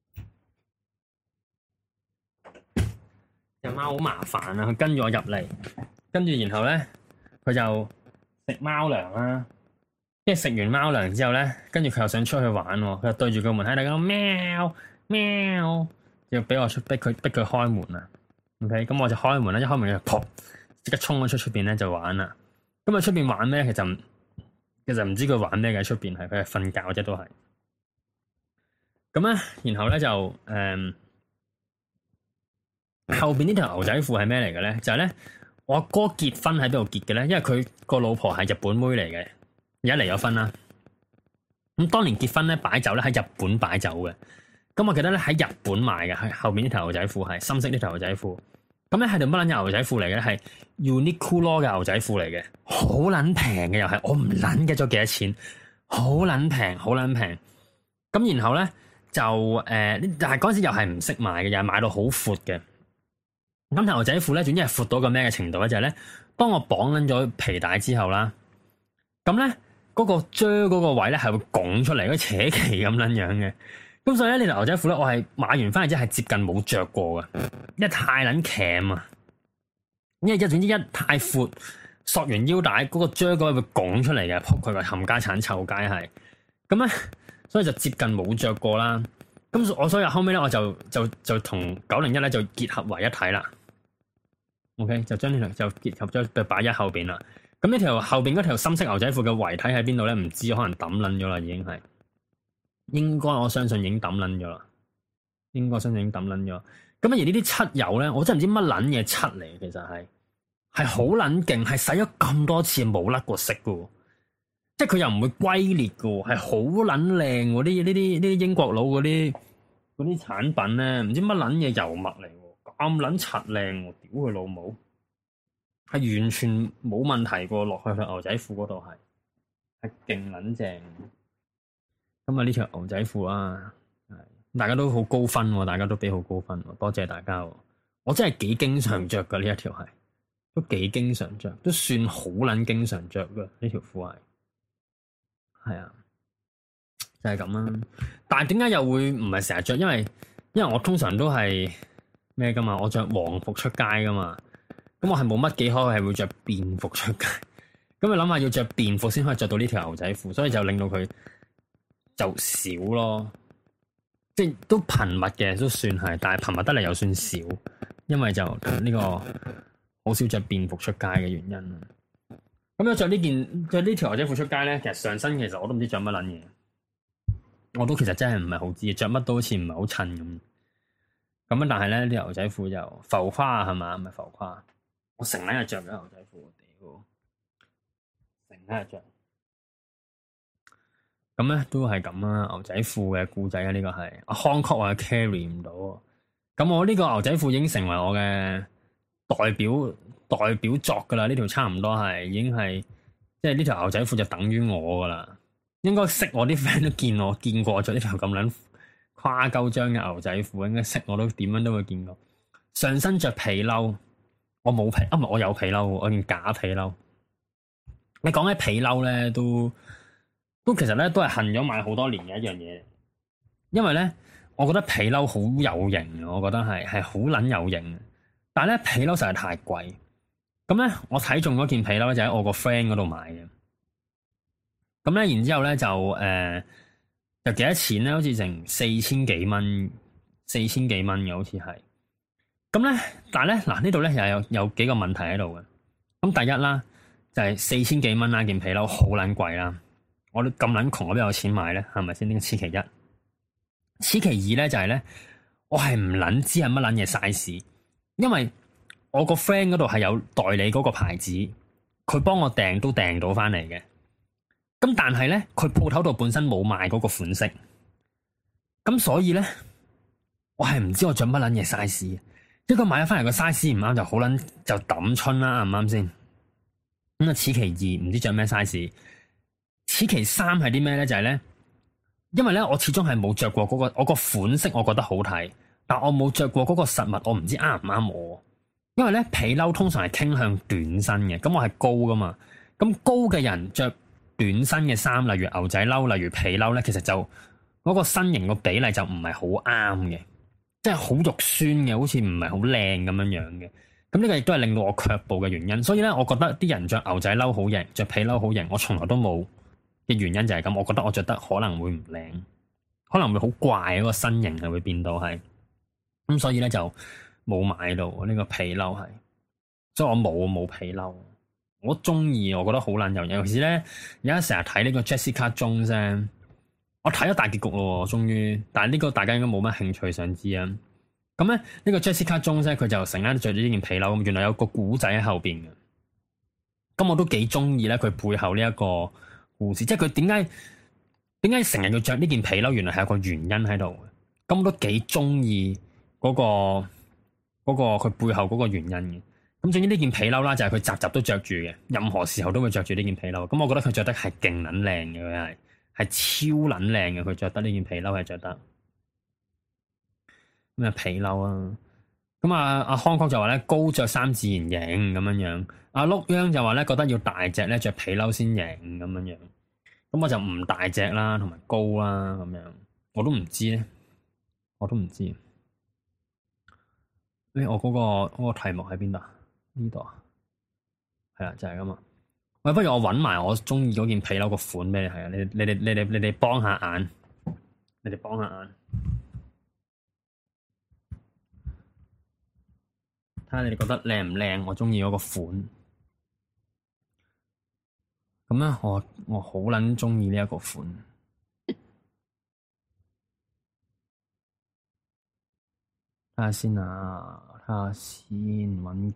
隻貓好麻煩啊！佢跟住我入嚟，跟住然後咧，佢就食貓糧啦。即係食完貓糧之後咧，跟住佢又想出去玩，佢就對住個門喺度講喵喵，要俾我逼佢開門啊。OK，咁我就開門啦，一開門就撲，即刻衝咗出邊咧就玩啦。咁啊出邊玩咩？其實唔知佢玩咩嘅，出邊係佢係瞓覺啫，都係。咁咧，然後咧就後邊呢條牛仔褲係咩嚟嘅咧？就係咧，我阿哥結婚喺邊度結嘅咧？因為佢個老婆係日本妹嚟嘅，而家離咗婚啦。咁當年結婚咧擺酒咧喺日本擺酒嘅。咁我記得咧喺日本買嘅，係後邊呢條牛仔褲係深色呢條牛仔褲。咁咧係條乜撚嘢牛仔褲嚟嘅咧？係 Uniqlo 嘅牛仔褲嚟嘅，好撚平嘅又係，我唔撚記咗幾多錢，好撚平，好撚平。咁然後咧。就但係嗰陣時又係唔識買嘅，又係買到好闊嘅。咁條牛仔褲咧，總之係闊到個咩嘅程度咧？就係咧，當我綁緊咗皮帶之後啦，咁咧嗰個遮嗰個位咧係會拱出嚟，好似扯旗咁撚樣嘅。咁所以咧，呢條牛仔褲咧，我係買完翻嚟之後係接近冇着過嘅，因為太撚鉗啊！因為總之一太闊，索完腰帶嗰個遮嗰位會拱出嚟嘅，撲佢個冚家鏟臭街係。咁咧。所以就接近冇着過啦，咁所以後尾咧我就同901咧就結合為一體啦。OK， 就將呢條就結合咗，就擺喺後邊啦。咁呢條後邊嗰條深色牛仔褲嘅遺體喺邊度咧？唔知，可能抌撚咗啦，已經係。應該我相信已經抌撚咗啦。應該相信已經抌撚咗。咁而呢啲漆油咧，我真係唔知乜撚嘢漆嚟，其實係好撚勁，係洗咗咁多次冇甩過色噶。即係佢又唔會龜裂嘅，係好撚靚喎！呢啲英國佬嗰啲產品咧，唔知乜撚嘢油墨嚟，咁撚柒靚，屌佢老母！係完全冇問題過，落去牛仔褲嗰度係勁撚正。咁啊呢條牛仔褲啊，大家都好高分，大家都俾好高分，多謝大家。我真係幾經常着嘅呢一條係，都幾經常着，都算好撚經常着嘅呢條褲係。係啊，就係咁啦。但係點解又會唔係成日着？因為我通常都係咩噶嘛，我着皇服出街噶嘛。咁我係冇乜幾可係會着便服出街。咁你諗下要着便服先可以着到呢條牛仔褲，所以就令到佢就少咯。即係都頻密嘅，都算係，但係頻密得嚟又算少，因為就呢個好少着便服出街嘅原因。咁樣着呢條牛仔褲出街咧，其實上身其實我都唔知着乜撚嘢，我都其實真係唔係好知，着乜都好似唔係好襯咁。咁但係咧，呢條牛仔褲就浮誇係嘛？唔係浮誇，我成日着咗牛仔褲，屌， 成日着。咁咧都係咁啦，牛仔褲嘅故仔啊，呢個係阿康確話 carry 唔到。咁我呢個牛仔褲已經成為我嘅代表作噶啦，呢條差唔多係已經係，即係呢條牛仔褲就等於我噶啦。應該識我啲 friend 都見過着呢條咁撚誇鳩張嘅牛仔褲，應該識我都點樣都會見過。上身着皮褸，我冇皮，唔係我有皮褸，我件假皮褸。你講起皮褸咧，都其實咧都係恨咗買好多年嘅一樣嘢，因為咧我覺得皮褸好有型，我覺得係好撚有型。但係咧皮褸實在太貴，咁咧我睇中嗰件皮褸就喺我個 friend 嗰度買嘅。咁咧然之後咧就幾多錢咧？好似成4000幾蚊嘅，好似係。咁咧，但係咧嗱呢度咧又有幾個問題喺度嘅。咁第一啦，就係4000幾蚊啦，件皮褸好撚貴啦。我都咁撚窮，我邊有錢買咧？係咪先？呢個此其一。此其二咧就係咧，我係唔撚知係乜撚嘢 size，因為我個 friend 嗰度係有代理嗰個牌子，佢幫我訂都訂到翻嚟嘅。咁但係咧，佢鋪頭度本身冇賣嗰個款式，咁所以咧，我係唔知我着乜撚嘢 size。一個買咗翻嚟個 size 唔啱就好撚就抌春啦，啱唔啱先？咁啊，此其二唔知着咩 size。此其三係啲咩咧？就係咧，因為咧我始終係冇着過嗰個，我個款式我覺得好睇，但我冇着過嗰個實物，我唔知啱唔啱我。因為咧皮褸通常係傾向短身嘅，咁我係高噶嘛，咁高嘅人着短身嘅衫，例如牛仔褸，例如皮褸咧，其實就嗰個身形個比例就唔係好啱嘅，即係好肉酸嘅，好似唔係好靚咁樣樣嘅。咁呢個亦都係令到我卻步嘅原因。所以咧，我覺得啲人着牛仔褸好型，着皮褸好型，我從來都冇嘅原因就係咁。我覺得我着得可能會唔靚，可能會好怪，嗰個身形係會變到係咁，所以咧就冇買到呢個皮褸係，所以我冇皮褸。我中意，我覺得好撚有型。尤其是咧，而家成日睇呢個 Jessica Jones，我睇咗大結局咯，終於。但係呢個大家應該冇乜興趣想知啊。咁咧，呢個 Jessica Jones 佢就成日都着住呢件皮褸，咁原來有個古仔喺後邊嘅。咁我都幾中意咧，佢背後呢一個故事，即係佢點解成日要着呢件皮褸？原來係有個原因喺度嘅。咁我都幾中意嗰個佢背後嗰個原因嘅。咁總之呢件皮褸啦，就係佢集集都着住嘅，任何時候都會着住呢件皮褸。咁我覺得佢着得係勁撚靚嘅，佢係超撚靚嘅。佢着得呢件皮褸係着得咩皮褸啊？咁阿康哥就話咧，高着衫自然型咁樣樣。阿碌央就話咧，覺得要大隻咧着皮褸先型咁樣樣。咁我就唔大隻啦，同埋高啦咁樣。我都唔知咧，我都唔知。我嗰個題目喺邊度？呢度啊，係啊，就係咁啊。喂，不如我搵埋我中意嗰件皮褸個款俾你睇啊！你哋幫下眼，你哋幫下眼，睇下你哋覺得靚唔靚？我中意嗰個款。咁咧，我好撚中意呢一個款。睇下先啊！睇下先，揾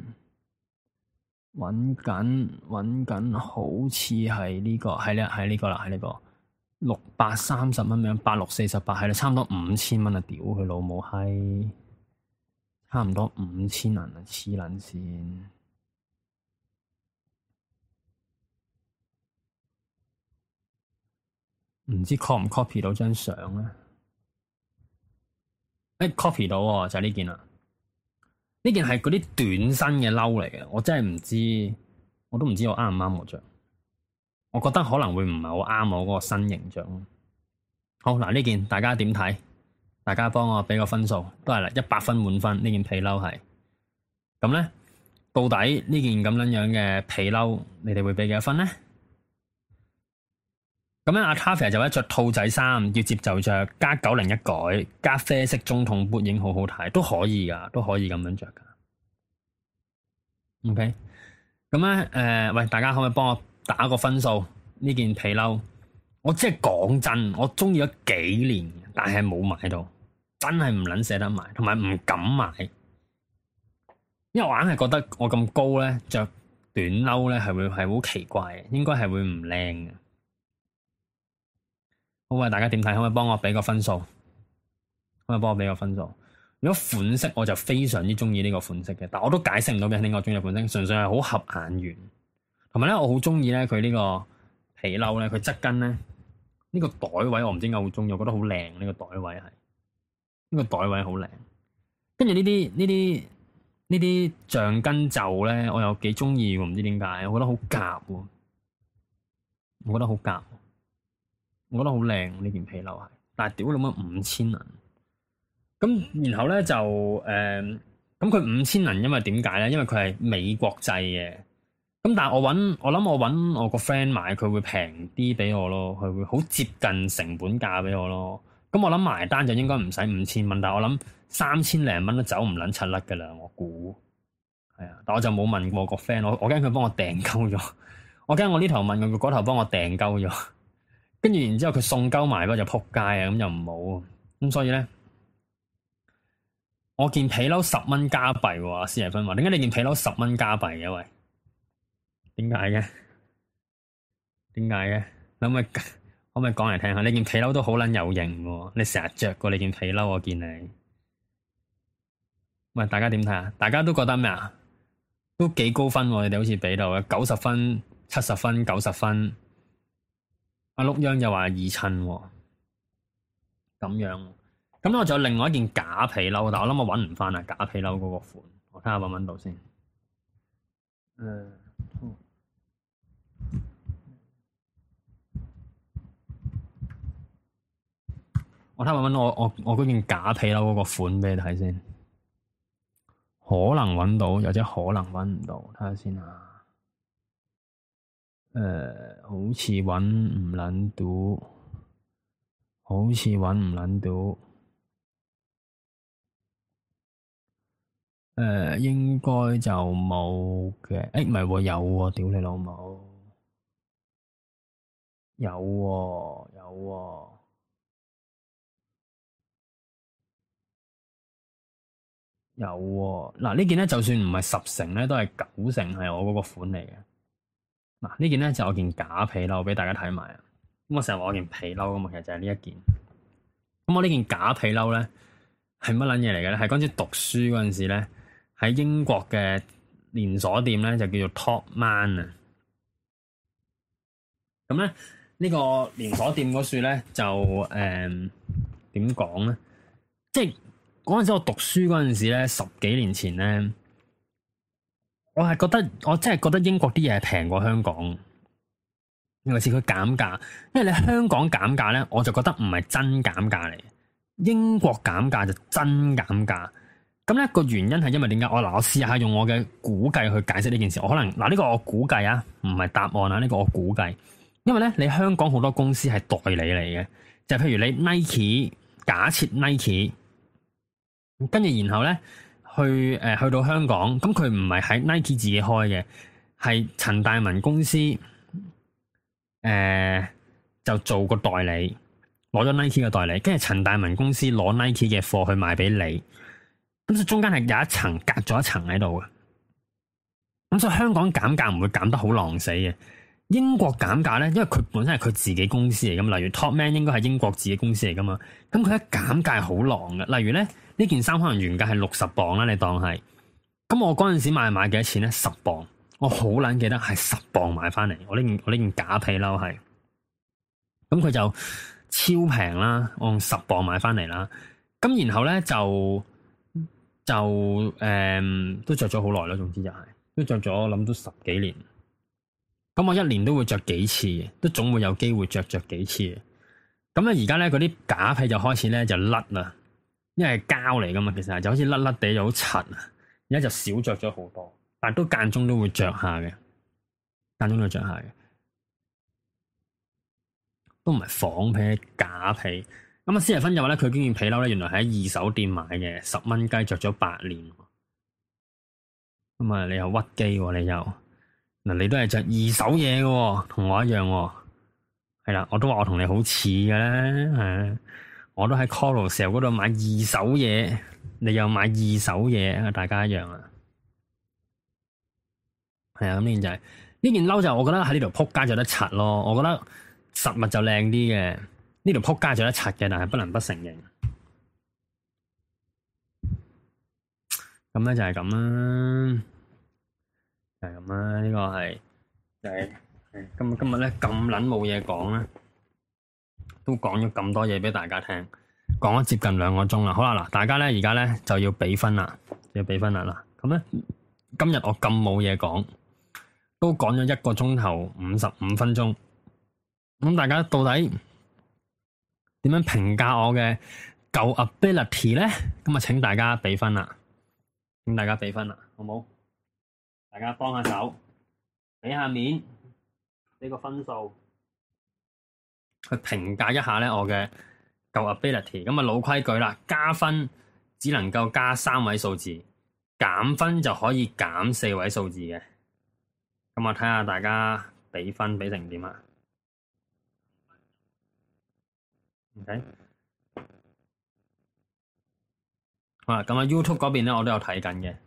緊，好似係呢個，係啦，係呢個啦，係呢個630蚊樣，8648係啦，差唔多5000蚊啊！屌佢老母閪，差唔多5000銀啊！黐撚線，唔知 copy 唔 copy 到張相咧？copy 到喎，就係呢件啦。呢件係嗰啲短身嘅褸嚟嘅，我真係唔知，我都唔知我啱唔啱我着。我覺得可能會唔係好啱我嗰個身形着。好嗱，呢件大家點睇？大家幫我俾個分數，都係啦，100分滿分。呢件皮褸係咁咧，到底呢件咁樣樣嘅皮褸，你哋會俾幾多分咧？咁樣阿 Taffy 就話着兔仔衫，要接就着，加90一改，加啡色中筒撥影好好睇，都可以噶，都可以咁樣着噶。OK，咁咧喂，大家可唔可以幫我打個分數？呢件皮褸，我即係講真，我中意咗幾年，但係冇買到，真係唔撚捨得買，同埋唔敢買，因為我硬係覺得我咁高咧，着短褸咧係好奇怪嘅，應該係會唔靚嘅。好啊，大家點睇？可唔可以幫我俾個分數？可唔可以幫我俾個分數？如果款式我就非常之中意呢個款式嘅，但我都解釋唔到俾你聽我中意嘅款式，純粹係好合眼緣。同埋咧，我好中意咧佢呢個皮褸咧，佢側跟咧呢個袋位我唔知點解好中意，我覺得好靚，呢個袋位係呢個袋位好靚。跟住呢啲橡筋袖咧，我又幾中意喎，唔知點解，我覺得好夾喎，我覺得好夾，我覺得好靚呢件皮褸係，但係屌你媽5000銀，咁然後咧就咁佢5000銀，因為點解咧？因為佢係美國製嘅，咁但係我諗我搵我個 friend 買，佢會平啲俾我咯，佢會好接近成本價俾我咯。咁我諗埋單就應該唔使5000蚊，但係我諗3000零蚊都走唔撚柒甩噶啦，我估係啊。但我就冇問過我個 friend，我驚佢幫我訂鳩咗，我驚我呢頭問佢，佢嗰頭幫我訂鳩咗，跟住然之後佢送鳩埋嗰就撲街啊，咁就唔好。咁所以咧，我件皮褸10蚊加幣喎，施爺芬話，點解你件皮褸10蚊加幣嘅？喂，點解嘅？點解嘅？可唔可以講嚟聽下？你件皮褸都好撚有型喎，你成日着過你件皮褸，我見你。喂，大家點睇啊？大家都覺得咩啊？都幾高分喎，你哋好似俾到嘅90分、70分、90分。阿碌央又話易襯喎，咁樣。咁我仲有另外一件假皮褸，但我諗我搵唔翻啊！假皮褸嗰個款，我睇下搵唔搵到先。我睇下搵我嗰件假皮褸嗰個款俾你睇先，可能搵到，又或者可能搵唔到，睇下先啊。好似搵唔撚到，好似搵唔撚到。應該就冇嘅。唔係喎，有喎，屌你老母，有喎，有喎。有喎，嗱呢件咧就算唔係10成咧，都係9成係我嗰個款嚟嘅。嗱呢件咧就我件假皮褸，俾大家睇埋啊。咁我成日話我件皮褸咁嘛，其實就係呢一件。咁我呢件假皮褸咧係乜撚嘢嚟嘅咧？係嗰陣時讀書嗰陣時咧，喺英國嘅連鎖店咧就叫做 Topman 啊。咁咧呢個連鎖店嗰處咧就點講咧？即係。嗰陣時我讀書嗰陣時咧，10幾年前咧，我真係覺得英國啲嘢係平過香港，尤其是佢減價。因為你香港減價咧，我就覺得唔係真減價嚟，英國減價就真減價。咁咧個原因係因為點解？我試下用我嘅估計去解釋呢件事。我可能呢個我估計啊，唔係答案啊，呢個我估計。因為咧你香港好多公司係代理嚟嘅，就譬如你 Nike， 假設 Nike。跟住然後咧，去到香港，咁佢唔係喺 Nike 自己開嘅，係陳大文公司，就做個代理，攞咗 Nike 嘅代理，跟住陳大文公司攞 Nike 嘅貨去賣俾你，咁所以中間係有一層隔咗一層喺度嘅，咁所以香港減價唔會減得好狼死嘅。英國減價咧，因為佢本身係佢自己公司嚟噶嘛，例如 Topman 應該係英國自己公司嚟噶嘛，咁佢一減價係好狼嘅。例如咧，呢件衫可能原價係60磅啦，你當係，咁我嗰陣時買幾多錢咧？10磅，我好撚記得係10磅買翻嚟，我呢件假皮褸係，咁佢就超平啦，我用10磅買翻嚟啦，咁然後咧都着咗好耐啦，總之就係都着咗，我諗都10幾年。咁我一年都會着幾次，都總會有機會着幾次。咁咧而家咧嗰啲假皮就開始咧就甩啦，因為係膠嚟噶嘛，其實就好似甩甩地又好塵啊。而家就少着咗好多，但係都間中都會着下嘅，間中都會着下嘅，都唔係仿皮，假皮。咁啊，施爺芬就話咧，佢件皮褸咧，原來喺二手店買嘅，10蚊雞着咗8年。咁啊，你又屈機喎，你又。嗱，你都係着二手嘢嘅，同我一樣，係啦，我都話我同你好似嘅咧，我都喺 Carousell 嗰度買二手嘢，你又買二手嘢，大家一樣啊。 係啊，咁呢件就係呢件褸就我覺得喺呢度撲街就得柒咯。我覺得實物就靚啲嘅，呢度撲街就得柒嘅，但係不能不承認。咁咧就係咁啦，就係咁啦。呢個係就係今日咧咁撚冇嘢講啦，都講咗咁多嘢俾大家聽，講咗接近2個鐘啦。好啦，嗱，大家咧而家咧就要俾分啦，要俾分啦嗱。咁咧今日我咁冇嘢講，都講咗1個鐘頭55分鐘。咁大家到底點樣評價我嘅舊 ability 咧？咁啊，請大家俾分啦。請大家俾分啦，好冇？大家幫下手，俾下面，俾個分數，去評價一下咧我嘅舊 ability。咁啊，老規矩啦，加分只能夠加3位數字，減分就可以減4位數字嘅。咁我睇下大家俾分俾成點啊？OK。好啦，咁啊 YouTube 嗰邊咧，我都有睇緊嘅。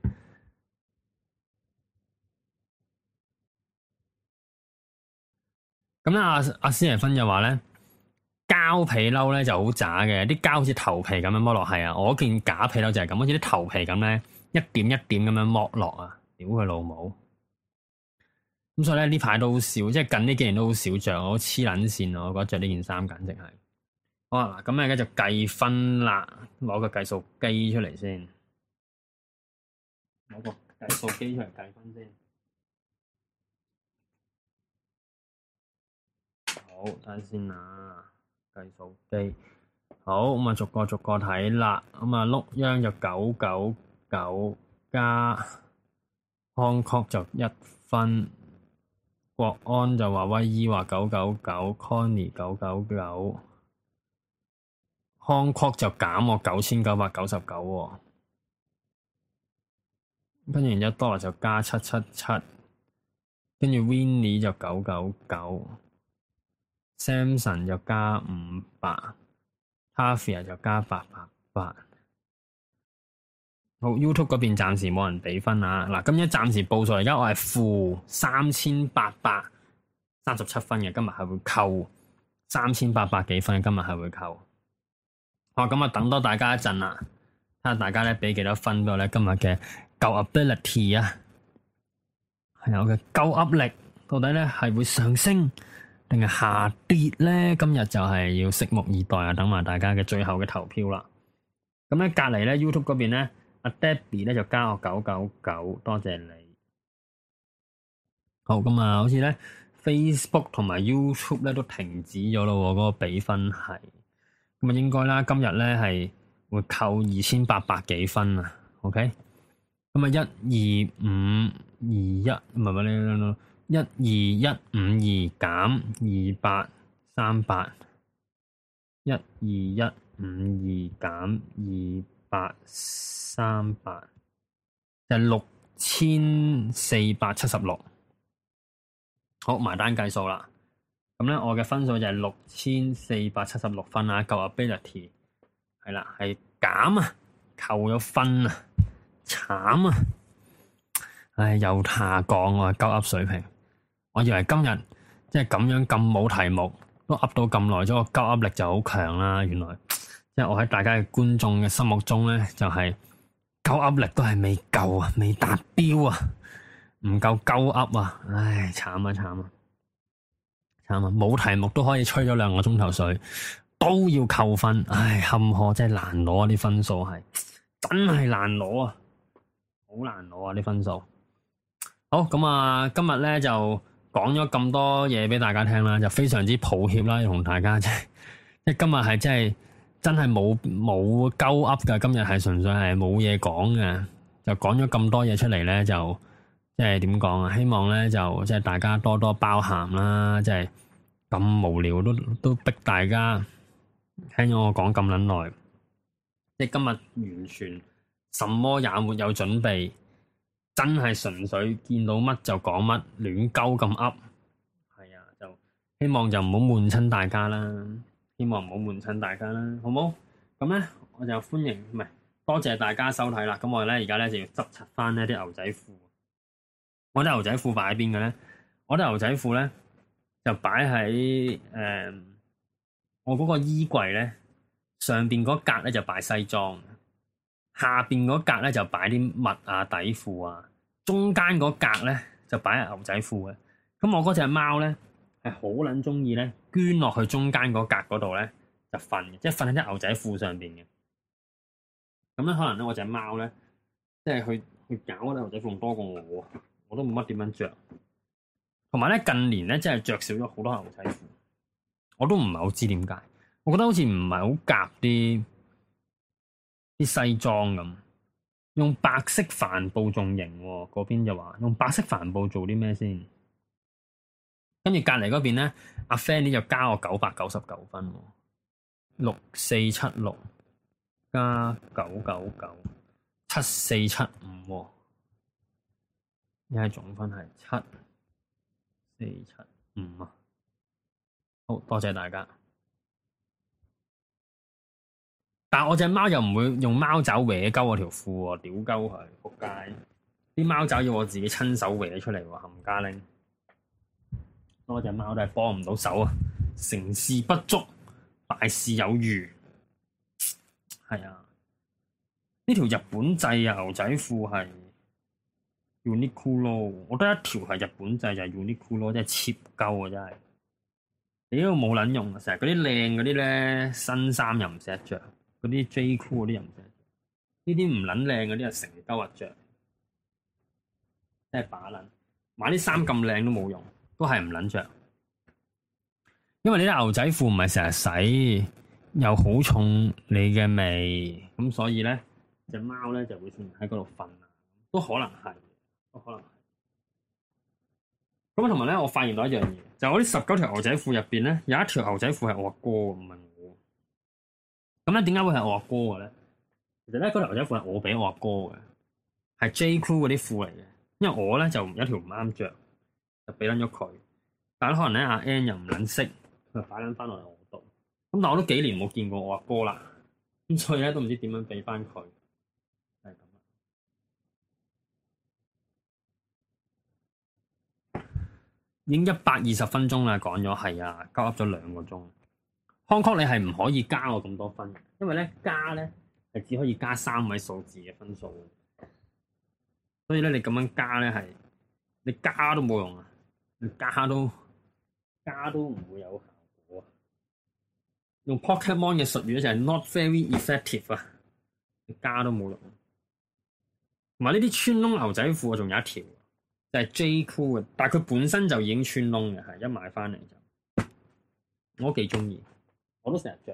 咁咧，阿施爺芬就話咧，膠皮褸咧就好渣嘅，啲膠好似頭皮咁樣剝落，係啊，我件假皮褸就係咁，好似啲頭皮咁咧，一點一點咁樣剝落啊，屌佢老母！咁所以咧呢排都好少，即係近呢幾年都好少着，我黐撚線啊！我覺得着呢件衫簡直係。好啊，嗱，咁而家就計分啦，攞個計數機出嚟先。攞個計數機出嚟計分先。好，睇下先啊，計數機。好，咁啊逐個睇啦。咁啊碌央就999加康確就1分，國安就話威姨話999，Connie 999，康確就減我9999喎。跟住然之後多啦就加777，跟住 Winnie 就999，Samson 就加500，Tavia 就加888。好 ，YouTube 嗰邊暫時冇人俾分啊！嗱，今日暫時報數，而家我係負3837分嘅，今日係會扣3800幾分，今日係會扣。好，咁啊，等多大家一陣啦，睇下大家咧俾幾多分俾我咧，今日嘅舊 ability 啊，係我嘅夠 up 力，到底咧係會上升定係下跌咧？今日就係要拭目以待啊！等埋大家嘅最後嘅投票啦。咁咧隔籬咧 YouTube 嗰邊咧，阿 Debbie 咧就加我999，多謝你。好，咁啊，好似咧 Facebook 同埋 YouTube 咧都停止咗咯，嗰個比分係咁啊，應該啦，今日咧係會扣2800幾分啊。OK。咁啊，12521唔係唔係12152減2838，12152減2838就係6476。好，埋單計數啦。咁咧，我嘅分數就係6476分啊，夠 ability 係啦，係減啊，扣咗分啊。慘啊！唉，又下降我鳩噏水平。我以為今日即係咁樣咁冇題目都噏到咁耐咗，個鳩噏力就好強啦。原來即係我喺大家嘅觀眾嘅心目中咧，就係鳩噏力都係未夠啊，未達標啊，唔夠鳩噏啊！唉，慘啊慘啊慘啊！冇題目都可以吹咗2個鐘頭水，都要扣分。唉，坎坷真係難攞啊！啲分數係真係難攞啊！好難攞啊！啲分數好咁啊！今日咧就講咗咁多嘢俾大家聽啦，就非常之抱歉啦，同大家即係今日係真係冇鳩噏噶，今日係純粹係冇嘢講嘅，就講咗咁多嘢出嚟咧，就即係點講啊？希望咧就即係大家多多包涵啦，即係咁無聊都逼大家聽咗我講咁撚耐，即係今日完全。什麼也沒有準備，真係純粹見到乜就講乜，亂鳩咁噏。係啊，就希望就唔好悶親大家啦，希望唔好悶親大家啦，好冇？咁咧，我就歡迎唔係多謝大家收睇啦。咁我哋咧而家咧就要執齊翻呢啲牛仔褲。 我啲牛仔褲擺喺邊嘅咧？我啲牛仔褲咧就擺喺我嗰個衣櫃咧上邊嗰格咧就擺西裝，下邊嗰格咧就擺啲襪啊底褲啊，中間嗰格咧就擺牛仔褲嘅。咁我嗰隻貓咧係好撚中意咧捐落去中間嗰格嗰度咧就瞓嘅，即係瞓喺啲牛仔褲上邊嘅。咁咧可能咧我隻貓咧即係去搞嗰啲牛仔褲多過我都冇乜點樣着。同埋咧近年咧真係着少咗好多牛仔褲，我都唔係好知點解。我覺得好似唔係好夾啲西裝咁，用白色帆布仲型喎。嗰邊就話用白色帆布做啲咩先？跟住隔籬嗰邊咧，阿 Fanny 就加我999分，6476加999 7475，而家總分係7475啊！好多謝大家。但係我隻貓又唔會用貓爪搲鳩我條褲喎，屌鳩佢仆街！啲貓爪要我自己親手搲出嚟喎，冚家拎。我隻貓都係幫唔到手啊，成事不足，敗事有餘。係啊，呢條日本製牛仔褲係 Uniqlo， 我得一條係日本製就係 Uniqlo， 真係 cheap 鳩啊真係。你都冇撚用啊，成日嗰啲靚嗰啲咧新衫又唔捨得着，嗰啲 J Crew 嗰啲又唔捨得着，呢啲唔撚靚嗰啲又成鳩日着，真係把撚。買啲衫咁靚都冇用。都係唔撚着，因為你啲牛仔褲唔係成日洗，又好重你嘅味，咁所以咧隻貓咧就會喺嗰度瞓啊，都可能係，都可能係。咁同埋咧，我發現到一樣嘢，就係我啲19條牛仔褲入邊咧，有一條牛仔褲係我阿哥，唔係我。咁咧點解會係我阿哥嘅咧？其實咧嗰條牛仔褲係我俾我阿哥嘅，係 J Crew 嗰啲褲嚟嘅，因為我咧就有一條唔啱着。就俾撚咗佢，但係可能咧阿 N 又唔撚識，佢就擺撚翻落嚟我度。咁但係我都幾年冇見過我阿哥啦，咁所以咧都唔知點樣俾翻佢，係咁啦。已經120分鐘啦，講咗係啊，交噏咗2個鐘。康確你係唔可以加我咁多分，因為咧加咧係只可以加3位數字嘅分數，所以咧你咁樣加咧係你加都冇用啊！加都唔會有效果啊！用 Pokemon 嘅術語咧就係 not very effective 啊！加都冇用。同埋呢啲穿窿牛仔褲啊，仲有一條就係 J Crew 嘅，但係佢本身就已經穿窿嘅，係一買翻嚟就我都幾中意，我都成日着。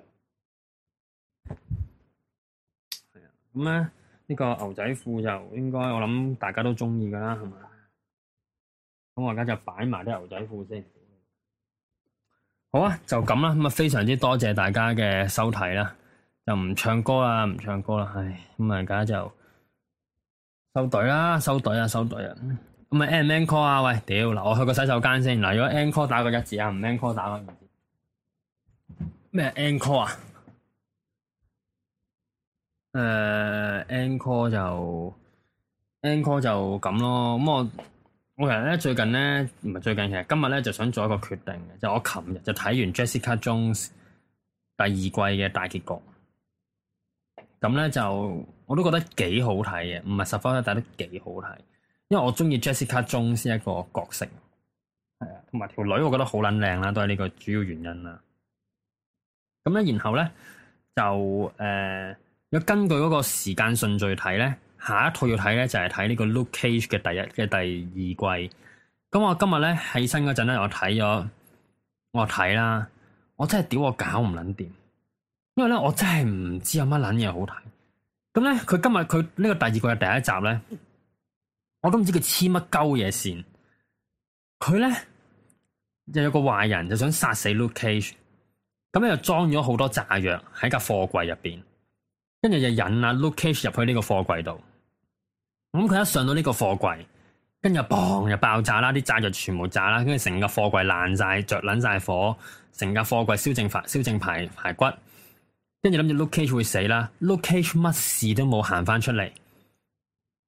係啊，咁咧呢個牛仔褲就應該我諗大家都中意噶啦，係嘛？咁我而家就擺埋啲牛仔褲先。好啊，就咁啦。咁啊，非常之多謝大家嘅收睇啦。就唔唱歌啦，唔唱歌啦。唉，咁啊，而家就收隊啦，收隊啊，收隊啊。咁啊 ，encore 啊？喂，屌嗱，我去個洗手間先。嗱，如果 encore 打個1字啊，唔 encore 打個2字。咩 encore 啊？encore 就咁咯。咁我其實咧最近咧唔係最近，其實今日咧就想做一個決定嘅，就我琴日就睇完 Jessica Jones 第2季嘅大結局，咁咧就我都覺得幾好睇嘅，唔係10分，但係都幾好睇，因為我中意 Jessica Jones 一個角色，係啊，同埋條女我覺得好撚靚啦，都係呢個主要原因啦。咁咧然後咧就如果根據嗰個時間順序睇咧。下一套要睇咧就係睇呢個 Luke Cage 嘅第2季。咁我今日咧起身嗰陣咧，我睇啦，我真係屌我搞唔撚掂，因為咧我真係唔知有乜撚嘢好睇。咁咧佢今日佢呢個第2季嘅第1集咧，我都唔知佢黐乜鳩嘢線。佢咧就有個壞人就想殺死 Luke Cage，咁咧就裝咗好多炸藥喺架貨櫃入邊，跟住就引阿 Luke Cage 入去呢個貨櫃度。咁佢一上到呢個貨櫃，跟住砰就爆炸啦，啲炸藥全部炸啦，跟住成個貨櫃爛晒，着撚晒火，成架貨櫃燒正排骨，跟住諗住 Luke Cage 會死啦，Luke Cage 乜事都冇行翻出嚟，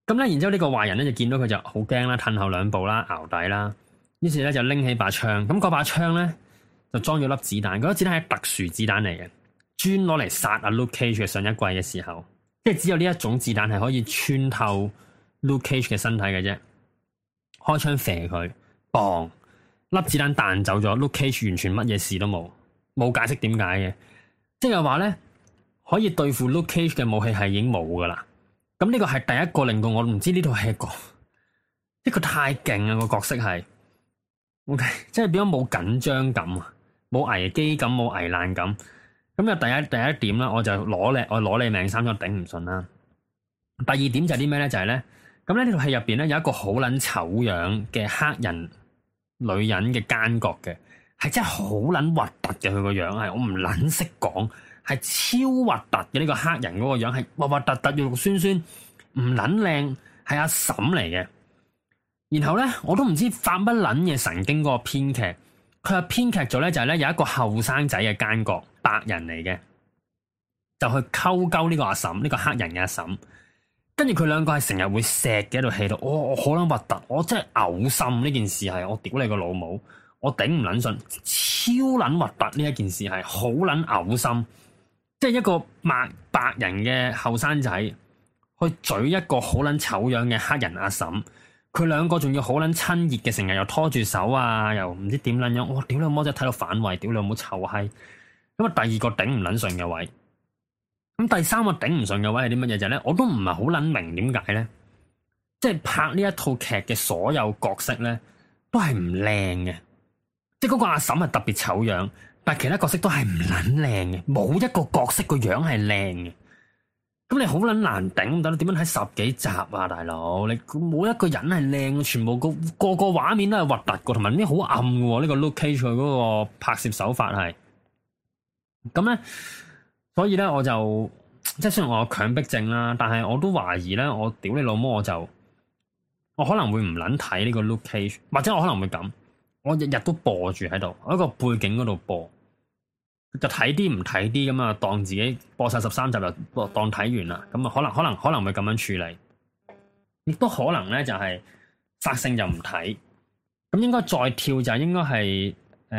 咁咧，然之後呢個壞人咧就見到佢就好驚啦，褪後兩步啦，淆底啦。於是咧就拎起把槍，咁嗰把槍咧就裝咗粒子彈，嗰粒子彈係特殊子彈嚟嘅，專攞嚟殺阿 Luke Cage 嘅上一季嘅時候，即係只有呢一種子彈係可以穿透 Luke Cage 嘅身體嘅啫。開槍射佢，砰！粒子彈彈走咗 ，Luke Cage 完全乜嘢事都冇，冇解釋點解嘅，即係話咧可以對付 Luke Cage 嘅武器係已經冇噶啦。咁呢個係第一個令到我唔知呢套戲個呢個太勁啊，個角色係。OK， 即係變咗冇緊張感啊，冇危機感，冇危難感。咁就第一點啦，我就攞你命三咗頂唔順啦。第二點就係啲咩咧？就係咧，咁咧呢套戲入邊咧有一個好撚醜樣嘅黑人女人嘅奸角嘅，係真係好撚核突嘅。佢個樣係我唔撚識講，係超核突嘅。呢個黑人嗰個樣係核核突突、肉肉酸酸，唔撚靚，係阿嬸嚟嘅。然後咧，我都唔知發乜撚嘢神經嗰個編劇，佢係編劇咗咧，就係咧有一個後生仔嘅奸角，白人嚟嘅，就去溝溝呢個阿嬸，呢個黑人嘅阿嬸，跟住佢兩個係成日會錫嘅喺度戲度，我好撚核突，我真係嘔心呢件事係，我屌你個老母，我頂唔撚順，超撚核突呢一件事係，好撚嘔心，即係一個白人嘅後生仔去嘴一個好撚醜樣嘅黑人阿嬸。佢兩個仲要好撚親熱嘅，成日又拖住手啊，又唔知點撚樣，我屌你老母真係睇到反胃，屌你老母臭閪。咁啊，第二個頂唔撚順嘅位，咁第三個頂唔順嘅位係啲乜嘢就係咧？我都唔係好撚明點解咧，即係拍呢一套劇嘅所有角色咧，都係唔靚嘅，即係嗰個阿嬸係特別醜樣，但係其他角色都係唔撚靚嘅，冇一個角色個樣係靚嘅。咁你好撚難頂，等你點樣睇10幾集啊，大佬？你冇一個人係靚，全部個畫面都係核突個，同埋呢好暗嘅。呢個 Luke Cage 佢嗰個拍攝手法係咁咧，所以咧我就即係雖然我有強迫症啦，但係我都懷疑咧，我屌你老母，我可能會唔撚睇呢個 Luke Cage，或者我可能會咁，我日日都播住喺度，我喺個背景嗰度播。就睇啲唔睇啲咁啊，當自己播晒13集就當睇完啦。咁啊，可能會咁樣處理，亦都可能咧就係索性就唔睇。咁應該再跳就應該係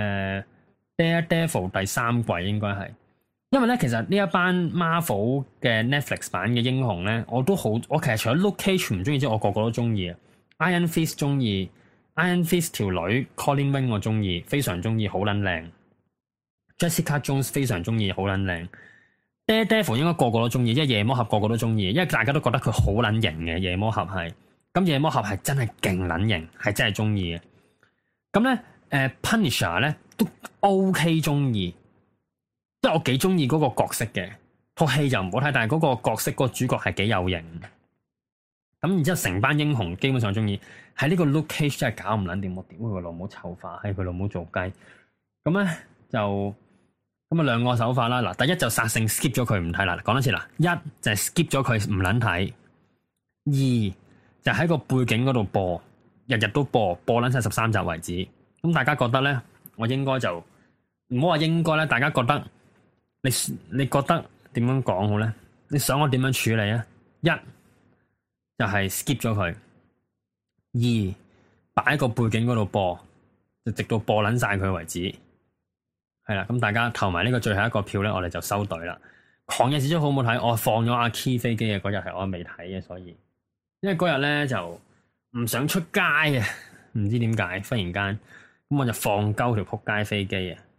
Daredevil 第3季應該係，因為咧其實呢一班 Marvel 嘅 Netflix 版嘅英雄咧，我其實除咗 Luke Cage 唔中意之外，我個個都中意啊。Iron Fist 中意 ，Iron Fist 條女 Colleen Wing 我中意，非常中意，好撚靚。Jessica Jones 非常中意，好撚靚。Daredevil 應該個個都中意，因為夜魔俠個個都中意，因為大家都覺得佢好撚型嘅夜魔俠係。咁夜魔俠係真係勁撚型，係真係中意嘅。咁咧，Punisher 咧都 OK 中意，即係我幾中意嗰個角色嘅。套戲就唔好睇，但係嗰個角色個主角係幾有型。咁然之後成班英雄基本上中意，喺呢個 Luke Cage 真係搞唔撚掂，我屌佢老母臭化，喺佢老母做雞。咁咧。就咁啊，兩個手法啦。嗱，第一就殺性 skip 咗佢唔睇啦。講多次啦，一就係 skip 咗佢唔撚睇，二就喺個背景嗰度播，日日都播撚晒13集為止。咁大家覺得咧，我應該就唔好話應該咧。大家覺得你覺得點樣講好咧？你想我點樣處理啊？一就係 skip 咗佢，二擺喺個背景嗰度播，就直到播撚晒佢為止。係啦，咁大家投埋呢個最後一個票咧，我哋就收隊啦。狂野時速好唔好睇？我放咗阿 Key 飛機嘅嗰日係我未睇嘅，所以因為嗰日咧就唔想出街啊，唔知點解忽然間咁我就放鳩條撲街飛機啊。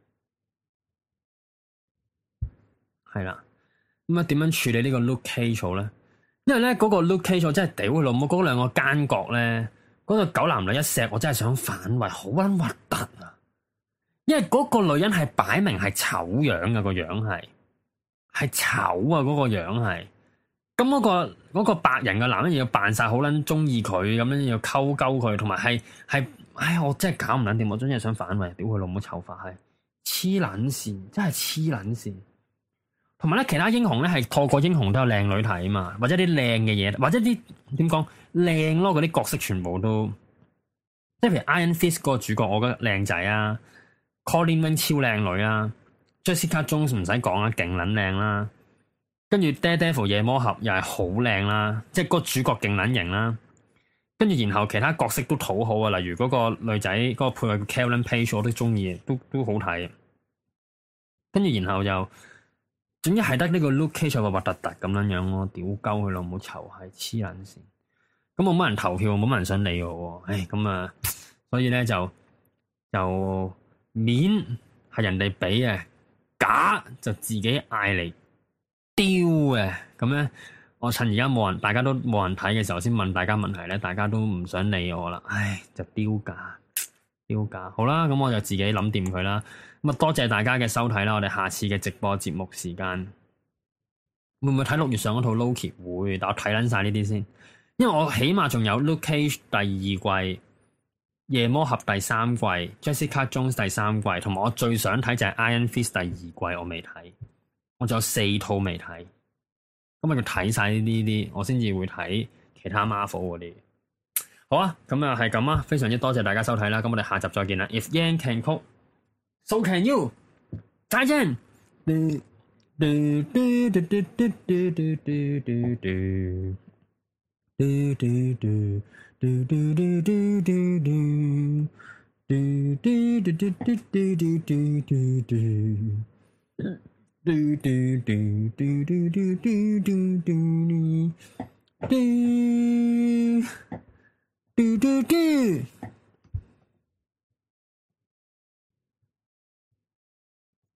係啦，咁啊點樣處理呢個 Luke Cage 咧？因為咧嗰個 Luke Cage 真係屌佢老母，嗰兩個奸角咧，嗰個狗男女一錫，我真係想反胃，好撚核突啊！因為嗰個女人係擺明係醜樣啊，個樣係醜啊，嗰個樣係。咁嗰個白人嘅男人要扮晒好撚中意佢，咁樣要溝溝佢，同埋係，唉，我真係搞唔撚掂，我真係想反胃，屌佢老母醜化，係黐撚線，真係黐撚線。同埋咧，其他英雄咧係個個英雄都有靚女睇啊嘛，或者啲靚嘅嘢，或者啲點講靚咯，嗰啲角色全部都，即係譬如 Iron Fist 嗰個主角，我覺得靚仔啊。Colleen Wing 超靚女啦，Jessica Jones 唔使講啦，勁撚靚啦。 跟住 Daredevil 夜魔俠又係好靚啦，即係個主角勁撚型啦。跟住然後其他角色都討好啊，例如嗰個女仔嗰個配角 Karen Page 我都中意，都好睇。跟住然後就總之係得呢個 Luke Cage 核突突咁樣樣咯，屌鳩佢咯，冇仇係黐撚線。咁冇乜人投票，冇乜人想理我。唉，咁啊，所以咧就面係人哋俾嘅，假就自己嗌嚟丟嘅。咁咧，我趁而家冇人，大家都冇人睇嘅時候，先問大家問題咧，大家都唔想理我啦。唉，就丟架。好啦，咁我就自己諗掂佢啦。咁啊，多謝大家嘅收睇啦。我哋下次嘅直播節目時間會唔會睇6月上嗰套 Loki？ 會，但我睇撚晒呢啲先，因為我起碼仲有 Luke Cage 第二季、夜魔俠第3季、Jessica Jones 第3季，同埋我最想睇就係 Iron Fist 第2季，我未睇，我仲有4套未睇。咁我要睇晒呢啲，我先至會睇其他 Marvel 嗰啲。好啊，咁啊係咁啊，非常之多謝大家收睇啦，咁我哋下集再見啦。If Yan can cook, so can you。再見。